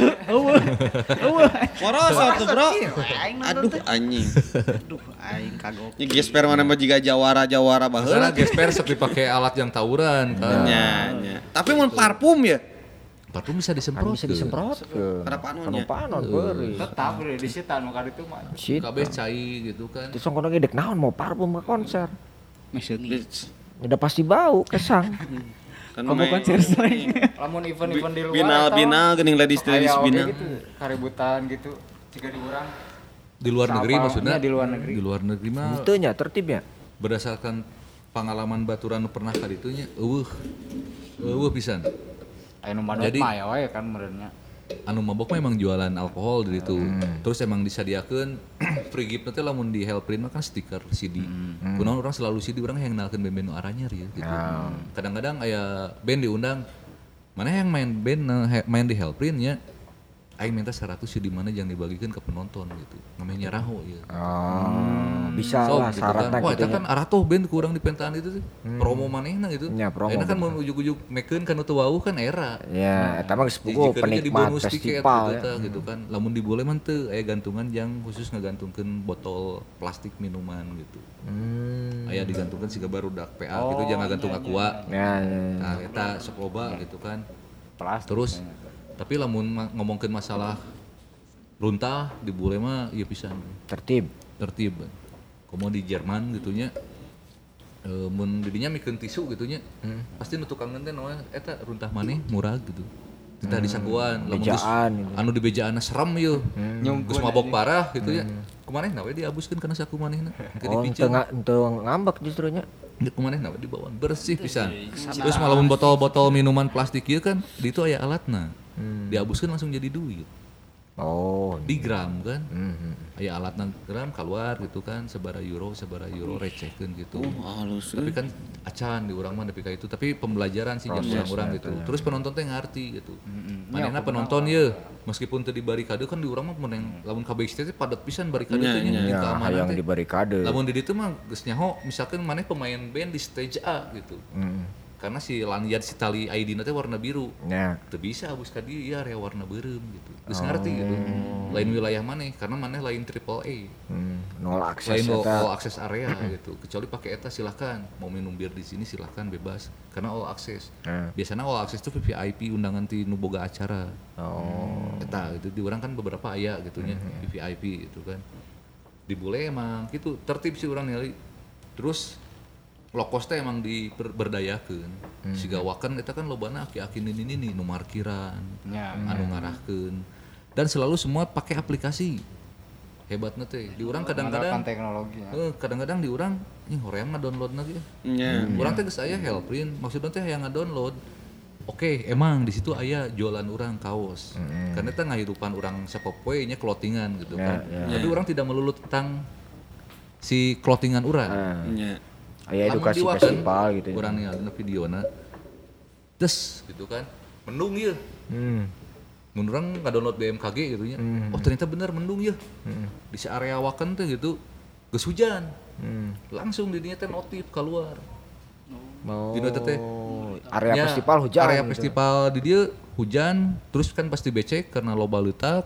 S3: Moros atuh, Bro. Aduh anjing.
S2: Aing kagok.
S3: Ini gesper mana mah jiga jawara baheula.
S4: Karena gesper sok dipake alat yang tawuran kan.
S3: Nya. Tapi mun parfum ya.
S4: Parfum bisa disemprot.
S1: Bisa disemprot ke. Panon beuri.
S5: Tetap di situ anu ka ditu mah.
S4: Kabeh cai gitu kan.
S1: Terus kono ngedek naon mau parfum ke konser.
S2: Meseungi.
S1: Udah pasti bau kesang.
S2: Kamu konser sering.
S5: Lamun event-event di luar
S3: Binal geuning ladies binal.
S5: Kaributan gitu. Jika di urang
S4: di luar negeri maksudnya.
S5: Di luar negeri.
S4: Di luar negeri mah.
S1: Itu nya tertib ya.
S4: Berdasarkan pengalaman baturan pernah kali itu nya pisan.
S5: Anu mabok mah ya wae kan meureunnya.
S4: Anu mabok mah emang jualan alkohol di situ. Terus emang disadiakeun free gift nanti lamun di Hellprint mah kan stiker CD. Kunaon orang selalu CD orang yang ngenalkeun band-band nu aranyar ya gitu. Kadang-kadang aya band diundang Mana yang main band main di Hellprint nya aing minta 100 di mana jangan dibagikan ke penonton gitu. Namanya raho ya.
S1: Bisa lah
S4: gitu
S1: syaratnya
S4: kan. Wah,
S1: gitu
S4: itu kan arah tuh band kurang di pentaan itu tuh. Promo manehna gitu.
S1: Ya, promo
S4: Enak kan mau ujuk-ujuk mekeun kan teu wau kan era.
S1: Ya, eta mah geus puguh penikmat festival ya.
S4: Gitu kan. Lamun dibole mah teu aya gantungan yang khusus ngagantungkeun botol plastik minuman gitu. Aya digantungkeun siga barudak PA gitu jangan gantung aqua.
S1: Ya.
S4: Nah, eta sok loba gitu kan.
S5: Plastik.
S4: Terus tapi lamun ngomongkeun masalah runtah di bule mah ieu pisan. Tertib. Komo di Jerman gitunya mun didinya mikeun tisu gitunya pasti nu tukangeun teh naon eta runtah maneh murah gitu. Tita disakuan lamun geus anu di bejaanna serem ieu. Geus mabok parah gitu ya. Kumanehna we diabuskeun kana saku manehna.
S1: Teu ngambek justru nya.
S4: Kumanehna we dibawaan bersih pisan. Terus malamun botol-botol minuman plastik ieu kan di itu aya alatna. Diabuskeun langsung jadi duit. Di gram kan. Aya alatna gram keluar gitu kan sabaraha euro recehkeun gitu.
S3: Halus.
S4: Tapi kan acan di urang mah nepi ka itu tapi pembelajaran sih jeung urang gitu. Terus penonton teh ngarti gitu. Manehna penonton ye meskipun teu di barikade kan di urang mah mun lamun KBXT teh padat pisan barikade teh nya keamanan
S1: teh. Di barikade.
S4: Lamun di ditu mah geus nyaho misalkan maneh pemain band di stage A gitu. Karena si lanyard si tali ID-na teh warna biru. Ya. Teu bisa abus ka dieu ya area warna beureum gitu. Geus ngarti gitu. Lain wilayah maneh karena maneh lain AAA.
S1: Nol akses
S4: lain all akses area gitu. Kecuali pakai eta silakan. Mau minum bir di sini silakan bebas karena all akses. Biasanya all akses itu VIP undangan ti nu boga acara. Eta itu di urang kan beberapa aya gitunya VIP gitu kan. Di bule emang gitu tertib sih urang ningali. Terus lokos teh emang diberdayakeun. Siga wakan eta kan lobana aki-aki nini nu markiran, anu ngarahkeun. Dan selalu semua pakai aplikasi. Hebatna teh. Di urang kadang-kadang
S5: teknologi.
S4: Kadang-kadang di urang hoream ngadownload lagi. Urang teh geus aya Hellprint, maksudna teh hayang ngadownload. Oke, emang di situ aya jualan urang kaos. Karena eta ngahirupan urang sapopoe nya clothingan gitu kan. Tapi urang tidak melulu tentang si clothingan urang.
S1: Aya edukasi festival gitu ya.
S4: Urang ningali videona. Des gitu kan. Mendung ieu. Mun urang ngadownload BMKG gitu nya. Oh ternyata bener mendung ieu. Di area Waken teh gitu geus hujan. Langsung di dinya teh notif keluar. Di teh
S1: area festival hujan.
S4: Area festival di dieu hujan terus kan pasti becek karena loba leutak.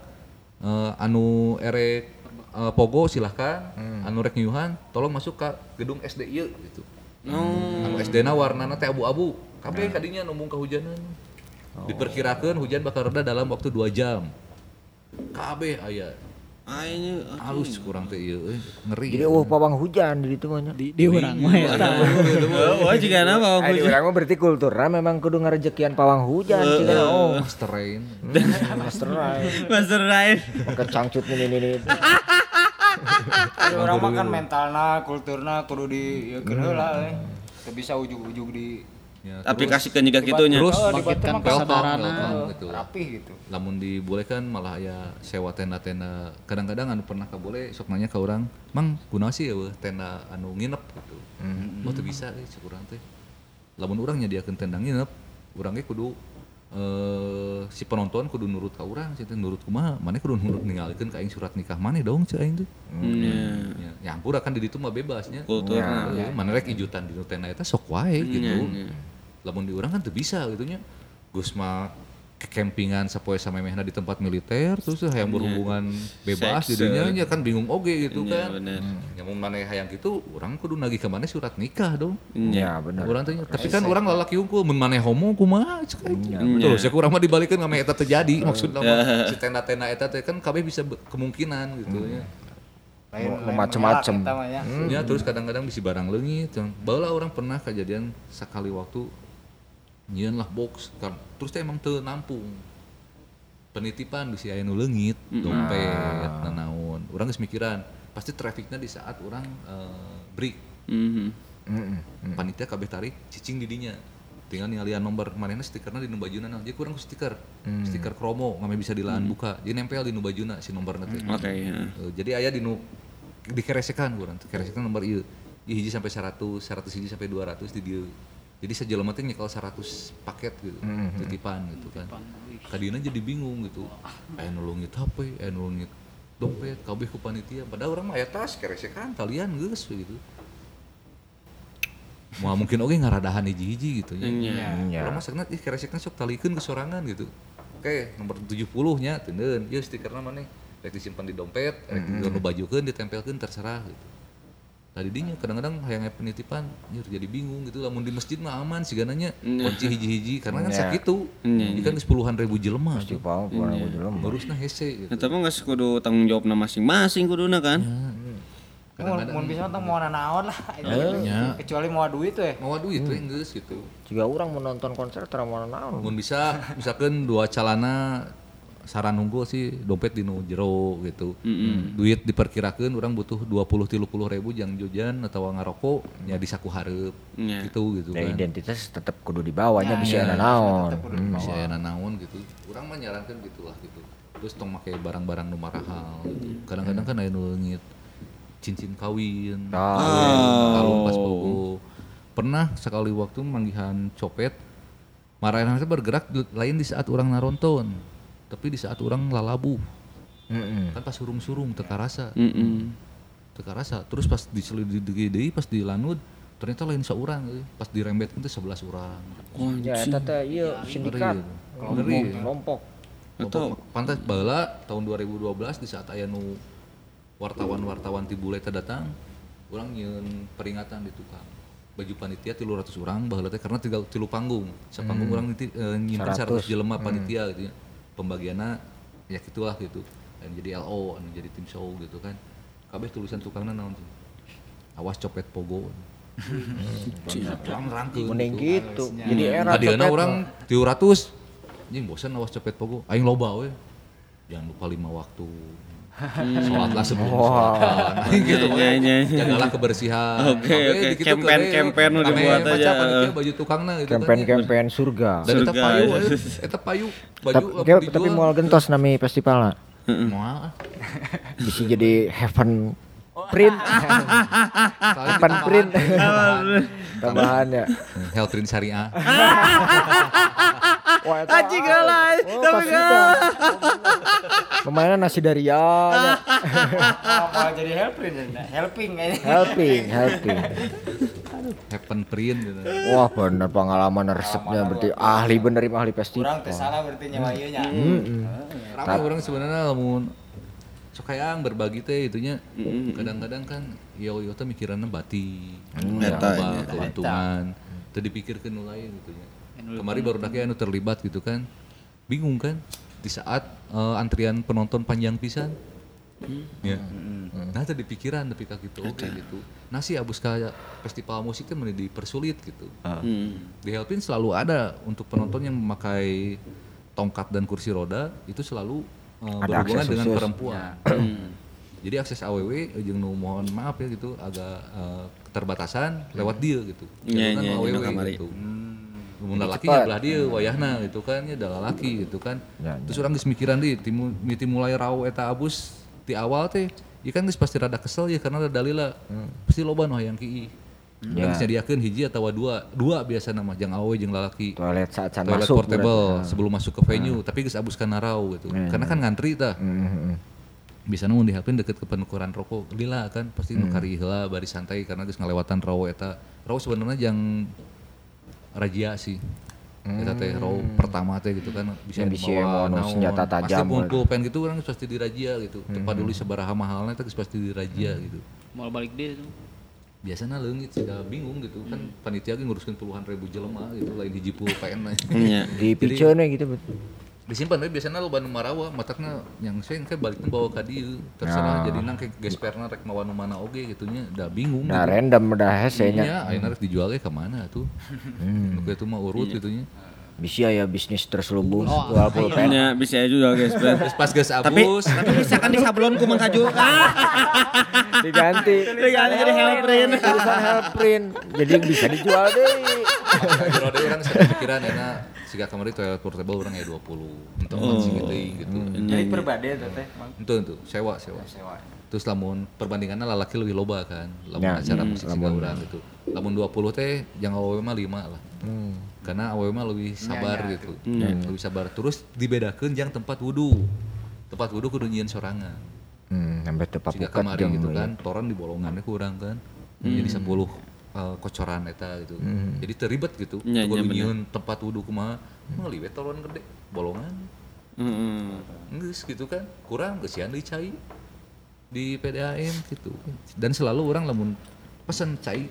S4: Anu erek pogo silahkan, anu rek nyuhan tolong masuk ke gedung SD ieu gitu. Anu SD-na warnana teh abu-abu. Kabeh kadinya numpung kehujanan. Diperkirakeun hujan bakal reda dalam waktu 2 jam. Kabeh aya. Halus kurang teh ieu ngeri.
S1: Jadi pawang hujan di ditu mah nya.
S2: Di urang mah eta.
S3: Jiga na pawang hujan.
S1: Di urang mah berarti kulturna memang kudu ngarejekian pawang hujan cenah.
S4: Master Rain.
S3: Master Rain.
S1: Pakai cangcut ini.
S5: Orang mah kan mentalna, kulturna kudu dieukeun heula we. Teu bisa ujug-ujug di
S3: aplikasikeun juga kitunya.
S4: Terus
S2: bangkitkan kesadaran
S4: gitu.
S5: Rapih gitu.
S4: Lamun dibolehkan malah aya sewa tenda-tenda. Kadang-kadang anu pernah kabole sok nanya ka urang, "Mang, kunaon sih eueuh tenda anu nginep?" gitu. Oh teu bisa euy cek urang teh. Lamun urang nyadiakeun tenda nginep, urang ge kudu si penonton kudu nurut ka urang, cenah nurut kumaha? Maneh kudu nurut ningalikeun ka aing surat nikah maneh dong ceu aing teh. Ya ampura kan di ditu mah bebasnya.
S3: Kulturna.
S4: Maneh rek ijutan di tenda eta sok wae gitu. Lamun di urang kan teu bisa gitu nya. Geus mah kekempingan sapoe samemehna di tempat militer terus hayang berhubungan bebas jadinya nya kan bingung oge gitu kan. Ya mun maneh hayang kitu urang kudu nagih ka maneh surat nikah dong.
S1: Iya bener.
S4: Urang teh tapi kan urang lalaki unggul mun maneh homo kumaha cek aing. Terus ya urang mah dibalikeun ngame eta terjadi maksudna mah si tenda-tenda eta teh kan kabeh bisa kemungkinan gitu ya.
S1: Macem-macem.
S4: Ya terus kadang-kadang bisi barang leungit. Baheula urang pernah kejadian sakali waktu nyieun lah box kan terus teh emang teu nampung penitipan bisi aya nu leungit dompet nanaon urang geus mikiran pasti trafiknya di saat urang break panitia kabeh tarik cicing di dinya tinggal ningalian nomor manehna stikerna di nu bajuna jadi kurang ku stiker kromo ngame bisa dilaan buka jadi nempel di nu bajuna si nomorna teh jadi aya di nu dikeresekan urang keresekan nomor ieu hiji sampai 100 100 hiji sampai 200 di dieu Jadi sejelema teh nyekel 100 paket gitu, titipan gitu kan. Kadina jadi bingung gitu. Nulungit HP, nulungit dompet, kabeh ku panitia. Padahal urang mah aya tas keresekan kalian geus gitu. Mau mungkin oge ngaradahan hiji-hiji gitu nya. Urang mah sakna keresekna sok talikeun ke sorangan gitu. Oke, nomor 70 nya teuneun. Ieu stikerna maneh rek disimpan di dompet, rek nu bajukeun ditempelkeun terserah gitu. Tadi dinya kadang-kadang hayang penitipan jadi bingung gitu, lamun di masjid mah aman sigananya kunci hiji-hiji karena kan sakitu ikan geus puluhan ribu jelema
S1: pasti puluhan ribu jelema
S4: ngurusna hese gitu.
S3: Eta mah geus kudu tanggung jawabna masing-masing kuduna kan.
S5: Mun bisa teh mau naon lah kecuali mau duit we.
S4: Mau duit we geus gitu.
S1: Jika orang menonton konser tara mau naon.
S4: Mun bisa misalkan dua calana saran unggul sih dompet di nu jero gitu. Duit diperkirakan orang butuh 20-30 ribu jang jajan atau ngarokok ya di saku hareup gitu kan.
S1: Identitas tetap kudu dibawanya bisa aya naon.
S4: Bisa aya naon gitu. Urang mah nyarankeun gitu lah gitu. Terus tong make barang-barang nu mahal gitu. Kadang-kadang kan aya nu leungit cincin kawin, kalung pas bogo. Pernah sekali waktu manggihan copet marahan teh bergerak lain di saat urang naronton. Tapi di saat orang lalabu, kan pas surung-surung teka rasa, terus pas diselidiki deui pas dilanud ternyata lain saurang, pas dirembet itu 11 orang.
S1: Ya eta teh ieu sindikat, kelompok.
S4: Atau pantas baheula tahun 2012 di saat aya nu wartawan-wartawan ti bule teh datang, urang nyieun peringatan di tukang. Baju panitia 300 orang baheula teh karena 3 panggung. Sapanggung urang nyimpen 100 jelema panitia gitu ya. Pembagiannya ya gitulah gitu, yang jadi LO, yang jadi tim show gitu kan. Kabeh tulisan tukangna naon tuh, awas copet pogo. Rangkeun
S1: mending gitu. Jadi era
S4: copet orang 300 anjing bosan awas copet pogo, aing loba we. Jangan lupa 5 waktu. Sholatlah sebelum sholat gitu jagalah kebersihan.
S3: Oke. Campaign nu dibuat aja
S4: baju tukangna gitu
S1: campaign surga
S4: dan eta payu baju
S1: tapi moal gentos nami festivalna
S4: moal
S1: bisa jadi heaven print heaven print tambahan ya
S4: health print syariah.
S3: Anjing galai tapi
S1: pemainan nasi daria
S5: Mau jadi helping
S4: heaven print gitu.
S1: Wah bener pengalaman resepnya berarti ahli festival.
S5: Kurang teh salah berarti nyawa ieu nya.
S4: Ramai orang sebenarnya lamun sok hayang berbagi teh itunya. Kadang-kadang kan yo teh mikiranna bati, keuntungan, teu dipikirkeun nu lain gitu nya. Kemarin baru anu terlibat gitu kan. Bingung kan di saat antrian penonton panjang pisan. Ya. Nah tadi pikiran tapi gitu gitu. Nah sih abus ka festival musik teh meni dipersulit gitu. Di Helpin selalu ada untuk penonton yang memakai tongkat dan kursi roda itu selalu berhubungan dengan perempuan. Jadi akses AWW jeung nu mohon maaf ya gitu agak keterbatasan lewat dia gitu. Kan AWW gitu. Mun lalaki nya belah dieu wayahna gitu kan nya da lalaki gitu kan. Terus urang geus mikiran deui ti mulai raw eta abus di awal teh ieu kan geus pasti rada kesel ya karena ada dalila. Pasti loba nu hayang kieu. Kan geus nyadiakeun hiji atawa dua biasana mah jang awewe jeung lalaki.
S1: Toilet saat
S4: toilet
S1: masuk
S4: portable sebelum masuk ke venue tapi geus abus kana raw gitu. Karena kan ngantri tah. Biasana mun dihalpin deket ke penukaran rokok lila kan pasti nu kari heula bari santai karena geus ngalewatan raw eta. Raw sebenarnya jang razia sih. Eta teh raw pertama teh gitu kan bisa dibawa
S1: senjata tajam.
S4: Pasti pungkul pen gitu orang pasti dirazia gitu. Tempat dulu sabaraha mahalna teh pasti dirazia gitu.
S2: Mau balik deh itu.
S4: Biasana leungit sih bingung gitu kan panitia ge nguruskeun puluhan ribu jelema gitu lain hiji pulpen.
S1: Di piceuna gitu betul.
S4: Disimpan we biasana loba nu marawa matakna yang seng ke balikna bawa ka dieu terserah jadi nang ke gesperna rek mawa nu mana oge gitu nya da bingung
S1: nah
S4: gitu.
S1: Random dah hese nya
S4: nya ayeuna rek dijual ge ka mana tuh nu kitu mah urut gitu nya
S1: bisa ya bisnis terselubung jual pulpen
S3: nya bisa juga guys
S4: terus pas geus abus
S3: tapi bisa kan di sablon ku Mang Kaju
S1: diganti
S3: jadi helprint
S1: tulisan helprint jadi bisa dijual deui
S4: kalau deui urang sada pikiran enak siga kamari toilet portable urang aya 20 untuk mancing gitu.
S5: Jadi perbade teh, Mang.
S4: Itu sewa. Terus lamun perbandingannya lalaki lebih loba kan. Lamun acara musik siga urang gitu. Lamun 20 teh jeung awewe mah 5 lah. Karena awewe mah lebih sabar gitu. Lebih sabar. Terus dibedakeun jeung tempat wudu. Tempat wudu kudu nyieun sorangan.
S1: Sampai teu
S4: Siga
S1: papukat
S4: kamari gitu kan, toron di bolongannya kurang kan. Jadi 10 kocoran eta gitu. Jadi teribet gitu. Kudu nyieun tempat wudu kumaha. Meuli we toron gede, bolongan. Geus gitu kan. Kurang geus sian deui cai di PDAM gitu. Dan selalu orang lamun pesen cai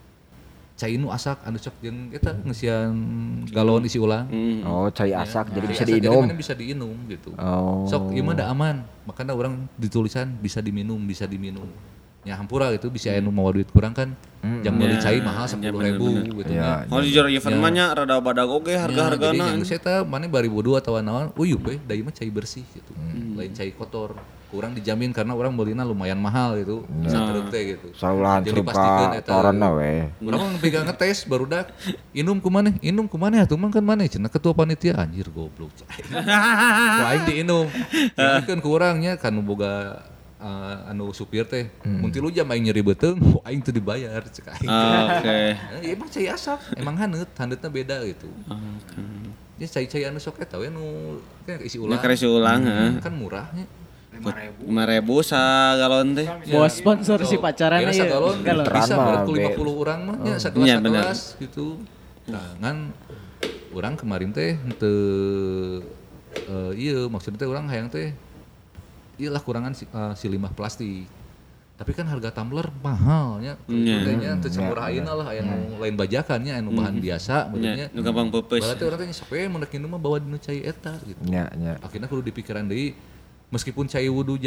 S4: nu asak anu sok jeung eta ngeusian galon isi ulang.
S1: Oh, cai asak jadi bisa
S4: Asak
S1: diinum.
S4: mana bisa diinum gitu.
S1: Oh.
S4: Sok ieu mah da aman. Makanya orang ditulisan bisa diminum. Ya hampura gitu bisa anu mawa duit kurang kan. Jang beli cai mahal 10.000 gitu
S1: Ya,
S4: nya.
S3: Kalau di jero event mah nya rada badag oge harga-hargana.
S4: Jadi eta mana bari bodoh atau naon, uyup we, da ieu mah cai bersih gitu. Lain cai kotor. Kurang dijamin karena orang belina lumayan mahal gitu. Saterep teh gitu.
S1: Saulahan
S4: Jadi
S1: suruh
S4: pastikeun
S1: ka
S4: eta.
S1: toronna we.
S4: Urang mah pegang ngetes barudak inum kumaneh atuh mah kan maneh cenah ketua panitia anjir goblok. Ku aing diinum. Dikeun ku urang nya kan boga anu supir teh. Mun 3 jam aing nyeri beuteung, aing teu dibayar cek aing.
S3: Oke.
S4: Emang cai asap, emang handeutna beda gitu. Ya cai-cai anu sok eta we nu kan isi ulang.
S3: Nya isi ulang
S4: Kan murahnya.
S3: 5.000 sagalon teh.
S2: Buat sponsor si pacaran
S4: Kira
S2: ya.
S4: sagalon bisa
S1: mah,
S4: berarti 50 orang mah nya
S3: Iya, bener.
S4: sakelas gitu. Nah, ngan urang kemarin teh teu ieu maksudnya teh urang hayang teh ieu lah kurangan si limbah plastik. Tapi kan harga tumbler mahal nya. Kayaknya teu semurah ayeuna lah aya nu lain bajakan nya anu bahan biasa benernya.
S3: Nu gampang peupeus.
S4: Berarti urang teh sape mun rek minum mah bawa dinu cai eta gitu.
S1: Nya.
S4: Akhirnya kudu dipikiran deui meskipun cai wudu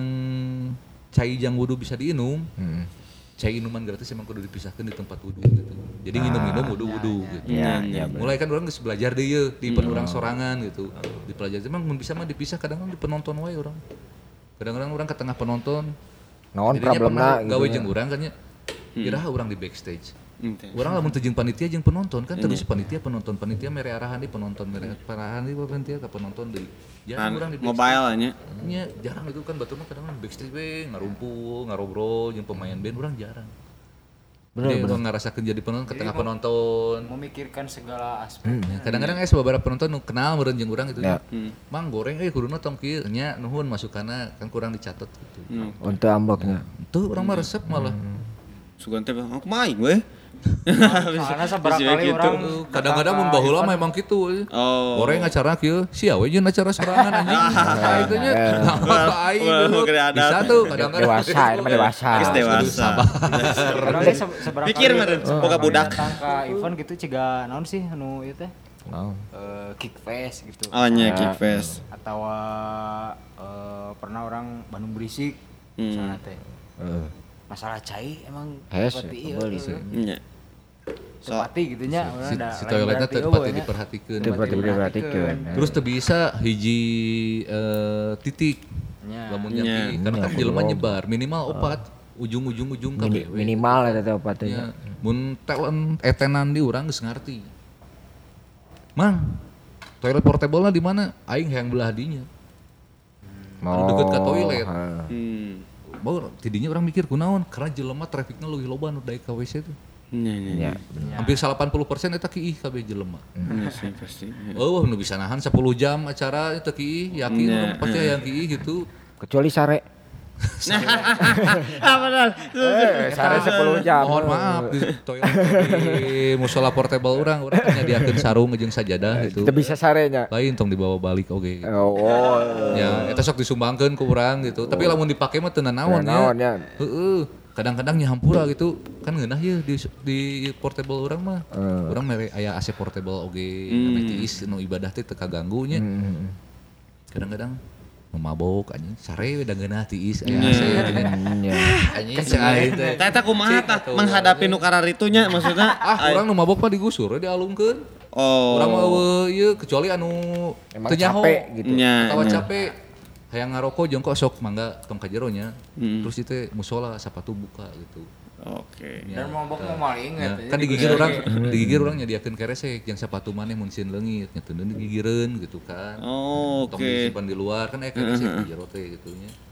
S4: jang wudu bisa diinum, cai minuman gratis emang kudu dipisahkan di tempat wudu gitu. Jadi nginum wudu gitu.
S1: Iya,
S4: Mulai kan orang geus belajar deui yeuh di orang sorangan gitu. Dipelajari emang mun bisa mah dipisah kadang-kadang di penonton wae orang. Kadang-kadang orang ke tengah penonton.
S1: Naon
S4: Jadinya
S1: problemna
S4: pernah gawe jeung urang kan nya. Kiraha urang di backstage. Urang lamun teu jeung panitia jeung penonton kan terus panitia mere arahan di penonton mere arahan di panitia ka penonton deui. Jarang urang di
S3: Mobile nya.
S4: nya jarang itu kan batur mah kadang backstage we ngarumpul ngarobrol jeung pemain band urang jarang. Bener ngarasakeun jadi penonton ke tengah penonton.
S5: Memikirkan segala aspek.
S4: Kadang-kadang beberapa penonton nu kenal meureun jeung urang gitu nya. Mang goreng kuduna tong kieu nya nuhun masukanna kan kurang dicatet gitu.
S1: Untuk ambloknya.
S4: Tuh urang mah resep malah.
S3: Sugan teh aku main we.
S5: Soalnya seberapa kali orang
S4: Kadang-kadang mun baheula mah emang kitu.
S3: Oh.
S4: Goreng acara kieu, sia we jeung acara sorangan anjing. Itu nya. Nah, aing dulu. Bisa tuh kadang-kadang.
S1: Dewasa, ini mah dewasa.
S3: Geus dewasa.
S5: orang teh seberapa
S3: Pikir
S5: kali
S3: meureun boga budak.
S5: datang ke event gitu ciga naon sih anu ieu teh
S1: Naon?
S5: Kickfest gitu.
S3: Oh nya Kickfest.
S5: Atau pernah orang Bandung Berisik misalnya teh. Masalah cai emang seperti itu.
S3: Nya.
S5: Tepati gitu nya.
S4: Si toiletnya tepati diperhatikeun.
S1: Diperhatikan.
S4: Terus teu bisa hiji titik. Lamun nyaki karena kan jelema nyebar minimal 4 ujung kabeh.
S1: Minimal eta teh opatnya.
S4: Mun talent etenan di urang geus ngarti. Mang, toilet portable-na di mana? Aing hayang belah dinya. Mau deket ka toilet. Baru tidinya orang mikir kunaon karena jelema trafiknya leuwih loba nu daek ka WC teh.
S3: Nya.
S4: Hampir 80% eta kiih kabeh jelema.
S3: Sih pasti.
S4: Oh, nu bisa nahan 10 jam acara eta kiih, yakin orang pasti hayang kiih gitu.
S1: Kecuali sare.
S3: Benar.
S1: Sare 10 jam.
S4: Mohon maaf di toilet di musola portable urang nyadiakeun sarung jeung sajadah gitu.
S1: Teu bisa sarenya.
S4: Lain tong dibawa balik oge.
S1: Oh.
S4: Ya, eta sok disumbangkeun ku urang gitu. Tapi lamun dipake mah teu naon ya. Heeh. Kadang-kadang nya hampura gitu. Kan ngeunah ye di portable urang mah. Urang mere aya AC portable oge, ame tiis nu ibadah teh teu kaganggu nya. Kadang-kadang mabok anjing sare we da ngeunah tiis aya AC nya. Anjing cai teh.
S3: Eta kumaha tah menghadapi nu kararitu nya maksudna?
S4: Urang nu mabok mah digusur we dialungkeun.
S3: Oh.
S4: Urang mah ieu kecuali anu
S1: Emang
S4: teu nyaho
S1: capek gitu.
S4: atawa capek. Hayang ngarokok jeung kok sok mangga tong ka jero nya. Terus itu musola sapatu buka gitu.
S3: Oke.
S5: Dan mabok mau maling
S4: Ya, kan digigir urang nyadiakeun keresek jeung sapatu maneh mun sieun leungit nya teu digigireun gitu kan.
S3: Oh,
S4: Tong
S3: oke.
S4: disimpan di luar kan keresek di jero teh gitu nya. Sok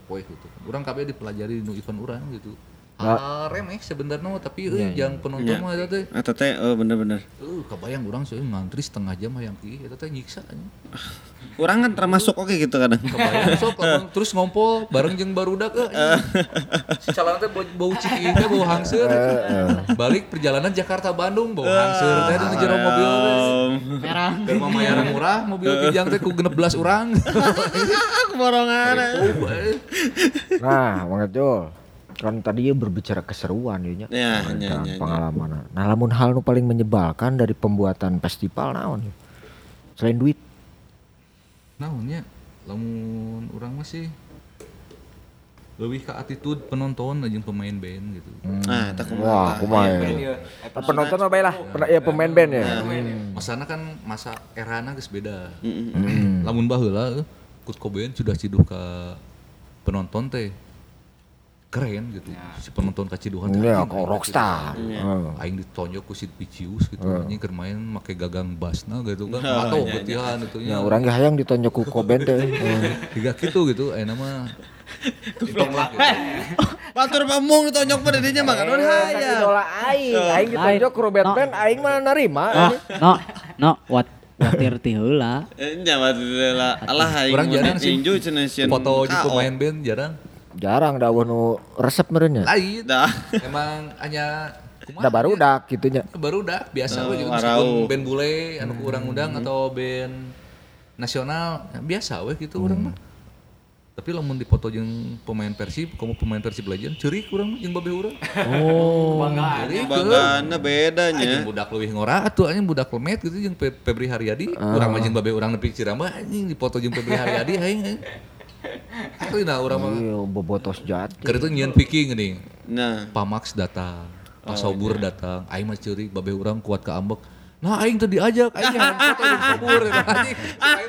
S4: poe gitu. Urang kabeh dipelajari nu event urang gitu. Remeh sebenarnya tapi yang penonton mah eta teh.
S3: Eta teh bener-bener.
S4: Kebayang urang seueur ngantri setengah jam hayang kieu eta teh nyiksa.
S3: Urang kan termasuk oke gitu kadang.
S4: Kebayang sok terus ngompol bareng jeung barudak si calana teh bau ciki teh bau hangseur. Balik perjalanan Jakarta Bandung bau hangseur teh di jero mobil teh.
S2: Merah.
S4: Keur mamayarang murah mobil kijang teh ku 16 urang.
S3: Borongan.
S1: Nah, Mang Jol. Kan tadi ya berbicara keseruan ya pengalaman. Nah, lamun hal nu paling menyebalkan dari pembuatan festival naon ya? Selain duit.
S4: Naonnya lamun urang masih lebih ke attitude penonton jeung pemain band gitu.
S3: Nah, eta
S1: Wah, kumaha ya. Penonton mah bae lah, pemain band ya.
S4: Masana kan masa erana geus beda. Lamun baheula Kurt Cobain sudah ciduh ka penonton teh keren gitu. Si penonton kaciduhan
S1: ya rockstar.
S4: Aing ditonjok ku Sid Vicious gitu. Anjing keur main make gagang bassna gitu kan. Atau betihan itu nya.
S1: Ya urang ge hayang ditonjok ku Cobain teh.
S4: Tiga kitu gitu ayeuna mah.
S3: Batur pamung ditonjok pada dinya mah kan hayang.
S1: Idola aing ditonjok ku Robert Band aing mah narima.
S2: No, watir ti heula.
S3: Nya lah Allah aing
S4: urang jarang sih
S3: tinju cenah
S4: foto jeung pemain band
S1: Jarang dawuh nu resep meureun nya.
S4: Lain. Emang hanya
S1: Da barudak gitu nya.
S4: Barudak biasa we juga meskipun band bule anu urang undang atau band nasional biasa we gitu urang mah. Tapi lamun dipoto jeung pemain Persib, komo pemain Persib Legend ceurik urang jeung babeh urang.
S3: Banggaana beda nya.
S4: Anjing budak leuwih ngora atuh anjing budak lemet gitu jeung Febri Haryadi. Urang mah jeung babeh urang nepi Ciramba anjing dipoto jeung Febri Haryadi aing. Asli urang mah
S1: bobotos jati.
S4: Keur itu nyieun Viking geuning.
S3: Nah,
S4: Pamax datang, Pak Sobur datang, aing mah ceurik babeh urang kuat ka ambek. Nah aing teh diajak, aing nyaman foto jeung Sobur anjing.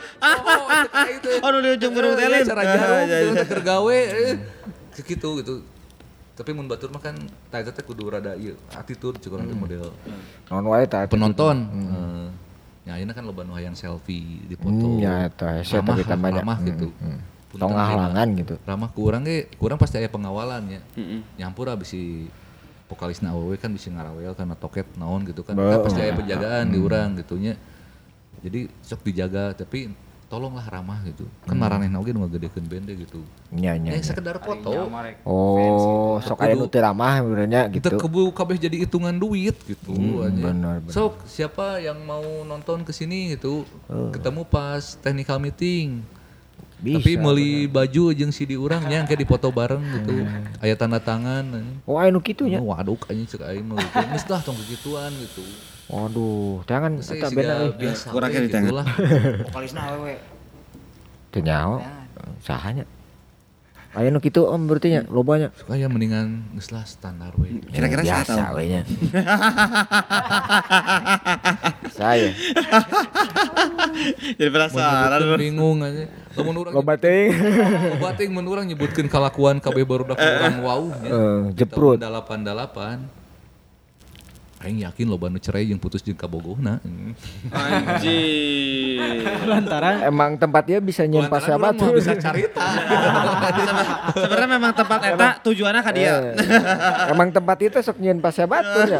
S3: Aduh di ujung berhotelin.
S4: Cara jauh keur gawe kitu gitu. Tapi mun batur mah kan eta teh kudu rada ieu attitude cukup nanti model.
S1: Naon wae tah
S4: Penonton. Ya ayeuna kan loba nu hayang selfie dipoto.
S1: Ya eta hese tapi tambahnya
S4: ramah gitu.
S1: Tong halangan gitu.
S4: Ramah ku urang ge, kurang pasti aya pengawalan ya. Nyampur abis si vokalisna awewe kan bisa ngarawel karena toket naon gitu kan. Kan pasti aya penjagaan di urang gitu nya. Jadi sok dijaga tapi tolonglah ramah gitu. Kan maranehna oge nu ngagedekeun band gitu.
S1: Nya.
S4: Sekedar foto.
S1: Oh, sok aya nu teu ramah benernya gitu.
S4: Teu kubu kabeh jadi hitungan duit gitu
S1: Benar.
S4: Sok siapa yang mau nonton ke sini gitu. Ketemu pas technical meeting. Bisa, tapi meuli baju jeung CD urang nya engke dipoto bareng gitu. Aya tanda tangan.
S1: Oh, aya nu kitu nya.
S4: Waduh anjing ceuk aing mah gitu. Geus dah tong kegituan gitu.
S1: Waduh, jangan eta bena
S4: biasa.
S3: Kurang ge ditanya.
S5: Vokalisna awewe.
S1: Teu nyaho. Saha nya? Aya nu kitu om berarti nya lobanya.
S4: Aya mendingan geus lah standar we.
S3: Kira-kira
S1: biasa we nya. Saya.
S3: Jadi penasaran
S4: bingung aja. Lamun urang
S1: Loba teuing.
S4: loba teuing mun urang nyebutkeun kalakuan kabeh barudak urang wow nya.
S1: Jeprut.
S4: 88. Aing yakin loba nu cerai jeung putus jeung kabogohna.
S3: anjing.
S2: Lantaran
S1: Emang tempatnya bisa nyieun pas sahabat tuh.
S4: Bisa carita.
S3: Sebenarnya memang tempat eta tujuannya ka dia.
S1: Emang tempat itu sok nyieun pas sahabat tuh ya.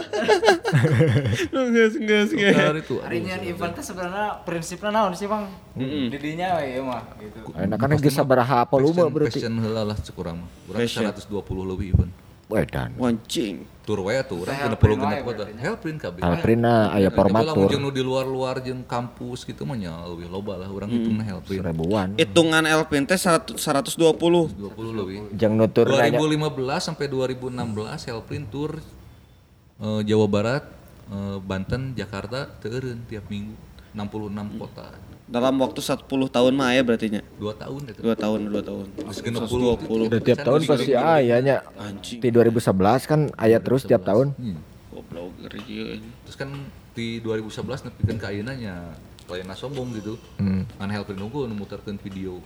S3: Geus.
S5: Ari nyian event teh sebenarnya prinsipna naon sih, Bang? Di dinya we ieu mah gitu.
S1: Enak kan geus sabaraha volume berarti.
S4: Fashion heula lah cek urang mah. Urang 120 leuwih event.
S1: Wedan.
S3: Wancing.
S4: Tur we atuh urang 60 kota. Helprin kabeh.
S1: Alprina aya format
S4: Lamun
S1: tur.
S4: jeung nu di luar-luar jeung kampus kitu mah nya leuwih loba lah urang hitungna helprin.
S1: Ribuan.
S3: Hitungan Elpin teh 120.
S4: 20 leuwih.
S1: Jeung nutur
S4: 2015 sampai 2016 helprin tur Jawa Barat, Banten, Jakarta teu eureun tiap minggu 66 kota.
S3: Dalam waktu 10 tahun mah aya berarti nya.
S4: 2 tahun itu.
S3: 2 tahun.
S4: Geus
S3: 120.
S1: Udah tiap tahun pasti aya nya.
S3: Anjing.
S1: Di 2011 kan aya terus tiap tahun.
S3: Goblok ieu.
S4: Terus kan di 2011 nepikeun ka ayeuna nya layanna sombong gitu. Ngan helprin unggul nu muterkeun video.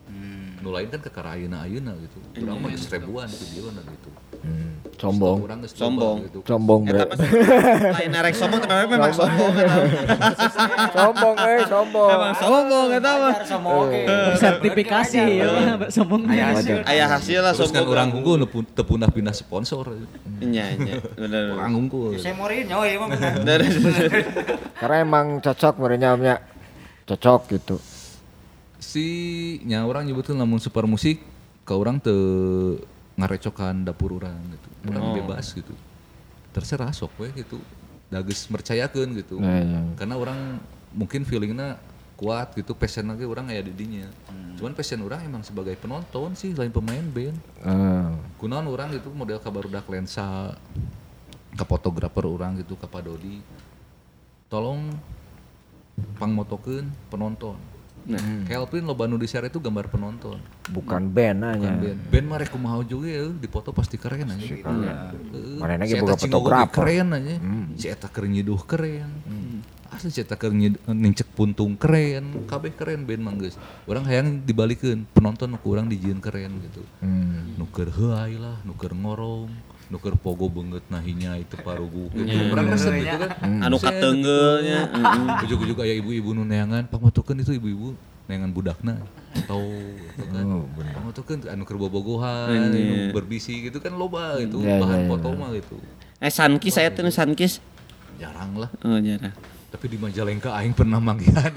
S4: Nu lain kan kekara ayeuna gitu. Urang mah geus ribuan videona gitu.
S1: Sombong.
S4: Urang geus
S3: Sombong.
S4: gitu.
S1: Sombong bre.
S3: Lain erek sombong tapi memang sombong.
S1: Sombong sombong.
S3: Memang sombong eta mah.
S2: Sertifikasi ya mah sombong.
S3: Aya hasil lah
S4: Terus kan
S3: sombong.
S4: urang unggul teu punah pindah sponsor.
S3: Nya bener.
S4: Urang unggul.
S5: Saya morin nyawa ieu mah bener.
S1: Karena emang cocok merenya cocok gitu.
S4: Si nya urang nyebutkeun lamun super musik ka urang teu ngarecokan dapur urang gitu. Urang bebas gitu. Terserah sok we gitu. Da geus mercayakeun gitu. Karena urang mungkin feelingna kuat gitu, passion lagi urang aya di dinya. Cuman passion urang emang sebagai penonton sih lain pemain band. Kunaon urang gitu model ka barudak lensa, ka fotografer urang gitu, ka Pak Dodi. Tolong pangmotokeun penonton. Kelvin loba nu di-share itu gambar penonton.
S1: Bukan band aja.
S4: Band mah rek kumaha juga ya, dipoto pasti keren aja.
S1: Manehna ge
S4: Si
S1: boga
S4: eta cingogo ge
S1: fotografer.
S4: keren aja. Si eta keur nyiduh keren. Asli si eta keur nincek puntung keren. Kabeh keren band mah geus. Urang hayang dibalikeun penonton nu urang dijieun keren gitu. Nu keur heuai lah, nu keur ngorong, nu keur pogo beungeut nahinya itu parugu. Urang resep gitu kan.
S3: Anu kateunggeulnya.
S4: Ujug-ujug aya ibu-ibu nu neangan, pamotokeun itu ibu-ibu neangan budakna atau gitu kan. Pamotokeun anu keur bobogohan, anu berbisi gitu kan loba gitu, bahan foto mah gitu.
S3: Sankis saya teh Sankis.
S4: Jarang lah.
S3: Oh, jarang.
S4: Tapi di Majalengka aing pernah manggihan.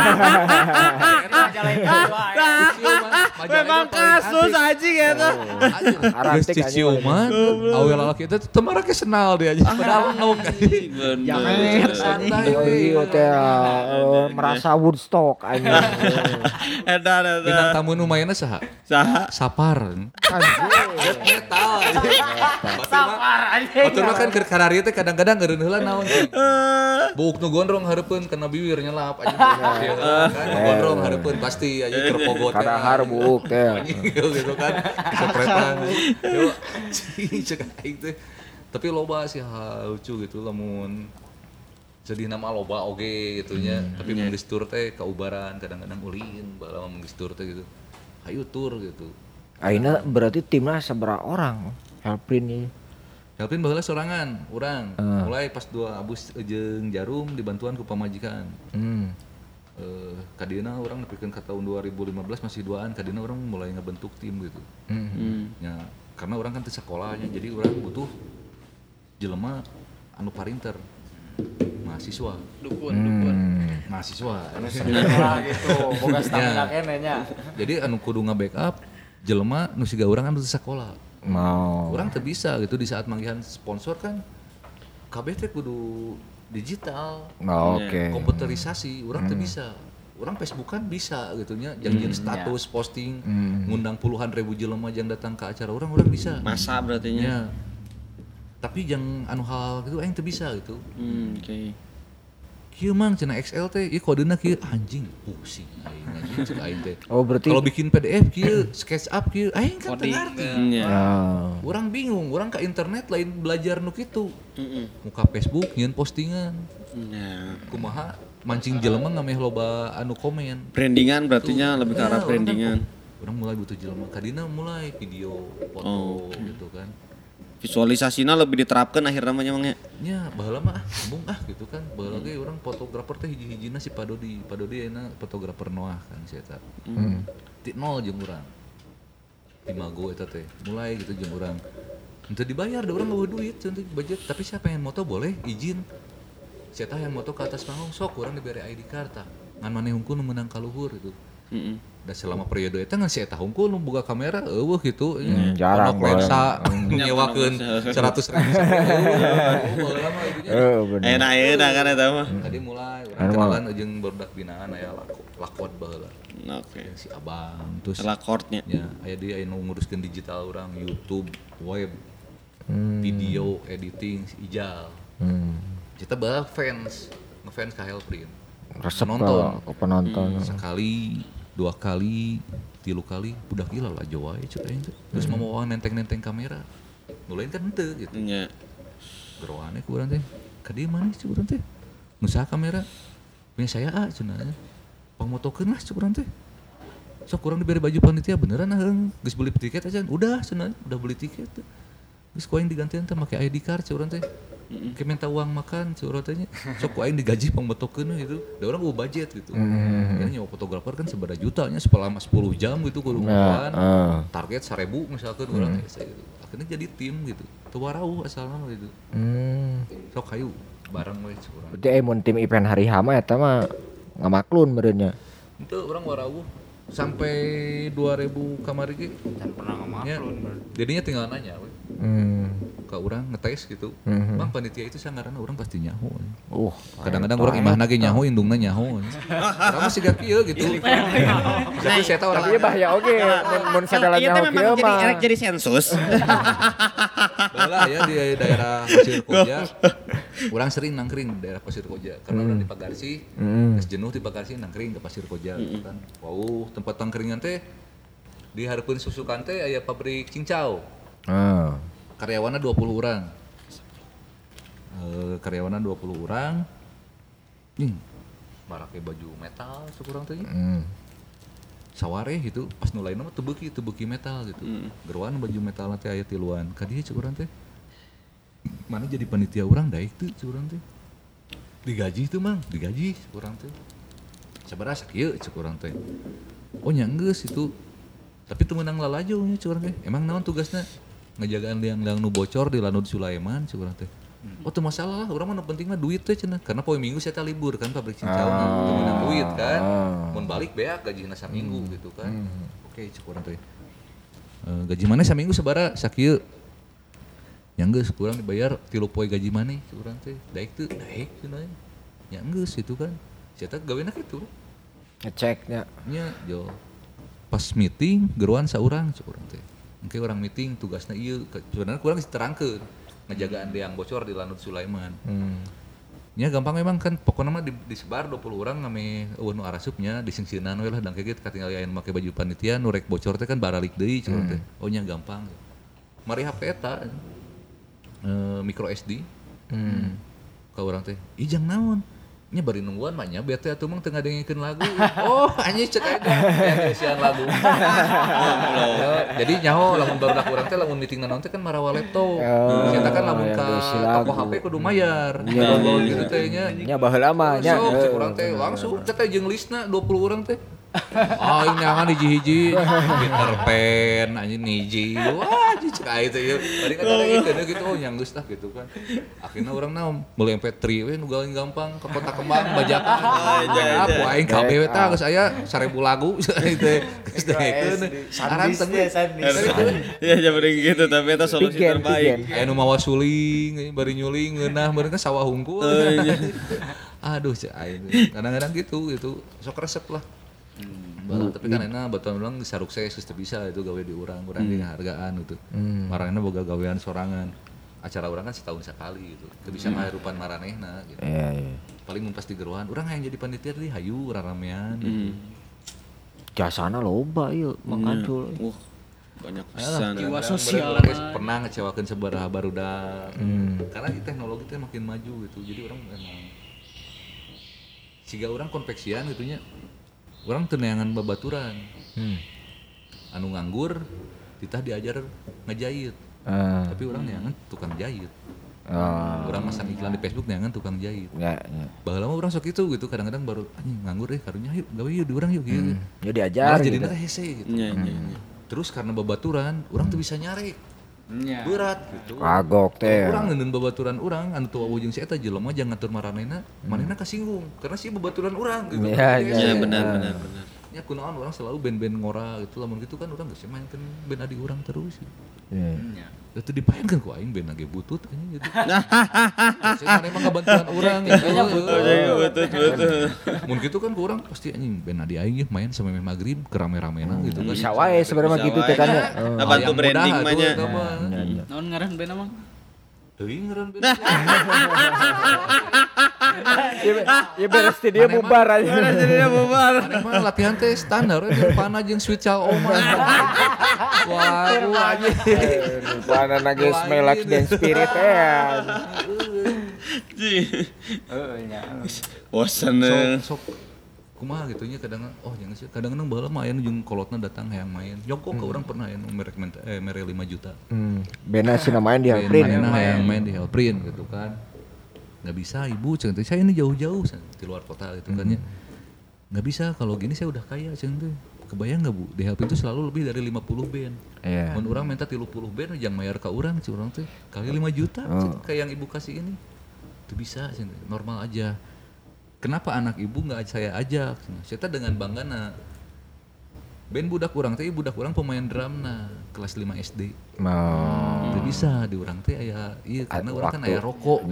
S3: Memang kasus anjing eta.
S4: Geus ciciuman, awe lalaki eta teu marake senal dia aja. Padahal nuk.
S2: Jangan
S4: santai.
S1: Iya teh merasa Woodstock anjing.
S3: Eta.
S4: Bintang tamu nu maenna saha?
S3: Saha?
S4: Sapar.
S1: Anjing.
S4: Metal. Sapar anjing. Batur mah kan keur karari teh kadang-kadang eureun heula naon. Buuk nu gondrong hareupeun kana bibir nyelap aja. Kan gondrong hareupeun pasti aja terpogot.
S1: Kadahar buuk teh.
S4: Gitu kan. Kepretan. Yo cek aing teh. Tapi loba sih lucu gitu lamun jadi nama loba oge gitu nya. Tapi mun geus tur teh kaubaran kadang-kadang ulin bala mun geus tur teh gitu. Hayu tur gitu.
S1: Aina berarti timnya seberapa orang? Helprin ini.
S4: Helpin baheula sorangan, urang. Mulai pas 2 Abus jeung Jarum dibantuan ku pamajikan. Kadina urang nepikeun ka tahun 2015 masih 2an, kadina urang mulai ngebentuk tim gitu. Ya, karena urang kan teu sakolahnya, jadi urang butuh jelema anu parinter. Mahasiswa.
S2: Dukun.
S4: Mahasiswa.
S5: Anu sekolah gitu, boga stamina keneh nya.
S4: Jadi anu kudu nga-backup jelema nu siga urang anu teu sakola. Orang teu bisa gitu di saat manggihan sponsor kan kabeh teh kudu digital.
S1: Oke.
S4: Komputerisasi, orang teu bisa. Orang Facebook kan bisa gitu nya, janjian status, posting, ngundang puluhan ribu jelema yang datang ke acara orang bisa.
S3: Masa berarti nya.
S4: Ya. Tapi yang anu hal gitu aing teu bisa gitu.
S3: Oke.
S4: Kieu mang cenah XL teh, ieu kodena kieu anjing pusing aing anjing cek aing teh.
S1: Oh berarti
S4: Kalau bikin PDF kieu, SketchUp kieu, aing kan teu ngarti. Urang bingung, urang ka internet lain belajar nu kitu. Muka Facebook nyieun postingan. Kumaha mancing jelema ngameh loba anu komen.
S3: Brandingan berarti nya lebih ke arah brandingan.
S4: Urang mulai butuh jelema, kadina mulai video, foto gitu kan.
S3: Visualisasinya lebih diterapkan akhirnya namanya.
S4: Ya, baheula mah sambung gitu kan. Baheula ge urang fotografer teh hiji-hijina si Pak Dodi. Pak Dodi euna fotografer Noah kan si eta. Ti nol jeung urang. Di Mago eta teh. Mulai gitu jeung urang. Henteu dibayar, da urang eueuh duit contoh budget, tapi siapa yang moto boleh izin. Si eta yang moto ke atas panggung sok urang dibere ID card tah. Ngan maneh hungkul nu meunang ka luhur gitu. Dan selama periode eta ngan si eta hungkul nu boga kamera eueuh gitu.
S1: jarang
S4: lensa nyewakeun 100.000.
S3: Enak kan eta mah.
S4: Tadi mulai urang kenalan jeung barudak binaan aya lakot baheula.
S3: Oke.
S4: Si Abang terus
S3: Lakortnya.
S4: ya aya dia anu nguruskeun digital urang YouTube, web, video editing si Ijal. Kita bae ngefans ka Helprin.
S1: resep
S4: Nonton.
S1: ke penonton.
S4: Sekali, 2 kali, 3 kali budak gila lah Jawa ya cek aing teh. Terus mau nenteng-nenteng kamera. Nu lain kan henteu gitu.
S3: Nya.
S4: Geroane ku urang teh. Ka dieu mana cek urang teh? Nu saha kamera? Punya saya cenah. Pangmotokeun lah cek urang teh. sok kurang diberi baju panitia beneran geus beli tiket aja udah cenah udah beli tiket geus ku aing digantian teh make ID card curang teh ke minta uang makan curang teh sok ku aing digaji pambetokeun gitu da urang budget gitu ya nyawa fotografer kan seberapa jutanya selama 10 jam gitu kudu makan target 1.000 misalkan urang gitu akhirnya jadi tim gitu teu warauh asalna gitu sok hayu bareng we curang
S1: berarti mun tim event hari hama eta mah ngamaklun meureunnya
S4: itu orang warauh sampai 2000 kamari ge
S5: dan pernah ngamaklun
S4: jadinya tinggal nanya we ke urang ngetes gitu bang panitia itu sangaranna urang pasti nyaho kadang-kadang urang imahna ge nyaho indungna nyaho urang mah siga kieu gitu jadi saya tahu orang
S1: ieu bahaya oge mun sadala nyaho kieu mah
S3: erek jadi sensus
S4: baheula ya di daerah Pasir Koja urang sering nangkring di daerah Pasir Koja karena urang di Pagarsi geus jenuh di Pagarsi nangkring ke Pasir Koja kan wow tempat nangkringan teh di hareupeun susukan teh aya pabrik cincau karyawanna 20 orang. Karyawanna 20 orang. Barake baju metal sakurang teh. Saware gitu, pas nu lainna mah teu beuki metal gitu. Geruan baju metalna teh aya tiluan. Ka dieu sakurang teh. Mana jadi panitia urang daek teu sakurang teh. Digaji teu Mang, digaji sakurang teh. Sabaraha sakieu sakurang teh. Oh nya geus itu. Tapi teu meunang lalajo nya sakurang teh. Emang naon tugasna? Ngajagaan liang-liang nu bocor di Lanud Sulaiman curang teh. Oh teu masalah lah, urang mah nu penting mah duit teh cenah. Karena poe Minggu saya teh libur kan pabrik cincau teu meunang duit kan. Mun balik beak gajina saminggu gitu kan. Oke curang teh. Gaji maneh saminggu sabaraha sakieu. Nya geus kurang dibayar 3 poe gaji maneh curang teh. Daek teu? Daek cenah. Nya geus itu kan. Sia teh gawena kitu.
S1: ngeceknya.
S4: Nya jo. Pas meeting geruan saurang curang teh. Mungkin orang meeting tugasnya iya sebenarnya kurang diterangkeun ngajagaan yang bocor di Lanud Sulaiman. Nya gampang memang kan pokoknya mah disebar 20 orang ngame eueuh nu arasupnya disingsieunan we lah dan kayak gitu katinggal aya make baju panitia nu rek bocor teh kan baralik deui cenah teh. Oh nya gampang. Mari HP eta micro SD. Ka urang teh, "Ih jang naon?" Nya bari nungguan mah nya bete atuh mah teu ngadengikeun lagu. Oh, anjing cek aja sian lagu. Jadi nyaho lamun barudak urang teh lamun meeting naon teh kan marawa laptop. Kita kan lamun ka toko HP kudu mayar. Download gitu teh nya.
S1: Nya baheula mah nya.
S4: Sok cek urang teh langsung teh jeung listna 20 urang teh. Ah ini nyangan hiji-hiji Peter Pan anjing hiji. Wah anjing cek aja ya. Tadi kan ada gitu oh yang geus tah gitu kan. Akhirnya urang naon meuli MP3 we nu gampang ke Kota Kembang bajakan. Apa aing kabeh we tah geus aya 1000 lagu itu. Geus daekeun. Saran teh.
S3: Ya jadi gitu tapi eta solusi terbaik.
S4: Aya nu mawa suling, bari nyuling ngeunah meureun kan sawah hungkul. Aduh cek aing. Kadang-kadang gitu sok resep lah. Tapi kan enak batuan ulang saruk saya teu bisa itu gawe di urang ge hargaan gitu. Marana boga gawean sorangan. Acara urang kan setahun sekali gitu. Teu bisa ngahirupan maranehna gitu. Paling mun pas di geruan urang hayang jadi panitia deui hayu raramean gitu.
S1: Jasana loba ieu Mang Adul.
S3: Banyak pisan.
S2: Jiwa sosial
S4: pernah ngecewakeun sabaraha barudak. Karena teknologi teh makin maju gitu. Jadi urang memang siga urang konveksian gitunya. Orang teu neangan babaturan. Anu nganggur ditah diajar ngejahit. Tapi orang neangan tukang jahit. Orang masang iklan di Facebook neangan tukang jahit. Baheula mah urang sok itu gitu kadang-kadang baru anjing nganggur karunya yuk gawe yuk di urang yuk gitu.
S1: Ya diajar
S4: jadi
S1: gitu.
S4: hese gitu. Terus karena babaturan urang teu bisa nyarek. Berat gitu.
S1: Kagok teh.
S4: Urang neundeun babaturan urang anu teu wujung si eta jelema jangan ngatur maranehna, manehna kasinggung karena si babaturan urang gitu.
S3: Iya benar.
S4: Ya kunaon urang selalu band-band ngora gitu lamun gitu kan urang geus mainkeun band adi urang terus. Iya. Itu dipaenkeun ku aing band ge butut anjing gitu. Saya emang ngabantuan urang gitu. Betul. Mun gitu kan ku urang pasti anjing band adi aing main sampai maghrib kerame-ramena gitu kan.
S1: Bisa wae sebenarnya gitu teh kan.
S3: Bantu branding mah nya.
S2: Naon ngaran band Mang?
S4: Teuing ngaran band.
S1: Ya beres dia bubar aja.
S4: Maneh mah latihan teh standar we Nirvana jeung Sweet Child O Man. Wah, anjing.
S1: Nirvana nage Smell Like Teen Spirit
S3: Bosan
S4: sok kumaha gitu nya kadang jangan sih kadang-kadang baheula mah aya nu jeung kolotna datang hayang main jongkok ke urang pernah aya nu mere 5 juta
S1: bena sih main di Helprint
S4: hayang main di Helprint gitu kan nggak bisa ibu cenah saya ini jauh-jauh di luar kota gitu kan ya nggak bisa kalau gini saya udah kaya cenah teh kebayang nggak bu di Helprint itu selalu lebih dari 50 band mun urang minta 30 band jangan mayar ke urang ci urang teh kali 5 juta kayak yang ibu kasih ini itu bisa cenah normal aja. Kenapa anak ibu nggak saya ajak? Saya dengan banggana. Band budak urang teh budak urang pemain drumna kelas 5 SD. Teu bisa di urang teh aya ieu karena urang kan aya rokok.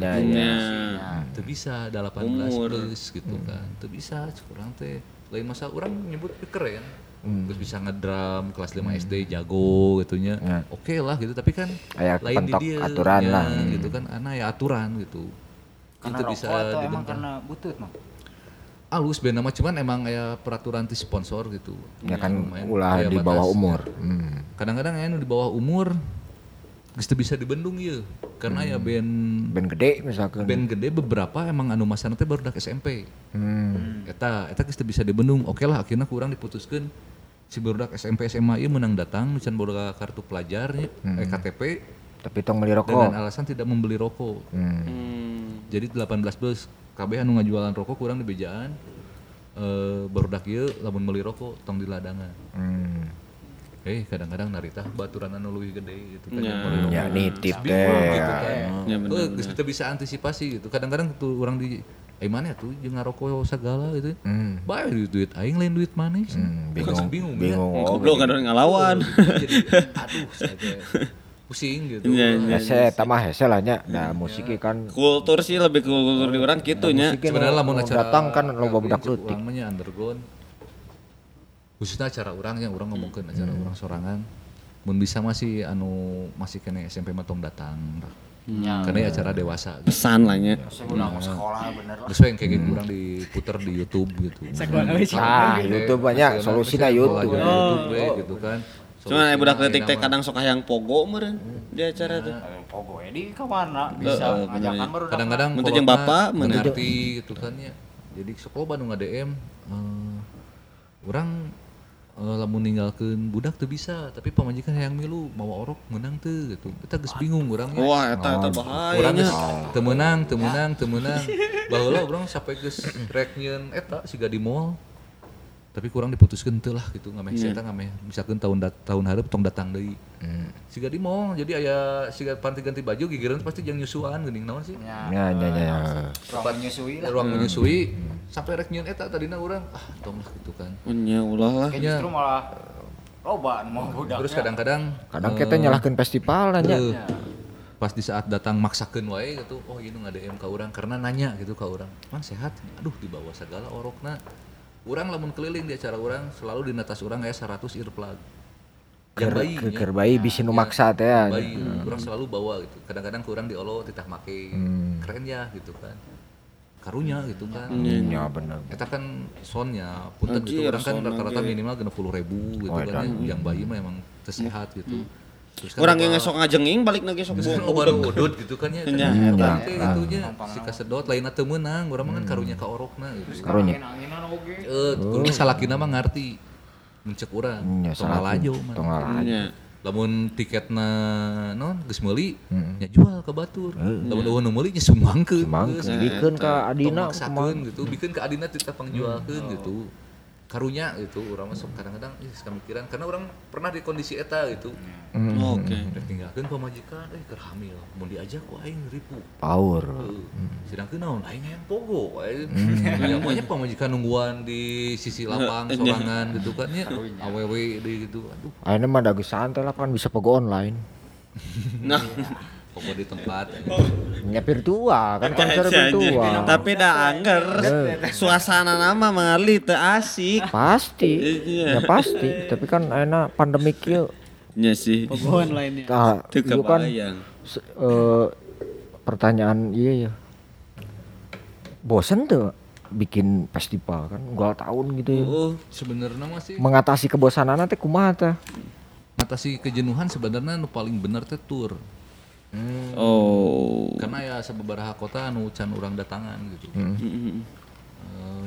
S4: Teu bisa ada 18 plus gitu kan. Teu bisa urang teh. Lain masa urang nyebut keren. Terus bisa ngedrum kelas 5 SD jago gitunya. Oke lah gitu tapi kan
S1: aya
S4: lain di dia
S1: aturan lah
S4: gitu kan ana ya aturan gitu.
S5: Karena rokok bisa atau emang karena butut mah?
S4: Alus band nama cuman emang ya peraturan ti sponsor gitu.
S1: Ya kan ulah di bawah umur.
S4: Kadang-kadang aya di bawah umur geus teu bisa dibendung ieu. Karena ya band
S1: gede misalkan.
S4: Band gede beberapa emang anu masana teh barudak SMP. Eta geus teu bisa dibendung. Oke lah akhirnya kurang diputuskeun si barudak SMP SMA ieu menang datang can boga kartu pelajar KTP
S1: tapi tong beli rokok
S4: dengan alasan tidak membeli rokok. Jadi 18 plus kabeh anu ngajualan rokok kurang di bejaan barudak ieu lamun meuli rokok tong di ladangan. Kadang-kadang narita baturan anu leuwih gede gitu kan.
S1: Ya nitip teh.
S4: Gitu kan. Geus teu bisa antisipasi gitu. Kadang-kadang tuh urang di mana tuh jeung ngarokok segala gitu. Bae duit aing lain duit maneh. Bingung.
S3: Goblok kan ngalawan.
S4: Jadi aduh saya pusing gitu.
S1: Hese tamah hese lah nya. Nah, musik kan
S3: kultur sih lebih kultur di urang kitu nya.
S4: Sebenarnya lamun acara
S1: datang kan loba budak leutik.
S4: Urang mah nya underground. Khususnya acara urang yang urang ngomongkeun acara urang sorangan. Mun bisa masih kene SMP mah tong datang. Karena acara dewasa gitu.
S3: Pesan lah nya.
S5: Sekolah bener lah.
S4: Terus yang kayak gitu urang diputer di YouTube gitu.
S1: YouTube banyak solusina YouTube.
S4: Gitu kan.
S3: Cuman budak leutik teh kadang sok hayang pogo meureun di acara teh.
S5: Pogo di ka mana bisa ngajakan baru
S4: kadang-kadang
S3: mun jeung bapak
S4: mengerti gitu kan ya. Jadi sok loba nu ngadm urang lamun ninggalkeun budak teu bisa, tapi pamajikan hayang milu mawa orok meunang teu gitu. Kita geus bingung urangnya.
S3: Wah, eta bahaya.
S4: Urang geus teu meunang. Baheula urang sampai geus rek nyieun eta siga di mall. Tapi kurang diputuskeun teu lah gitu ngameh eta ngameh misalkeun tahun hareup tong datang deui. Siga di mall jadi aya siga panti ganti baju gigireun pasti jeung nyusuan geuning naon sih?
S1: Ya.
S4: Ruang menyusui sampai rek nyieun eta tadina urang tong lah gitu kan.
S3: Nya ulah lah.
S5: Justru malah loba mau budaknya.
S4: Terus kadang
S1: kita nyalahkeun festival nya.
S4: Pas di saat datang maksakeun wae gitu, ieu nu ngadm ka urang karena nanya gitu ka urang. Man sehat? Aduh dibawa segala orokna. Urang lamun keliling di acara urang selalu di atas urang aya 100 earplug.
S1: Keur bayi bisi nu maksa teh ya.
S4: Urang selalu bawa gitu. Kadang-kadang kurang diolo titah make. Keren ya gitu kan. Karunya gitu kan.
S1: Iya bener.
S4: Eta kan soundnya punten gitu urang kan rata-rata minimal 60.000 gitu kan. Yang bayi mah emang teu sehat gitu.
S3: Urang ge sok ngajenging balik lagi sok
S4: baru udut gitu kan ya. Eta itunya si kasedot lainna teu meunang, urang mah kan karunya ka orokna gitu.
S1: Karunya.
S4: Kudu salakina mah ngarti. Mencek urang. Tong lalajo mah. Lamun tiketna naon geus meuli nya jual ka batur. Lamun eueuh nu meuli nya sumbangkeun.
S1: Bikeun ka adina
S4: gitu. Bikeun ka adina titah pangjualkeun gitu. Karunya gitu urang masuk kadang-kadang kamikiran karena orang pernah di kondisi eta gitu.
S3: Oke.
S4: Tinggalkeun pamajikan keur hamil mun diajak ku aing ripu.
S1: Power.
S4: Sedangkeun naon aing hayang pogo wae. Nya pamajikan nungguan di sisi lapang sorangan gitu kan nya awewe deui gitu. Aduh.
S1: Ayeuna mah da geus santai lah kan bisa pogo online.
S3: Nah,
S4: pogo di tempat.
S1: Nya virtual kan konser virtual.
S3: Tapi da anger suasana nama mengali teu asik.
S1: Pasti. Ya pasti, tapi kan ayeuna pandemik ieu.
S3: Nya sih.
S2: Pogo online-nya.
S3: Teu
S1: kan
S3: kebayang.
S1: Pertanyaan iya ya. Bosen tuh bikin festival kan unggal tahun gitu ya.
S4: Sebenarnya masih
S1: mengatasi kebosanan teh kumaha teh?
S4: Mengatasi kejenuhan sebenarnya nu paling bener teh tur.
S3: Oh.
S4: Karena ya sababaraha kota anu can urang datangan gitu.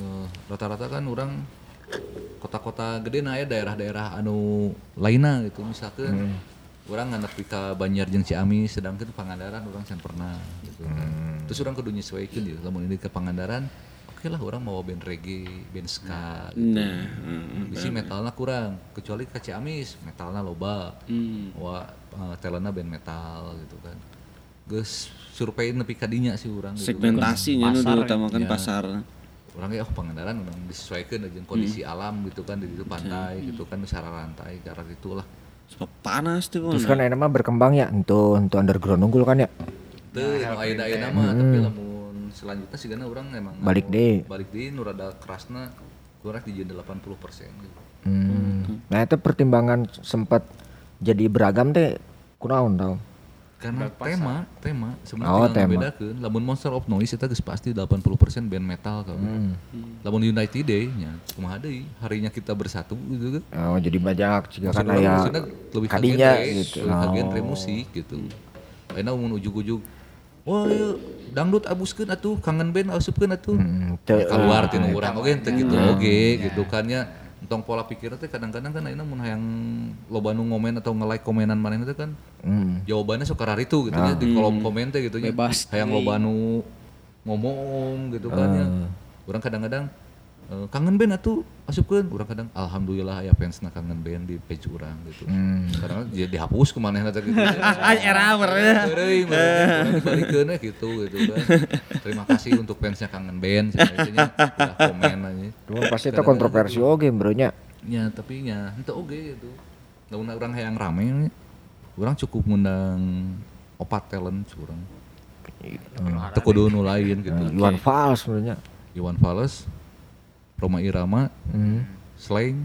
S4: rata-rata kan orang kota-kota gede na ya daerah-daerah anu lainna gitu misalkan orang nganep ka Banjar jeung Ciamis sedangkan Pangandaran orang can pernah gitu. Terus orang kudu nyesuaikeun ya lamun ini ke Pangandaran oke lah orang mau band reggae, band ska gitu. Bisi metalna kurang kecuali ke Ciamis metalna loba. Talentna band metal gitu kan. Geus survei nepi ka dinya sih urang gitu.
S3: Segmentasinya nu diutamakan pasar.
S4: Orang ya Pangandaran memang disesuaikan dengan kondisi alam gitu kan di pantai gitu kan secara rantai ke arah itulah.
S3: Sebab panas tuh.
S1: Terus kan ayeuna mah berkembang ya untuk underground unggul kan ya.
S4: Teu anu ayeuna mah tapi lamun selanjutnya sigana urang emang
S1: Balik deui
S4: nu rada kerasna kurang di 80% gitu.
S1: Nah itu pertimbangan sempat jadi beragam teh kunaon tau?
S4: Karena tema sebenarnya tinggal ngebedakeun lamun Monster of Noise eta geus pasti 80% band metal kan. Lamun United Day nya kumaha deui harinya kita bersatu gitu kan.
S1: Oh jadi banyak juga kan aya
S4: kadinya gitu. Lebih genre musik gitu. Ayeuna mun ujug-ujug wah dangdut abuskeun atuh kangen band asupkeun atuh. Keluar tinu urang oge teh gitu oge gitu kan nya. Entong pola pikirnya teh kadang-kadang kan ayeuna mun hayang loba nu ngomen atau nge-like komenan manehna teh kan jawabannya suka raritu gitu nya di kolom komen teh gitu nya hayang loba nu ngomong gitu kan nya urang kadang-kadang kangen band atuh asupkeun urang kadang alhamdulillah aya fansna kangen band di page urang gitu kadang dihapus ku manehna teh gitu
S3: Era bener
S4: dibalikeun gitu kan terima kasih untuk fansnya kangen band cenah udah komen aja
S1: cuma pasti itu kontroversi oge bro nya
S4: nya tapi nya henteu oge gitu lamun urang hayang rame urang cukup ngundang 4 talent urang teu kudu nu lain gitu
S1: Iwan Fals sebenarnya
S4: Iwan Fals Roma Irama, Slang,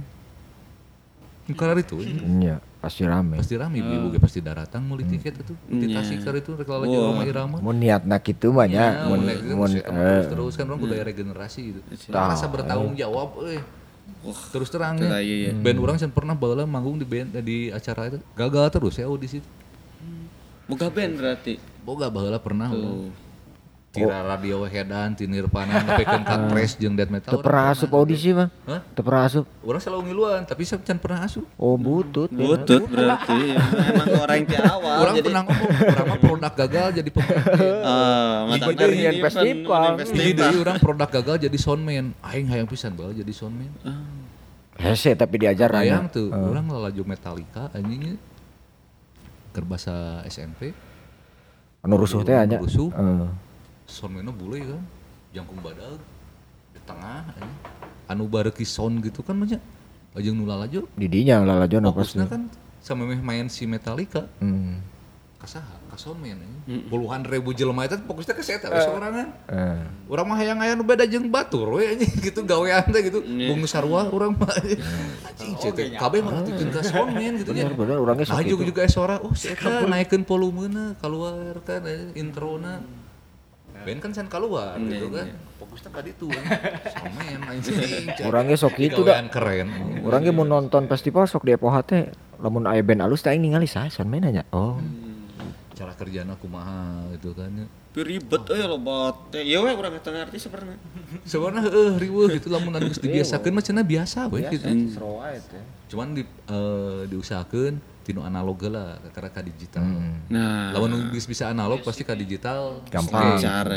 S4: karena itu,
S1: iya pasti rame
S4: ibu pasti daratang mulai tiket itu, di Tasikar itu rekala lagi Roma Irama.
S1: Mun niatna kitu mah nya, mun
S4: terus kan orang budaya regenerasi gitu, rasa bertanggung jawab, terus terangnya, band orang yang pernah bawa manggung di band di acara itu gagal terus ya audisi.
S3: Boga band berarti?
S4: Boga baheula pernah. Tira radio Hedan, ti Nirvana, nepikeun ka thrash jeung death metal.
S1: Teu pernah asup audisi mah? Teu pernah asup?
S4: Urang selalu ngiluan, tapi can pernah asup.
S1: Oh butut.
S3: Butut berarti. Emang orang ti awal.
S4: Urang pernah ngomong, urang mah produk gagal jadi pemain.
S1: Mata dari festival.
S4: Jadi urang produk gagal jadi soundman. Aing hayang pisan bae jadi soundman.
S1: Hese tapi diajar
S4: hayang tuh. Urang lalaju Metallica anjingnya. Keur basa SMP.
S1: Anu rusuh teh anya.
S4: Soundman-na bule kan, jangkung badag di tengah, anu bareki sound gitu kan banyak, ajeng nu lalajo.
S1: Di dinya lalajo na pasti.
S4: Fokusna kan sama main si Metallica, kasaha, ka soundman, puluhan ribu jelema eta fokusnya ke eta sorangan. Urang mah hayang aya nu beda jeung batur we anjing gitu gawean teh gitu, bung sarua urang mah. Anjing ceuk kabeh mah tikeun ka soundman gitu nya.
S1: Bener urang ge sok.
S4: Maju juga suara, si eta naikeun volumena, keluar kan introna. Ben kan sen keluar gitu kan. Fokusnya ka ditu kan. Somen anjing.
S1: Urang ge sok kitu da.
S4: Keren.
S1: Urang ge mun nonton festival sok di Epoha teh lamun aya band alus teh aing ningali saha soundman nya. Oh.
S4: Cara kerjana kumaha gitu kan.
S3: Ribet loba teh. Ieu we urang eta ngarti sebenarnya.
S4: Sebenarnya riweuh gitu lamun anu geus dibiasakeun mah cenah biasa we gitu. Cuman diusahakeun tinu analog lah karena ka digital. Nah, lamun bisa analog pasti ka digital
S1: gampang
S3: cara.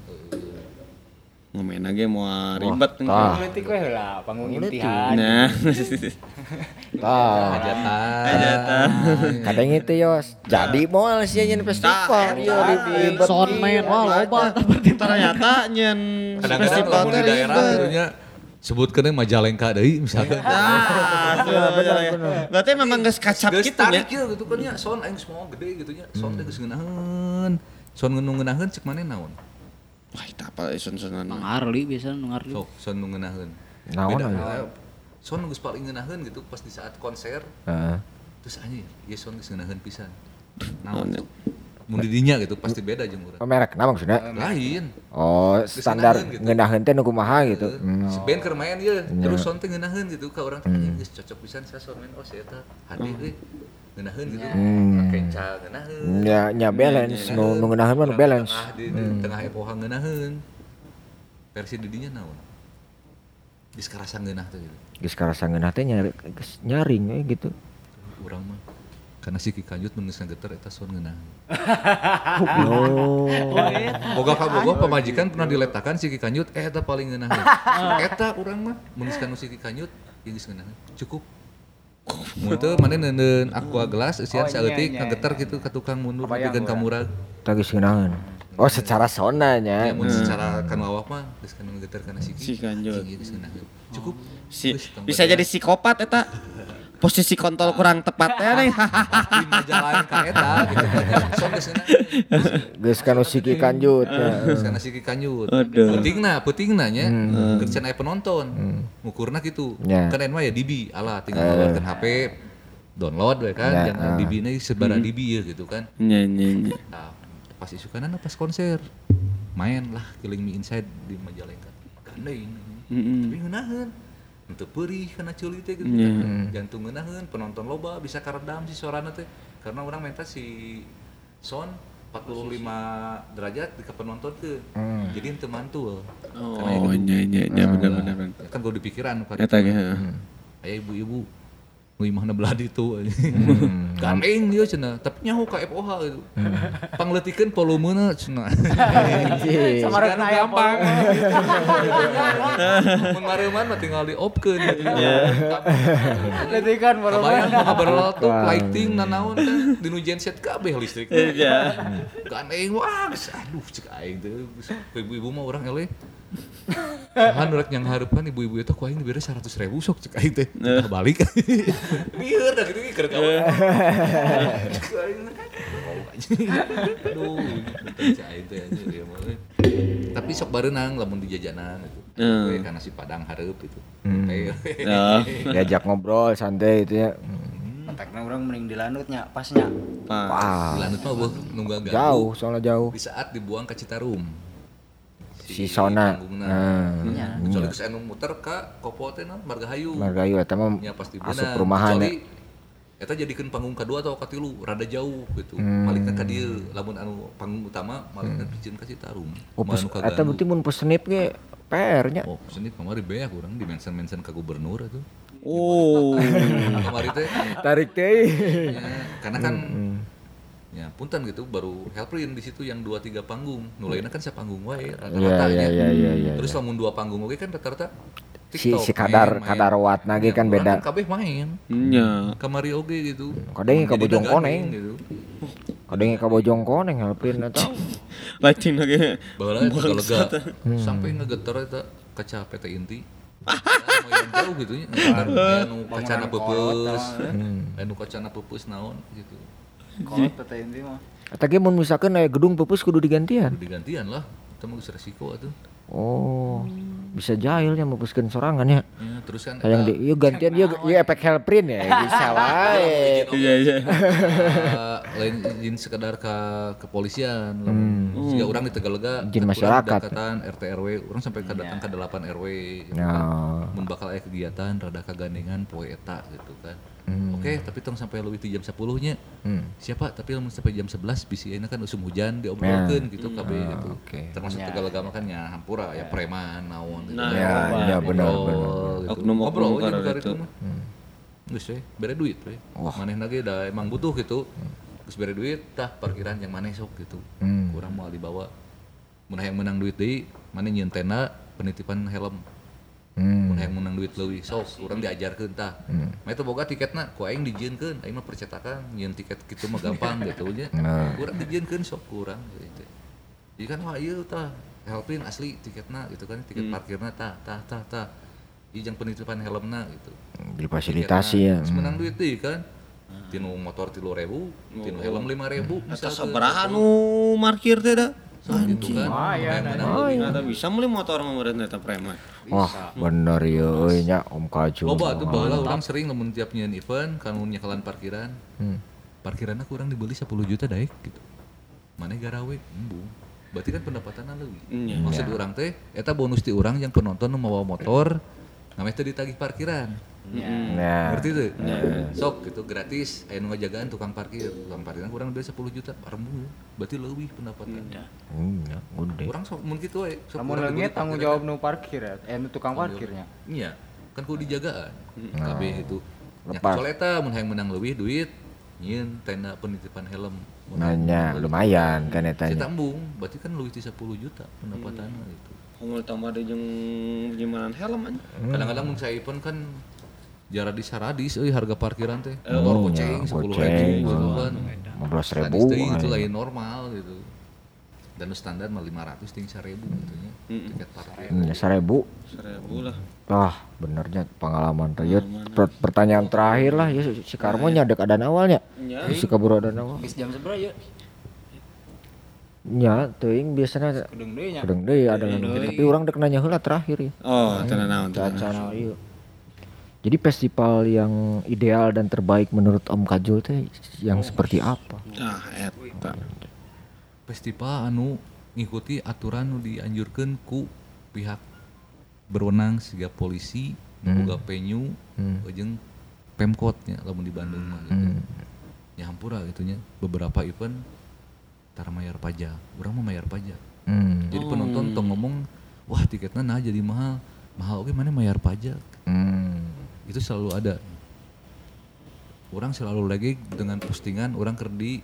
S3: Ngomen ge moal ribet
S5: politik we heula panggung imtihan.
S3: Nah.
S4: Hajatan.
S1: Kadang itu yos. Jadi moal sia nyen festival ieu ribet.
S2: Soundman wah loba
S3: ternyata nyen
S4: festival di daerah nya sebutkeun Majalengka deui misalkan.
S1: Bener.
S3: Berarti memang geus kacap kitu nya.
S4: Gitu kan nya sound aing semua gede gitu nya. Sound teh geus ngeunaheun. Sound ngeunaheun cek maneh naon?
S3: Wah, itu apa sound-soundan?
S2: Mang Arli biasa nu ngarli.
S4: Sok sound nu ngeunaheun.
S1: Naon
S4: aya? Sound geus paling ngeunaheun gitu pas di saat konser. Terus anjing, ieu sound geus ngeunaheun pisan. Naon? Mun di dinya gitu pasti beda jeung urang.
S1: Merek nama maksudnya?
S4: Lain.
S1: Oh, standar ngeunaheun teh nu kumaha gitu.
S4: Si band keur main ieu, terus sound teh ngeunaheun gitu ka urang teh geus cocok pisan sa soundman oh si eta hadi euy. Ngeunaheun gitu. Kenca ngeunaheun.
S1: Nya balance nu ngeunaheun mah balance.
S4: Di tengah epoha ngeunaheun. Versi di dinya naon? Geus karasa ngeunah teh gitu.
S1: Geus karasa ngeunah teh nyaring we gitu.
S4: Urang mah karena si Kikanjut mun geus ngageter eta son ngeunah.
S1: Oh.
S4: Boga pamajikan pernah diletakan si Kikanjut eta paling ngeunah. Eta urang mah mun geus kanu si Kikanjut geus ngeunah. Cukup. Mun teu maneh neuneun aqua gelas eusian saeutik ngageter kitu ka tukang mundur pikeun ka murag.
S1: Tah geus ngeunaheun. Oh secara sonanya.
S4: Ya mun secara kanu awak mah geus kanu ngageter kana si
S3: Kikanjut.
S4: Geus ngeunaheun. Cukup.
S3: Bisa jadi psikopat eta. Posisi kontol kurang tepat teh nih.
S4: Di majalah ka eta gitu kan. Sok geus ngeunaheun.
S1: Geus kanu si Kikanjut.
S4: Geus kana si Kikanjut. Peutingna nya keur aya penonton. Ngukurna kitu. Kan mah ya DB alah tinggal ngeluarkeun HP download we kan jangan DB-na sebara DB ya gitu kan.
S3: Nya.
S4: Nah, pas isukanana pas konser main lah Killing Me Inside di Majalengka. Gandeng. Tapi ngeunaheun. Untuk perih kena ceuli teh gitu kan. Jantung ngeunaheun penonton loba bisa karedam si suarana teh. Karena orang minta si sound 45 derajat di penonton ke. Jadi henteu mantul.
S3: Oh nya benar.
S4: Kan gua dipikiran
S3: eta ge.
S4: Aya ibu-ibu nu imahna belah ditu. Gandeng dia cenah, tapi nyaho ka FOH gitu. Pangleutikeun volumena cenah.
S5: Samarana aya
S4: gampang. Mun mareuman mah tinggal di-off-keun.
S5: Leutikan volumena.
S4: Kabayang mah berlotok lighting nanaon kan dinu genset kabeh listrik.
S3: Iya.
S4: Gandeng wah aduh cek aing teh ibu-ibu mah urang eleh. Kan urang yang hareupan ibu-ibu eta ku aing dibere 100.000 sok cek aing teh. Balik. Bieur da kitu keur kawan. Aduh, cek aing teh ya mah. Tapi sok bareunang lamun di jajanan gitu. Karena si Padang hareup itu.
S1: Diajak ngobrol santai itu ya.
S5: Kontakna urang mending di Lanutnya pasnya.
S1: Wah.
S4: Di Lanut mah nunggu ganggu.
S1: Jauh, soalnya jauh.
S4: Di saat dibuang ke Citarum.
S1: Si Sona.
S4: Kecuali geus anu muter ka Kopo teh naon Margahayu.
S1: Margahayu eta mah
S4: nya pasti
S1: asup
S4: beunang.
S1: perumahan ya.
S4: Eta jadikeun panggung kedua atau katilu rada jauh gitu. Malikna ka dieu lamun anu panggung utama malikna pikeun ka Citarum.
S1: Oh, eta berarti mun pesenip ge PR-nya.
S4: Oh, pesenip kamari beak urang di mention ka gubernur atuh.
S3: Oh.
S4: Kamari teh
S1: Tarik teh.
S4: karena kan ya punten gitu baru Helprin di situ yang 2-3 panggung. Nu lainna kan sapanggung wae rata-rata nya.
S1: Iya.
S4: Terus lamun 2 panggung oge kan rata-rata
S1: Si kadar watna ge kan beda.
S4: Kan kabeh main.
S3: Nya.
S4: Kamari oge gitu.
S1: Kadang ka Bojong Koneng.
S4: Gitu.
S1: Kadang ka Bojong Koneng Helprin eta.
S3: Lighting lagi.
S4: Baheula eta lega sampai ngegeter eta kaca PT Inti. Lumayan jauh gitu nya. Anu kacana peupeus. Anu kacana peupeus naon gitu.
S5: Kolot PT Inti mah.
S1: Eta ge mun misalkan aya gedung peupeus kudu digantian.
S4: Digantian lah. Itu mah geus resiko atuh.
S1: Oh. Bisa jahilnya mepuskeun sorangan ya.
S4: Ya, terus kan
S1: Hayang di ieu gantian ieu efek Helprin ya bisa wae.
S3: Iya.
S4: Lain izin sekedar ke kepolisian lamun siga urang di Tegalega
S1: Izin masyarakat.
S4: Dekatan RT RW urang sampai datang ke 8 RW gitu
S1: Ya.
S4: kan. Mun bakal aya kegiatan rada kagandengan poe eta gitu kan. Oke, tapi tong sampai leuwih ti jam 10 nya. Siapa? Tapi lamun sampai jam 11 bisi ayeuna kan usum hujan diobrolkeun gitu kabeh gitu. Termasuk Tegalega mah kan nya hampura ya preman naon gitu.
S1: Ya benar.
S4: Gitu. Ngobrol aja buka itu mah. Geus we, bere duit we. Manehna ge da emang butuh gitu. Geus bere duit, tah parkiran yang maneh sok gitu. Kurang moal dibawa. Mun hayang menang duit deui, maneh nyieun tenda penitipan helm. Mun hayang menang duit leuwih sok urang diajarkeun tah. Mah eta boga tiketna ku aing dijieunkeun, aing mah percetakan nyieun tiket kitu mah gampang gitu nya. Urang dijieunkeun sok ku urang gitu. Jadi kan wah ieu tah Helprin asli tiketna gitu kan, tiket parkirna tah. Ijang penitipan helmna gitu.
S1: Difasilitasi ya.
S4: Terus menang duit deui kan. Tinu motor 3.000, tinu helm 5.000
S3: Eta sabaraha nu parkir teh da?
S4: Gitu kan.
S3: Ada bisa meuli motor mah meureun eta preman.
S1: Wah, bener ya euy nya Om Kaju.
S4: Loba tuh baheula urang sering lamun tiap nyieun event kanu nyekalan parkiran. Parkiranna kurang dibeli 10 juta daek gitu. Maneh garawe embung. Berarti kan pendapatanna leuwih. Maksud urang teh eta bonus ti urang yang penonton nu mawa motor ngameh teh ditagih parkiran.
S1: Nah,
S4: Ngerti tuh? Sok gitu gratis, aya nu ngajagaan tukang parkir kurang biasa 10 juta paremu. Berarti leuwih pendapatan.
S1: ya, gede.
S4: Urang sok mun kitu we. Sok
S5: Lamun
S4: urang
S5: leungit
S4: dibeli
S5: tanggung
S4: parkiran.
S5: jawab nu parkir ya, nu tukang parkirnya.
S4: Iya, kan kudu dijagaan. Kabeh itu. Nya
S1: Lepas.
S4: kecuali eta mun hayang menang leuwih duit, nyieun tenda penitipan helm.
S1: Nanya lumayan kan
S4: Si
S1: etanya.
S4: tambung, berarti kan leuwih ti 10 juta pendapatanna gitu.
S3: Ngomong tambah deui jeung penyimpanan helm anjing.
S4: Kadang-kadang mun saya pun kan jara di Saradis euy harga parkiran teh. Motor goceng 10.000
S1: goceng,
S4: gitu kan.
S1: 15.000.
S4: Saradis teh itu lain normal gitu. Dan standar mah 500 ting 1.000 gitu nya. Tiket parkir.
S1: 1.000.
S3: 1.000 lah.
S1: Wah, benernya pengalaman teh. Ya, pertanyaan terakhir lah ya si Karmo nya dek adan awalnya. Si kabur adan awal.
S5: Geus jam sabaraha ya?
S1: Nya teuing biasana
S5: Kedeung deui nya.
S1: kadang deui ada tapi orang dek nanya heula terakhir ya.
S3: Oh, tenan naon teh.
S1: Acara ieu. Jadi festival yang ideal dan terbaik menurut Om Kajul teh yang seperti apa?
S3: Ah, eta.
S4: Festival anu ngikuti aturan nu dianjurkeun ku pihak berwenang siga polisi, boga penyu, jeung Pemkot nya lamun di Bandung mah gitu. Nya hampura gitu nya. Beberapa event tara mayar pajak. Urang mah mayar pajak. Jadi penonton tong ngomong, "Wah, tiketnya nah jadi mahal." Mahal oke mana mayar pajak. Itu selalu ada. Orang selalu lagi dengan postingan orang kerdi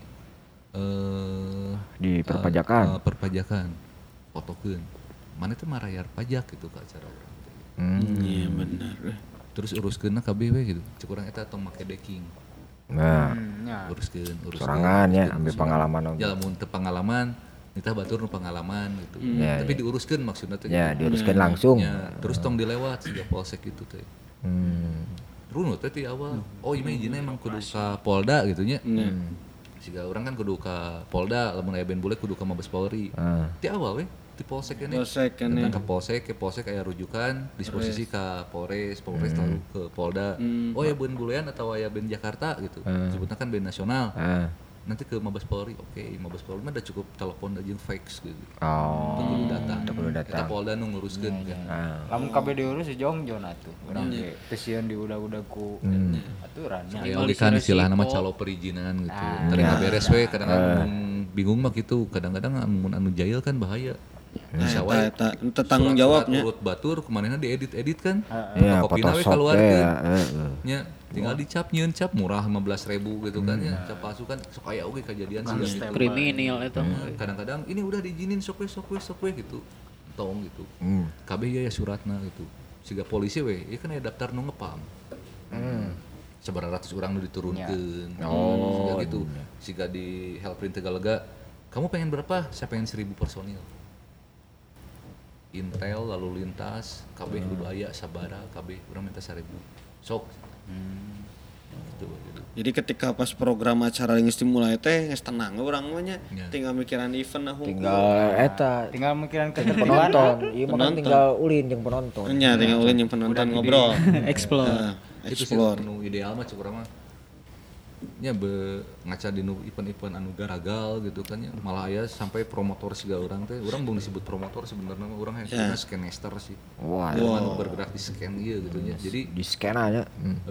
S1: Di perpajakan.
S4: perpajakan fotokeun mana teh marayar pajak gitu ke acara orang teh.
S3: Iya bener.
S4: Terus uruskeunna kabeh we gitu cek urang eta tong make decking
S1: Nah,
S5: Nya.
S4: uruskeun
S1: sorangan ya ambil pengalaman.
S4: ya lamun teu pengalaman nitah batur nu pengalaman gitu
S1: Ya,
S4: tapi diuruskeun maksudna teh
S1: Ya, diuruskan langsung.
S4: ya, terus tong dilewat siga polsek itu teh runut teh ti awal oh ieu mah izina emang kudu ka Polda gitu nya siga urang kan kudu ka Polda lamun aya band bule kudu ka Mabes Polri ti awal we ti polsek keneh
S3: Polsek keneh.
S4: datang ke polsek aya rujukan disposisi ka Polres lalu ke Polda oh ya band bulean atau aya band Jakarta gitu sebutna kan band nasional nanti ke Mabes Polri oke Mabes Polri mah udah cukup telepon aja fax gitu
S1: Oh.
S4: teu kudu datang
S1: kudu datang.
S4: eta Polda nu nguruskeun kan
S5: Lamun kabeh diurus si Jongjon atuh. Urang ge teu sieun diudag-udag ku aturannya.
S4: aya oge kan istilahna mah calo perizinan gitu terima beres we kadang-kadang bingung mah gitu kadang-kadang mun anu jahil kan bahaya bisa wae
S3: Eta tanggung jawabnya.
S4: urut batur kumanehna diedit kan
S1: Ya,
S4: Fotokopina we
S1: Photoshop
S4: keluarkeun
S1: ya.
S4: nya tinggal dicap nyieun cap murah 15.000 gitu kan ya cap palsu kan sok aya oge kejadian sih gitu
S2: kriminal eta
S4: kadang-kadang ini udah diizinin sok we gitu tong gitu kabeh ya suratna gitu siga polisi we ieu kan aya daftar nu ngepam sabaraha ratus urang nu diturunkeun siga gitu siga di Helprint Tegalega kamu pengen berapa saya pengen 1.000 personil Intel lalu lintas kabeh kudu aya sabara kabeh urang minta 1.000 sok gitu.
S3: Jadi ketika pas program acara geus dimulai teh geus tenang urang mah nya.
S4: Ya.
S3: Tinggal mikiran event nah hukum.
S1: Tinggal eta
S5: Tinggal mikiran ke
S1: penonton. Iya mah kan tinggal ulin jeung penonton.
S3: Nya tinggal ulin yang penonton ngobrol.
S2: explore
S4: Itu sih
S3: Explore.
S4: nu ideal mah cuk urang mah nya ngaca di nu event-event anu garagal gitu kan ya malah aya sampai promotor siga urang teh urang belum disebut promotor sebenarnya mah urang hayang scanester sih
S1: Wah,
S4: anu bergerak di scan ieu gitu nya jadi
S1: di scan aja.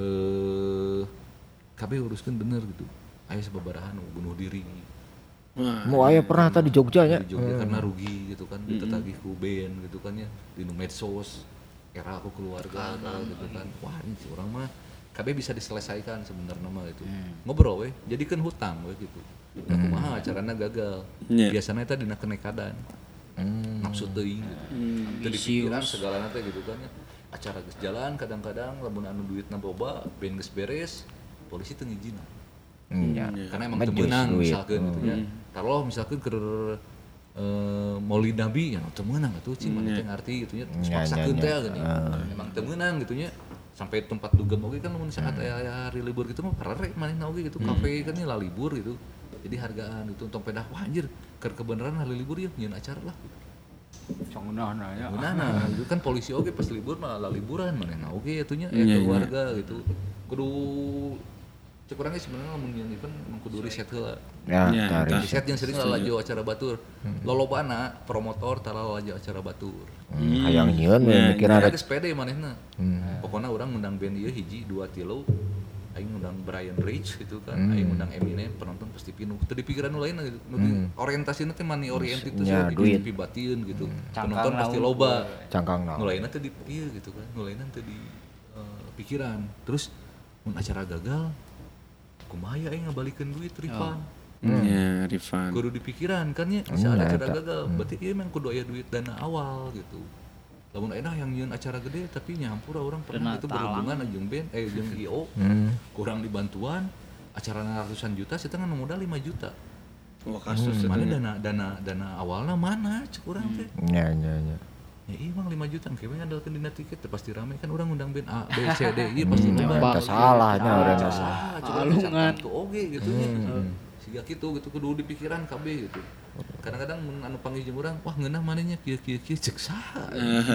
S4: kabeh uruskeun bener gitu aya sababaraha nu bunuh diri
S1: Mau aya pernah tadi di Jogja nya.
S4: di Jogja karena rugi gitu kan ditetagih ku band gitu kan ya di nu medsos era aku keluarga gitu kan wah ini si orang mah kabeh bisa diselesaikan sebenarnya mah gitu ngobrol we jadikeun hutang we gitu nah kumaha acarana gagal biasanya eta dina kenekadan nafsu teuing gitu teu dipikiran segalana teh gitu kan ya acara geus jalan kadang-kadang lamun anu duitna boba band geus beres polisi teu ngijinna karena emang teu meunang misalkeun gitu nya taruh misalkeun keur Maulid Nabi ya teu meunang atuh cing mana teh ngarti gitu nya paksakeun teh gini emang teu meunang gitu nya sampai tempat dugem oge kan mun saat aya hari libur gitu mah parare manehna oge gitu kafe kan lah libur gitu jadi hargaan itu untuk pedah wah anjir keur kebenaran hari libur ya nyieun acara lah
S5: Congnahna nya.
S4: Gunana itu kan polisi oge pas libur mah lah liburan manehna oge atunya keluarga gitu kudu cek urang sebenarnya mun nyeun event kudu riset heula
S1: Ya, tari.
S4: riset yang sering lalajo acara batur lolobana promotor tara lalajo acara batur
S1: Hayang nyieun we mikir ada
S4: geus pede manehna pokoknya orang ngundang band ieu hiji 2 3 aing ngundang Brian Rich gitu kan, aing ngundang Eminem, penonton pasti pinuh. Teu dipikiran nu lain gitu. Orientasina teh money oriented teh
S1: duit
S4: pibatieun gitu. Penonton pasti loba.
S1: Cangkang
S4: Nu lainna teh di ieu gitu kan. Nu lainna teh di pikiran. Terus mun acara gagal kumaha aing ngabalikeun duit refund.
S3: Ya, refund.
S4: Kudu dipikiran kan ya, bisa ada acara gagal. Berarti ieu memang kudu aya duit dana awal gitu. Lamun enak yang nyeun acara gede tapi nyampur orang pernah itu berhubungan jeung band jeung IO kurang dibantuan acara ratusan juta sih kan modal 5 juta.
S3: Wah kasus
S4: mana dana awalnya mana cek urang teh.
S1: Ya.
S4: Ya iya emang 5 juta kayaknya ngandalkeun dina tiket teh pasti rame kan urang ngundang band A B C D ieu pasti
S1: loba. Salahnya urang
S2: alungan
S4: tuh oge gitu nya. Siga kitu gitu kudu dipikiran kabeh gitu. Kadang-kadang anu panggil jeung urang, wah ngeunah manehnya kieu cek saha.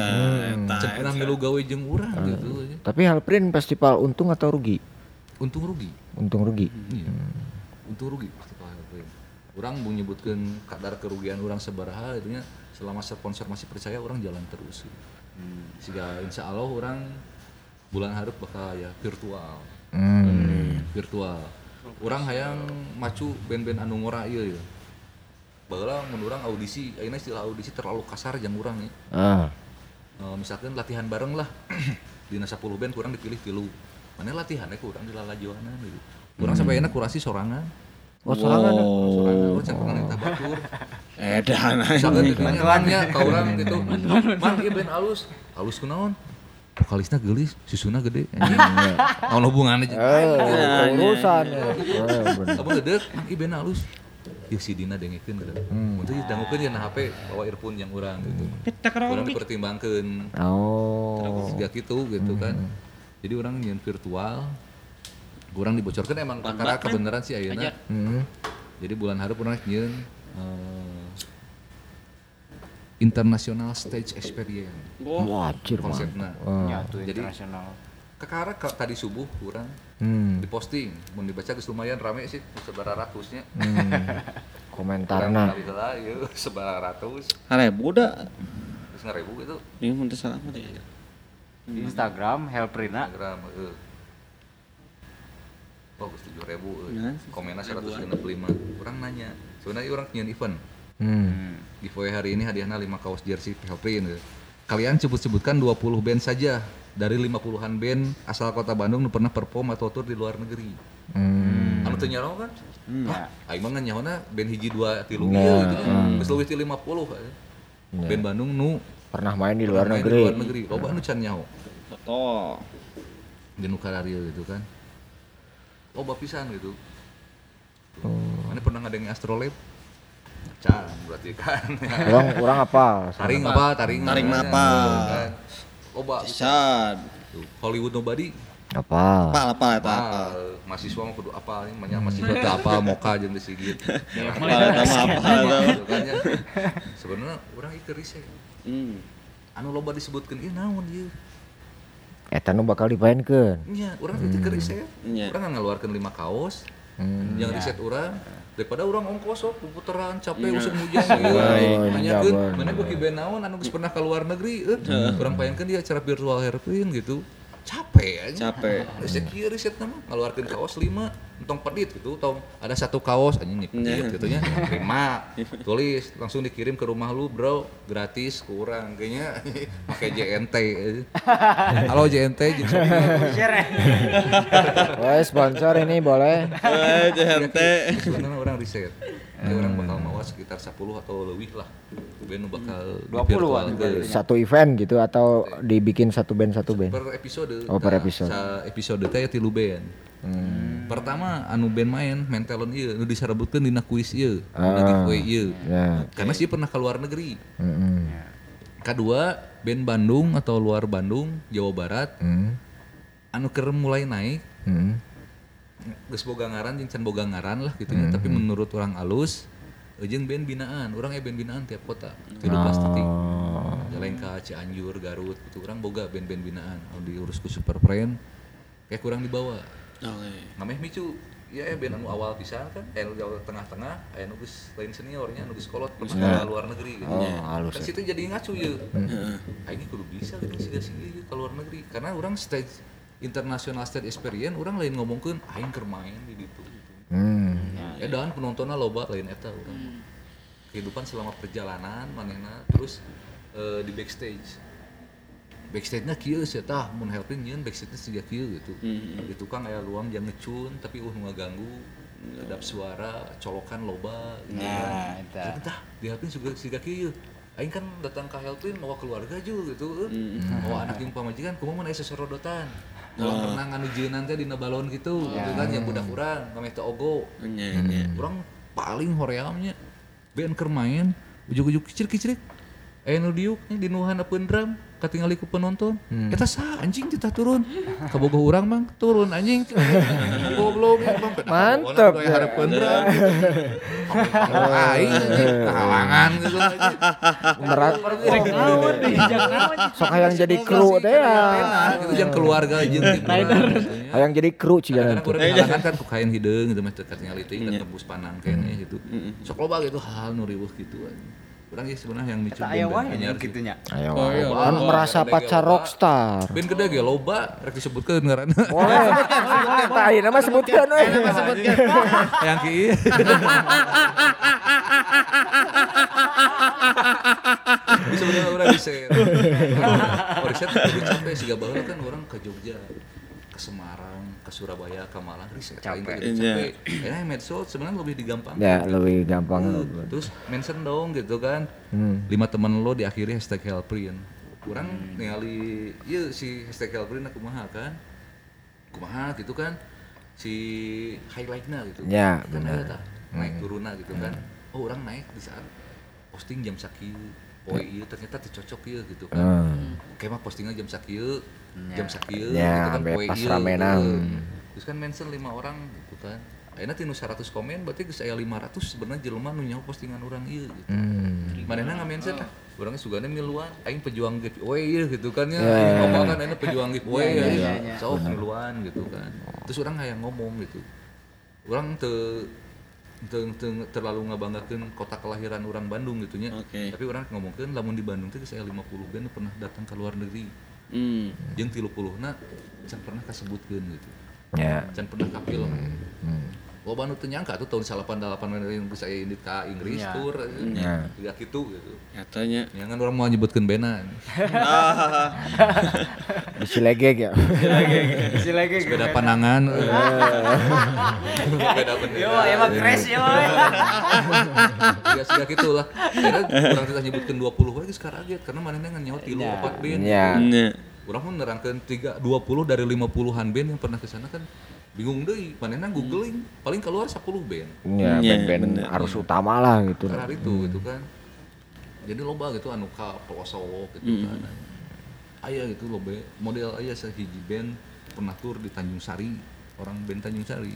S4: Cek pernah milu gawe jeung urang gitu.
S1: Tapi Halprin festival untung atau rugi?
S4: Untung rugi. Iya. Untung rugi festival Halprin. Urang mau nyebutkeun kadar kerugian urang sabaraha gitu nya, selama sponsor masih percaya urang jalan terus. Siga insyaallah urang bulan hareup bakal ya virtual. Virtual. Urang hayang macu band-band anu ngora ieu ya. Baheula mun urang audisi, ayeuna istilah audisi terlalu kasar jeung urang ya. Misalkan latihan bareng lah. Dina 10 band kurang dipilih 3. Mane latihannya kurang di lalajoanan gitu. Urang sampai ayeuna kurasi sorangan.
S1: Oh, sorangan.
S4: Sorangan can pernah minta batur.
S3: Edan.
S4: Misalkan ditanya ka urang gitu. Man ieu band alus. Alus kunaon? Vokalisnya gelis, susuna gede. Naon hubunganna jeung
S1: urusan.
S4: Apa gede? Man ieu band alus. Yuk si Dina dengekeun gitu. Untuk dangukeun ya na HP bawa earphone yang urang gitu. Urang dipertimbangkeun.
S1: Oh.
S4: Siga kitu gitu kan. Jadi urang nyeun virtual. Urang dibocorkeun emang perkara kebenaran sih ayeuna. Jadi bulan hareup urang nyeun International Stage Experience.
S1: Wajir
S4: konsepna.
S5: Jadi internasional.
S4: Kakara tadi subuh kurang diposting, mun dibaca geus lumayan rame sih, seberapa ratusnya.
S1: Komentarna.
S4: Lah ieu seberapa ratus.
S3: 1000 da.
S4: Geus 1000 gitu.
S3: Ieu mun teh salah mah teh.
S5: Di Instagram Helprina.
S4: Instagram oh geus 7.000 komennya 165. Urang nanya, sebenarnya urang nyeun event. Giveaway hari ini hadiahnya 5 kaos jersey Helprin. Kalian sebutkan 20 band saja dari 50-an band asal kota Bandung nu pernah perform atau tour di luar negeri. Anu teu nyaho kan? Aing mah nyahoana band hiji 2 3 ieu gitu. Geus leuwih ti 50. Band Bandung nu
S1: pernah main di luar negeri.
S4: Loba anu can nyaho.
S3: Betul.
S4: Di nu kararieu gitu kan. Loba pisan gitu. Mana pernah ngadenge Astrolab? Can berarti kan.
S1: Urang apa?
S4: Taring apa? Loba
S3: pisan.
S4: Hollywood Nobody.
S1: Apa?
S4: Mahasiswa mah kudu apal nya, manya mahasiswa teh apal moka jeung disigit. Sebenarnya urang ieu riset. Anu loba disebutkeun ieu naon ieu?
S1: Eta nu bakal dipaenkeun.
S4: Nya, urang teh keur riset. Urang ngaluarkeun 5 kaos. Yang riset urang daripada urang ongkos puteran capek usum hujan nanyakeun mana beuki band naon anu geus pernah ka luar negeri urang paenkeun di acara virtual Helprin gitu capek riset nama ngaluarkeun kaos 5 entong pedit gitu tong ada 1 kaos anjing nyipit gitu nya terima tulis langsung dikirim ke rumah lu bro gratis ke urang kayaknya pakai JNT halo JNT
S1: Woi sponsor ini boleh
S3: JNT
S4: sebenarnya orang riset orang bakal mawa sekitar 10 atau lebih lah band bakal
S5: 20
S1: satu event gitu atau dibikin satu band
S4: per episode
S1: per episode
S4: episode teh 3 band pertama anu band main talent ieu nu disarebutkeun dina kuis ieu dina giveaway ieu karena sih pernah ke luar negeri kedua band Bandung atau luar Bandung Jawa Barat anu keur mulai naik geus boga ngaran jeung can boga ngaran lah gitu nya tapi menurut orang alus jeung band binaan urang band binaan tiap kota tilu plastik Jalengka Cianjur Garut gitu urang boga band-band binaan anu diurus ku Super Friend kayak kurang dibawa namanya micu iya band anu awal pisan kan, anu awal tengah-tengah, anu geus lain seniornya, anu geus kolot pernah ke luar negeri gitu.
S1: Halus.
S4: Kan situ jadi ngacu ya. Ini kudu bisa gitu sih ke luar negeri. Karena orang stage international stage experience, orang lain ngomongkeun aing keur main di ditu gitu. Dan penontonnya loba lain eta urang. Kehidupan selama perjalanan manehna terus di backstage. Backstage-nya kieu sih tah mun helping nyeun backstage-nya siga kieu gitu. Di tukang aya luang jang ngecun tapi ngaganggu. Kedap suara, colokan loba gitu kan. Tah di helping juga siga kieu. Aing kan datang ke helping mawa keluarga juga gitu. Mawa anak yang pamajikan kumaha mun aya sesorodotan. Kolam renang anu jeunan teh dina balon gitu kan yang budak urang kameh teh ogo. Urang paling horeamnya band keur main ujug-ujug kicir-kicir. Nu diuk di nu handapeun drum katingali ku penonton. Eta sah anjing kita turun. Kabogoh urang mang turun anjing. Goblok bang.
S1: Mantap
S4: ya harapeun drum. Aing halangan gitu aja.
S1: Merat. Sok hayang jadi kru teh ya.
S4: Itu jeung keluarga jeung
S1: Hayang jadi kru ciga
S4: nanti. Halangan kan ku kain hideung gitu mah teu katingali teuing dan tembus panang keneh gitu. Sok loba gitu hal nu riweuh gitu. Urang ge sebenarnya yang micu
S5: anyar gitunya.
S1: Ayo. Kan merasa pacar rockstar.
S4: Band gede ge loba rek disebutkeun ngaranna.
S1: Boleh. Tah ieu mah sebutkeun we.
S4: Yang kieu. Bisa bener urang riset. Riset kudu capek siga baheula kan urang ke Jogja, ke Semarang, ke Surabaya, ke Malang riset capek. Enak medsos sebenarnya lebih digampang.
S1: Ya, lebih gampang.
S4: Terus mention dong gitu kan. 5 teman lo diakhiri #helprin. Urang ningali ieu si #helprin kumaha kan. Kumaha gitu kan. Si highlight-na gitu.
S1: Ya,
S4: kan
S1: benar.
S4: Naik turunna gitu kan. Oh, urang naik di saat posting jam sakieu. Poe ieu ternyata teu cocok ieu gitu kan. Kayak mah postingnya jam sakieu, jam sakieu gitu kan poe ieu. Terus kan mention 5 orang gitu kan. Ayeuna tinu 100 komen berarti geus aya 500 sebenarnya jelema nu nyaho postingan urang ieu gitu. Manehna ngamention tah urang sugana miluan aing pejuang giveaway ieu gitu kan ya. Ngomong kan ayeuna pejuang giveaway ya. Sok miluan gitu kan. Terus urang hayang ngomong gitu. Urang teu terlalu ngabanggakeun kota kelahiran orang Bandung gitu nya. Tapi orang ngomongkeun lamun di Bandung teh saya 50 band pernah datang ke luar negeri. Jeung 30-na can pernah kasebutkeun gitu.
S1: Ya.
S4: Can pernah ka film. Loba nu teu nyangka tuh tahun 88 yang bisa indit ka Inggris tur. Juga kitu gitu.
S3: Nyatanya.
S4: Ya kan urang mau nyebutkeun bena.
S1: Bisi legeg ya.
S5: Bisi legeg.
S4: Beda pandangan. Beda bendera.
S5: Yo, emang crash yo.
S4: Ya sudah gitulah. Karena urang teh nyebutkeun 20 we geus karaget karena manehna nyaho 3 4 band.
S1: Iya.
S4: Urang pun nerangkeun 20 dari 50-an band yang pernah ke sana kan bingung deui, manehna googling paling keluar 10 band.
S1: Ya, band-band arus utama lah gitu.
S4: Karena itu gitu kan. Jadi loba gitu anu ka pelosok gitu kan. Aya gitu loba model aya sahiji band pernah tur di Tanjung Sari, orang band Tanjung Sari.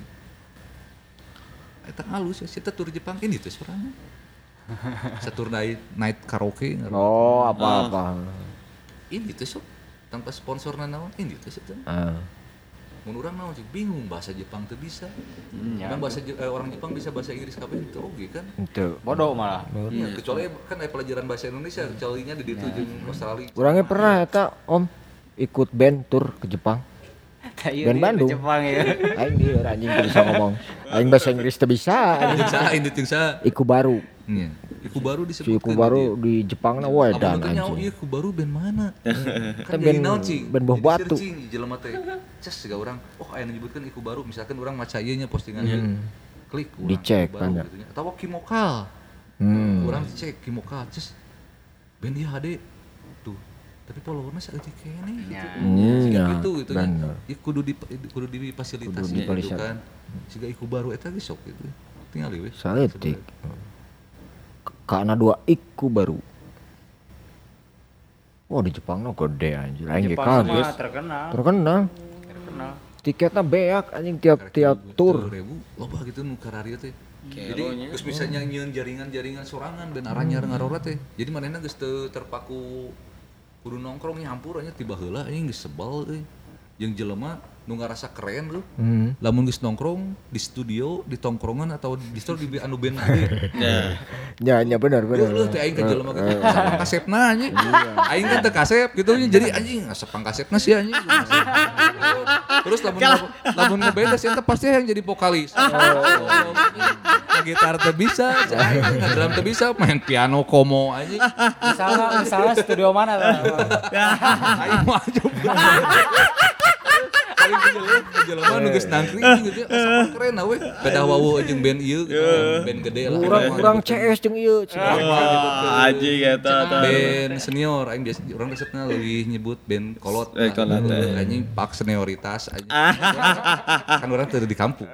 S4: Eta halus ya, kita tur Jepang ini teh sorangan. Satur night karaoke.
S1: Oh, apa-apa.
S4: Ini teh sok tanpa sponsorna naon ini teh teh. Mun urang naon sih bingung bahasa Jepang teu bisa. Orang orang Jepang bisa bahasa Inggris kabeh teu oge kan.
S1: Itu.
S5: Bodoh malah.
S4: Ya, kecuali kan ada pelajaran bahasa Indonesia, kecualinya di ditu jeung Australia.
S1: Urangnya pernah eta Om ikut band tur ke Jepang. Band Bandung.
S5: Jepang ya.
S1: Aing dia anjing teu bisa ngomong. Aing bahasa Inggris teu bisa.
S4: Ini jeung sa.
S1: Iku baru.
S4: Nya. Iku baru disebutkeun.
S1: Iku baru di Jepang na wae dan anjing.
S4: Iku baru band mana? Kan
S1: band
S4: naon cing?
S1: Band Buah Batu.
S4: Jelema teh. Ces siga urang, oh aya nyebutkeun iku baru, misalkan urang maca ieu nya postingan ieu. Klik urang.
S1: Dicek kan.
S4: Atawa Kimokal. Urang cek Kimokal, ces. Band ieu HD. Tuh. Tapi followernya saeutik keneh gitu. Siga kitu gitu nya. Ieu kudu difasilitasi gitu kan. Siga iku baru eta ge sok gitu. Tinggal we.
S1: Saeutik. Kana 2 iku baru. Oh di Jepang no gede anjir. Aing ge kaget. Terkenal. Tiketnya beak anjing tiap tur.
S4: Loba gitu nu kararieu teh. Jadi geus bisa nyieun jaringan-jaringan sorangan ben aranyar ngarora teh. Jadi manehna geus teu terpaku kudu nongkrong nyampur anya tiba heula anjing geus sebel euy. Jeung jelema nu ngarasa keren tuh. Lamun geus nongkrong di studio, di tongkrongan atau di store di anu band gede.
S1: Ya benar.
S4: Lu teh aing ka jelema gitu. Sapang kasepna anjing. Aing kan teu kasep gitu nya. Jadi anjing sapang kasepna sih anjing. Terus lamun ngeband eta pasti yang jadi vokalis. Gitar teu bisa, drum teu bisa, main piano komo anjing.
S5: Misalnya studio mana tuh?
S4: Aing maju. Paling jelema nu geus nangkring gitu asa keren we. Pedah wawu jeung band ieu gitu. Band gede lah.
S1: Urang CS jeung ieu.
S3: Anjing eta.
S4: Band senior aing biasa urang resepna leuwih nyebut band kolot.
S3: Kolot.
S4: Anjing pak senioritas anjing. Kan urang teu di kampung.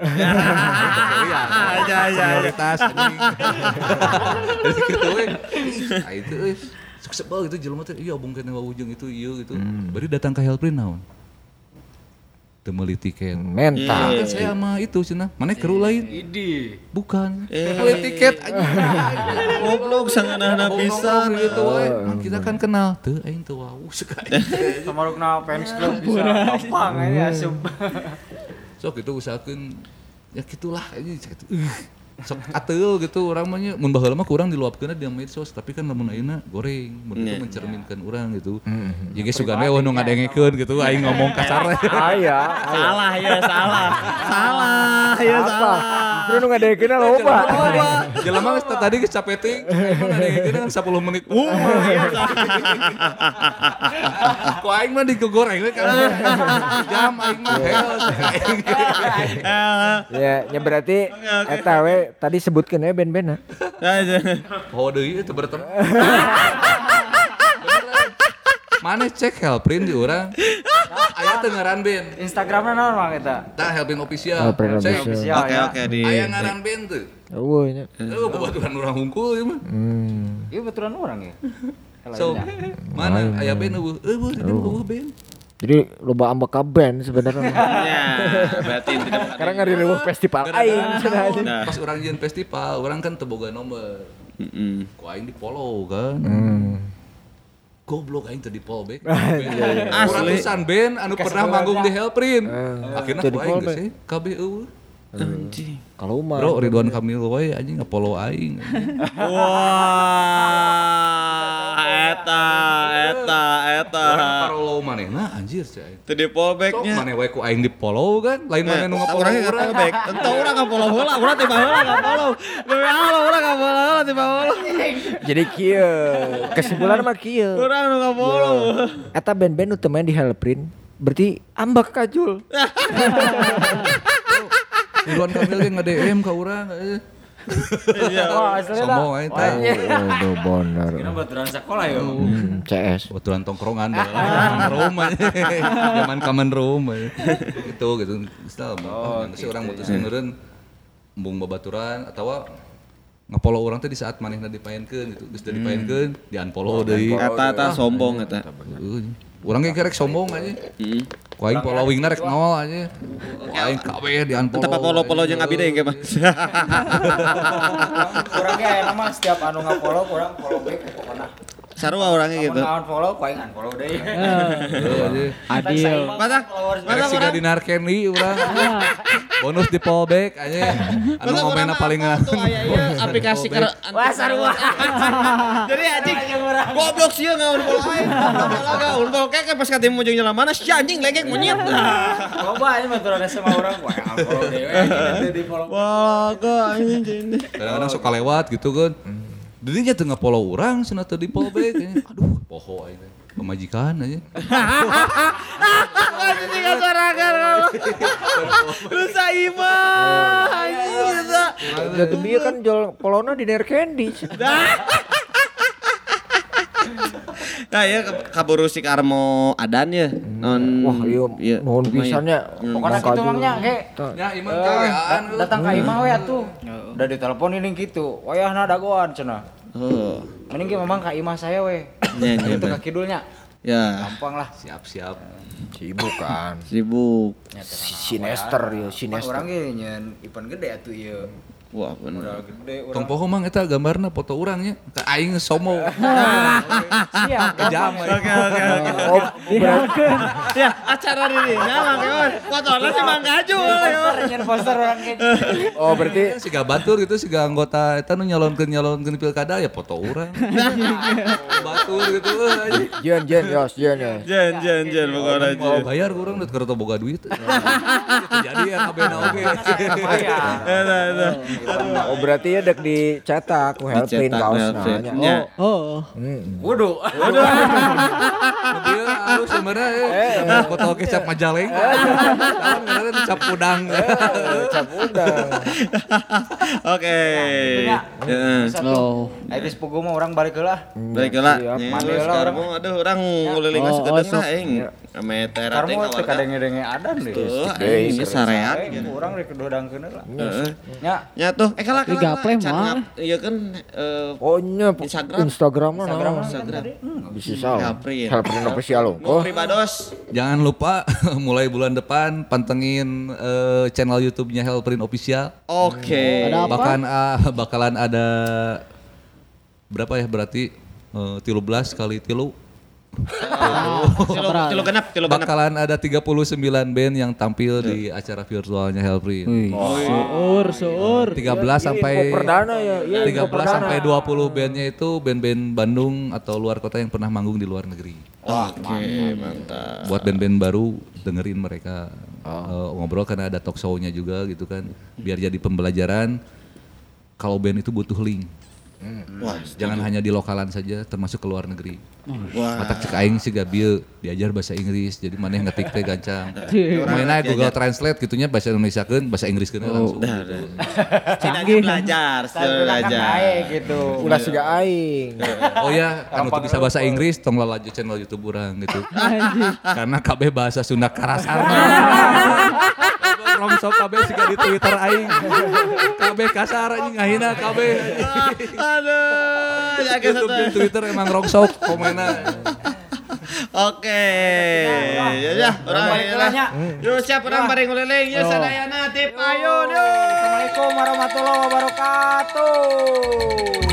S4: Senioritas anjing. Jadi kitu we. Itu sebel gitu jelema teh ieu obongkeun wawu jeung itu ieu gitu. Bari datang ka Helprin naon? Temeli tiket
S1: mental.
S4: Kan saya sama itu cenah. Mana keru lain? Bukan. Beli tiket aja.
S3: Goblok sanganana pisan
S4: gitu we. Kita kan kenal. Teu aing teu wau sekali.
S5: Samarukna fans club bisa gampang aja asup.
S4: Sok itu usahakeun ya gitulah aja sok ateul gitu urang mah nya mun baheula mah kurang diluapkeunna di medsos tapi kan lamun ayeuna goreng mun itu mencerminkan urang gitu. Jadi sugana we nu ngadengekeun gitu aing ngomong kasar.
S3: Salah ya salah.
S1: Terus nu ngadengekeunna loba.
S4: Jelema geus tadi geus capek teuing, ngadengekeun kan 10 menit. Ku aing mah digoreng we kan. Jam aing mah
S1: Ya berarti eta we tadi sebutkeun ya band-bandna.
S4: Oh deui itu bertem. Mana cek Helprin di urang. Aya teu ngaran band.
S5: Instagramna naon mah eta?
S4: Tah Helprin official.
S1: Helprin
S4: Cek.
S1: official.
S3: Oke di.
S4: Aya ngaran band teu.
S1: Eueuh nya.
S4: Kebetulan urang hungkul ieu mah.
S5: Ieu betulan urang ya.
S4: So, mana aya band eueuh band.
S1: Jadi loba ambek ka band sebenarnya.
S3: Ya, berarti tidak.
S1: Karena ngariruh festival aing cenah.
S4: Pas urang jeung festival, urang kan teu boga nomor. Ku aing di follow kan. Goblok aing teu di follow back. Ratusan band anu pernah manggung di Helprin. Akhirna ku aing geus kabeh eueuh.
S3: Anjing.
S1: Kalau mah
S4: Bro, Ridwan Kamil we anjing nge-follow aing.
S3: Wah, eta.
S4: Follow manehna anjir cai aing.
S3: Teu di fallback-nya.
S4: Sok maneh we ku aing di follow kan, lain maneh nu nge-follow urang.
S3: Tentu urang ka-follow heula, urang tiba heula ka-follow. Urang ka-follow heula tiba heula.
S1: jadi kieu. Kesimpulan mah kieu.
S3: Urang nu ka-follow.
S1: Eta band-band nu teu main di Helprin berarti ambak kajul.
S4: Ridwan Kamil ge nge-DM ka urang.
S5: Oh, asli
S4: Sombong aing teh.
S1: Aduh bener.
S5: Kira baturan sekolah ya.
S1: CS.
S4: Kebetulan tongkrongan dah. Room aja. Zaman common room aja. Gitu. Misal si orang mutusin meureun embung babaturan atawa nge-follow urang teh di saat manehna dipaenkeun gitu. Geus dipaenkeun, di-unfollow deui.
S3: Eta sombong eta.
S4: Urang ge rek sombong aja. Ku aing followingna rek nol aja. Ku aing kabeh di-unfollow.
S3: Tetep follow jeung abi deui ge mah.
S5: Urang ge aya mah setiap anu nga-follow urang follow back pokona.
S3: Sarua orangnya gitu.
S5: Mun unfollow ku aing unfollow deui.
S2: Adil.
S3: Masa
S4: Rek siga di Narkendi urang. Bonus di fallback aja. Anu komenna paling
S3: aplikasi keur
S5: Wah sarua.
S3: Jadi anjing goblok sieun ngaunfollow aing. Unfollow kayak pas ka temu jeung jalan mana si anjing legek monyet.
S5: Loba aya baturan sama urang ku aing unfollow deui. Di follow.
S3: Wah, kok anjing.
S4: Kadang-kadang suka lewat gitu kan. Dirinya teu nge-follow urang cenah teu di follow back. Aduh, poho aing. Pemajikan aja.
S3: Anjing sorangan. Lu saimah anjing eta.
S1: Jadi dia kan jual polona di Nerkendi.
S3: Nah ya kaburu si Karmo Adan ya.
S1: Wah iya nuhun pisannya.
S5: Pokona kitu mah nya ge.
S4: Ya iman kawean.
S5: Datang ka imah we atuh. Udah ditelepon ini gitu. Wayahna dagoan cenah.
S3: Oh.
S5: Mending ge memang ka imah saya we.
S3: Nya
S5: Itu ka kidulnya.
S3: Ya.
S5: Gampang lah.
S4: Siap-siap.
S1: Sibuk kan.
S3: Sibuk.
S1: Sinester ya, sinester.
S5: Urang ge nyeun event gede atuh ieu.
S3: Wah bener.
S4: Tong poho mang eta gambarna foto urangnya. Ka aing somo.
S5: Siap.
S4: Kejam.
S3: Oke. Ya, acara ini nyamang keon. Fotonya sih Mang Gaju.
S5: Nyen poster orang gitu.
S1: Oh berarti
S4: Siga batur gitu, siga anggota eta nu nyalonkeun pilkada ya foto urang. Batur gitu.
S1: Jen yos.
S3: Jen pokoknya.
S4: Mau bayar urang deh karena boga duit. Jadi ya kabena oge.
S1: oh berarti ya dek dicetak ku helpin kaosna.
S2: Oh.
S5: Waduh.
S4: Dia harus sebenarnya foto kecap majaleng. Tahun kemarin cap udang.
S1: Cap udang.
S3: Oke.
S2: Oh.
S5: Ayo sepugu mah orang balik heula.
S3: Baik lah.
S5: Mandi lah
S3: Sekarang mau aduh orang nguliling sekedeng lah aing. Ame tera teh
S5: Karena teu
S3: kawarga.
S5: kadenge-denge adan deh.
S3: Ini sareat.
S5: Urang rek kedodangkeun lah.
S3: Heeh.
S5: Nya
S3: Nya tuh kalau
S2: gaple mah.
S3: Iya kan
S1: Oh nya Instagram mana?
S3: Instagram.
S1: Bisa salah.
S3: Helprin.
S1: Helprin official lo.
S3: Mau pribados.
S4: Jangan lupa mulai bulan depan pantengin channel YouTube-nya Helprin Official.
S3: Oke.
S2: Ada apa?
S4: Bahkan bakalan ada berapa ya berarti 13 kali 3.
S3: Tilu genap.
S4: Bakalan ada 39 band yang tampil di acara virtualnya Helprin.
S2: Seur.
S4: 13 sampai
S1: Info perdana ya. Iya,
S4: 13 sampai 20 bandnya itu band-band Bandung atau luar kota yang pernah manggung di luar negeri.
S3: Oke, mantap.
S4: Buat band-band baru dengerin mereka ngobrol karena ada talk show-nya juga gitu kan. Biar jadi pembelajaran kalau band itu butuh link.
S3: Wah,
S4: Jangan hanya di lokalan saja termasuk ke luar negeri.
S3: wah.
S4: Matak cek aing sih gabieu diajar bahasa Inggris jadi maneh ngetik teh gancang. Mainnya Google Translate gitunya bahasa Indonesiakeun bahasa Inggriskeun langsung.
S3: Canggih belajar.
S5: gitu.
S1: Ulah siga aing.
S4: Oh ya, anu teu bisa bahasa Inggris tong lalaju channel YouTube urang gitu. Karena kabeh bahasa Sunda karasarna. Rongsok kabeh siga di Twitter aing. Kabeh kasar anjing ngahina kabeh.
S3: Aduh,
S4: YouTube dan Twitter emang rongsok komennya.
S3: Oke. Ya, orang
S5: balik heula nya.
S3: Yuk siap orang bareng nguliling. Yuk sadayana tip ayun yuk.
S5: Assalamualaikum warahmatullahi wabarakatuh.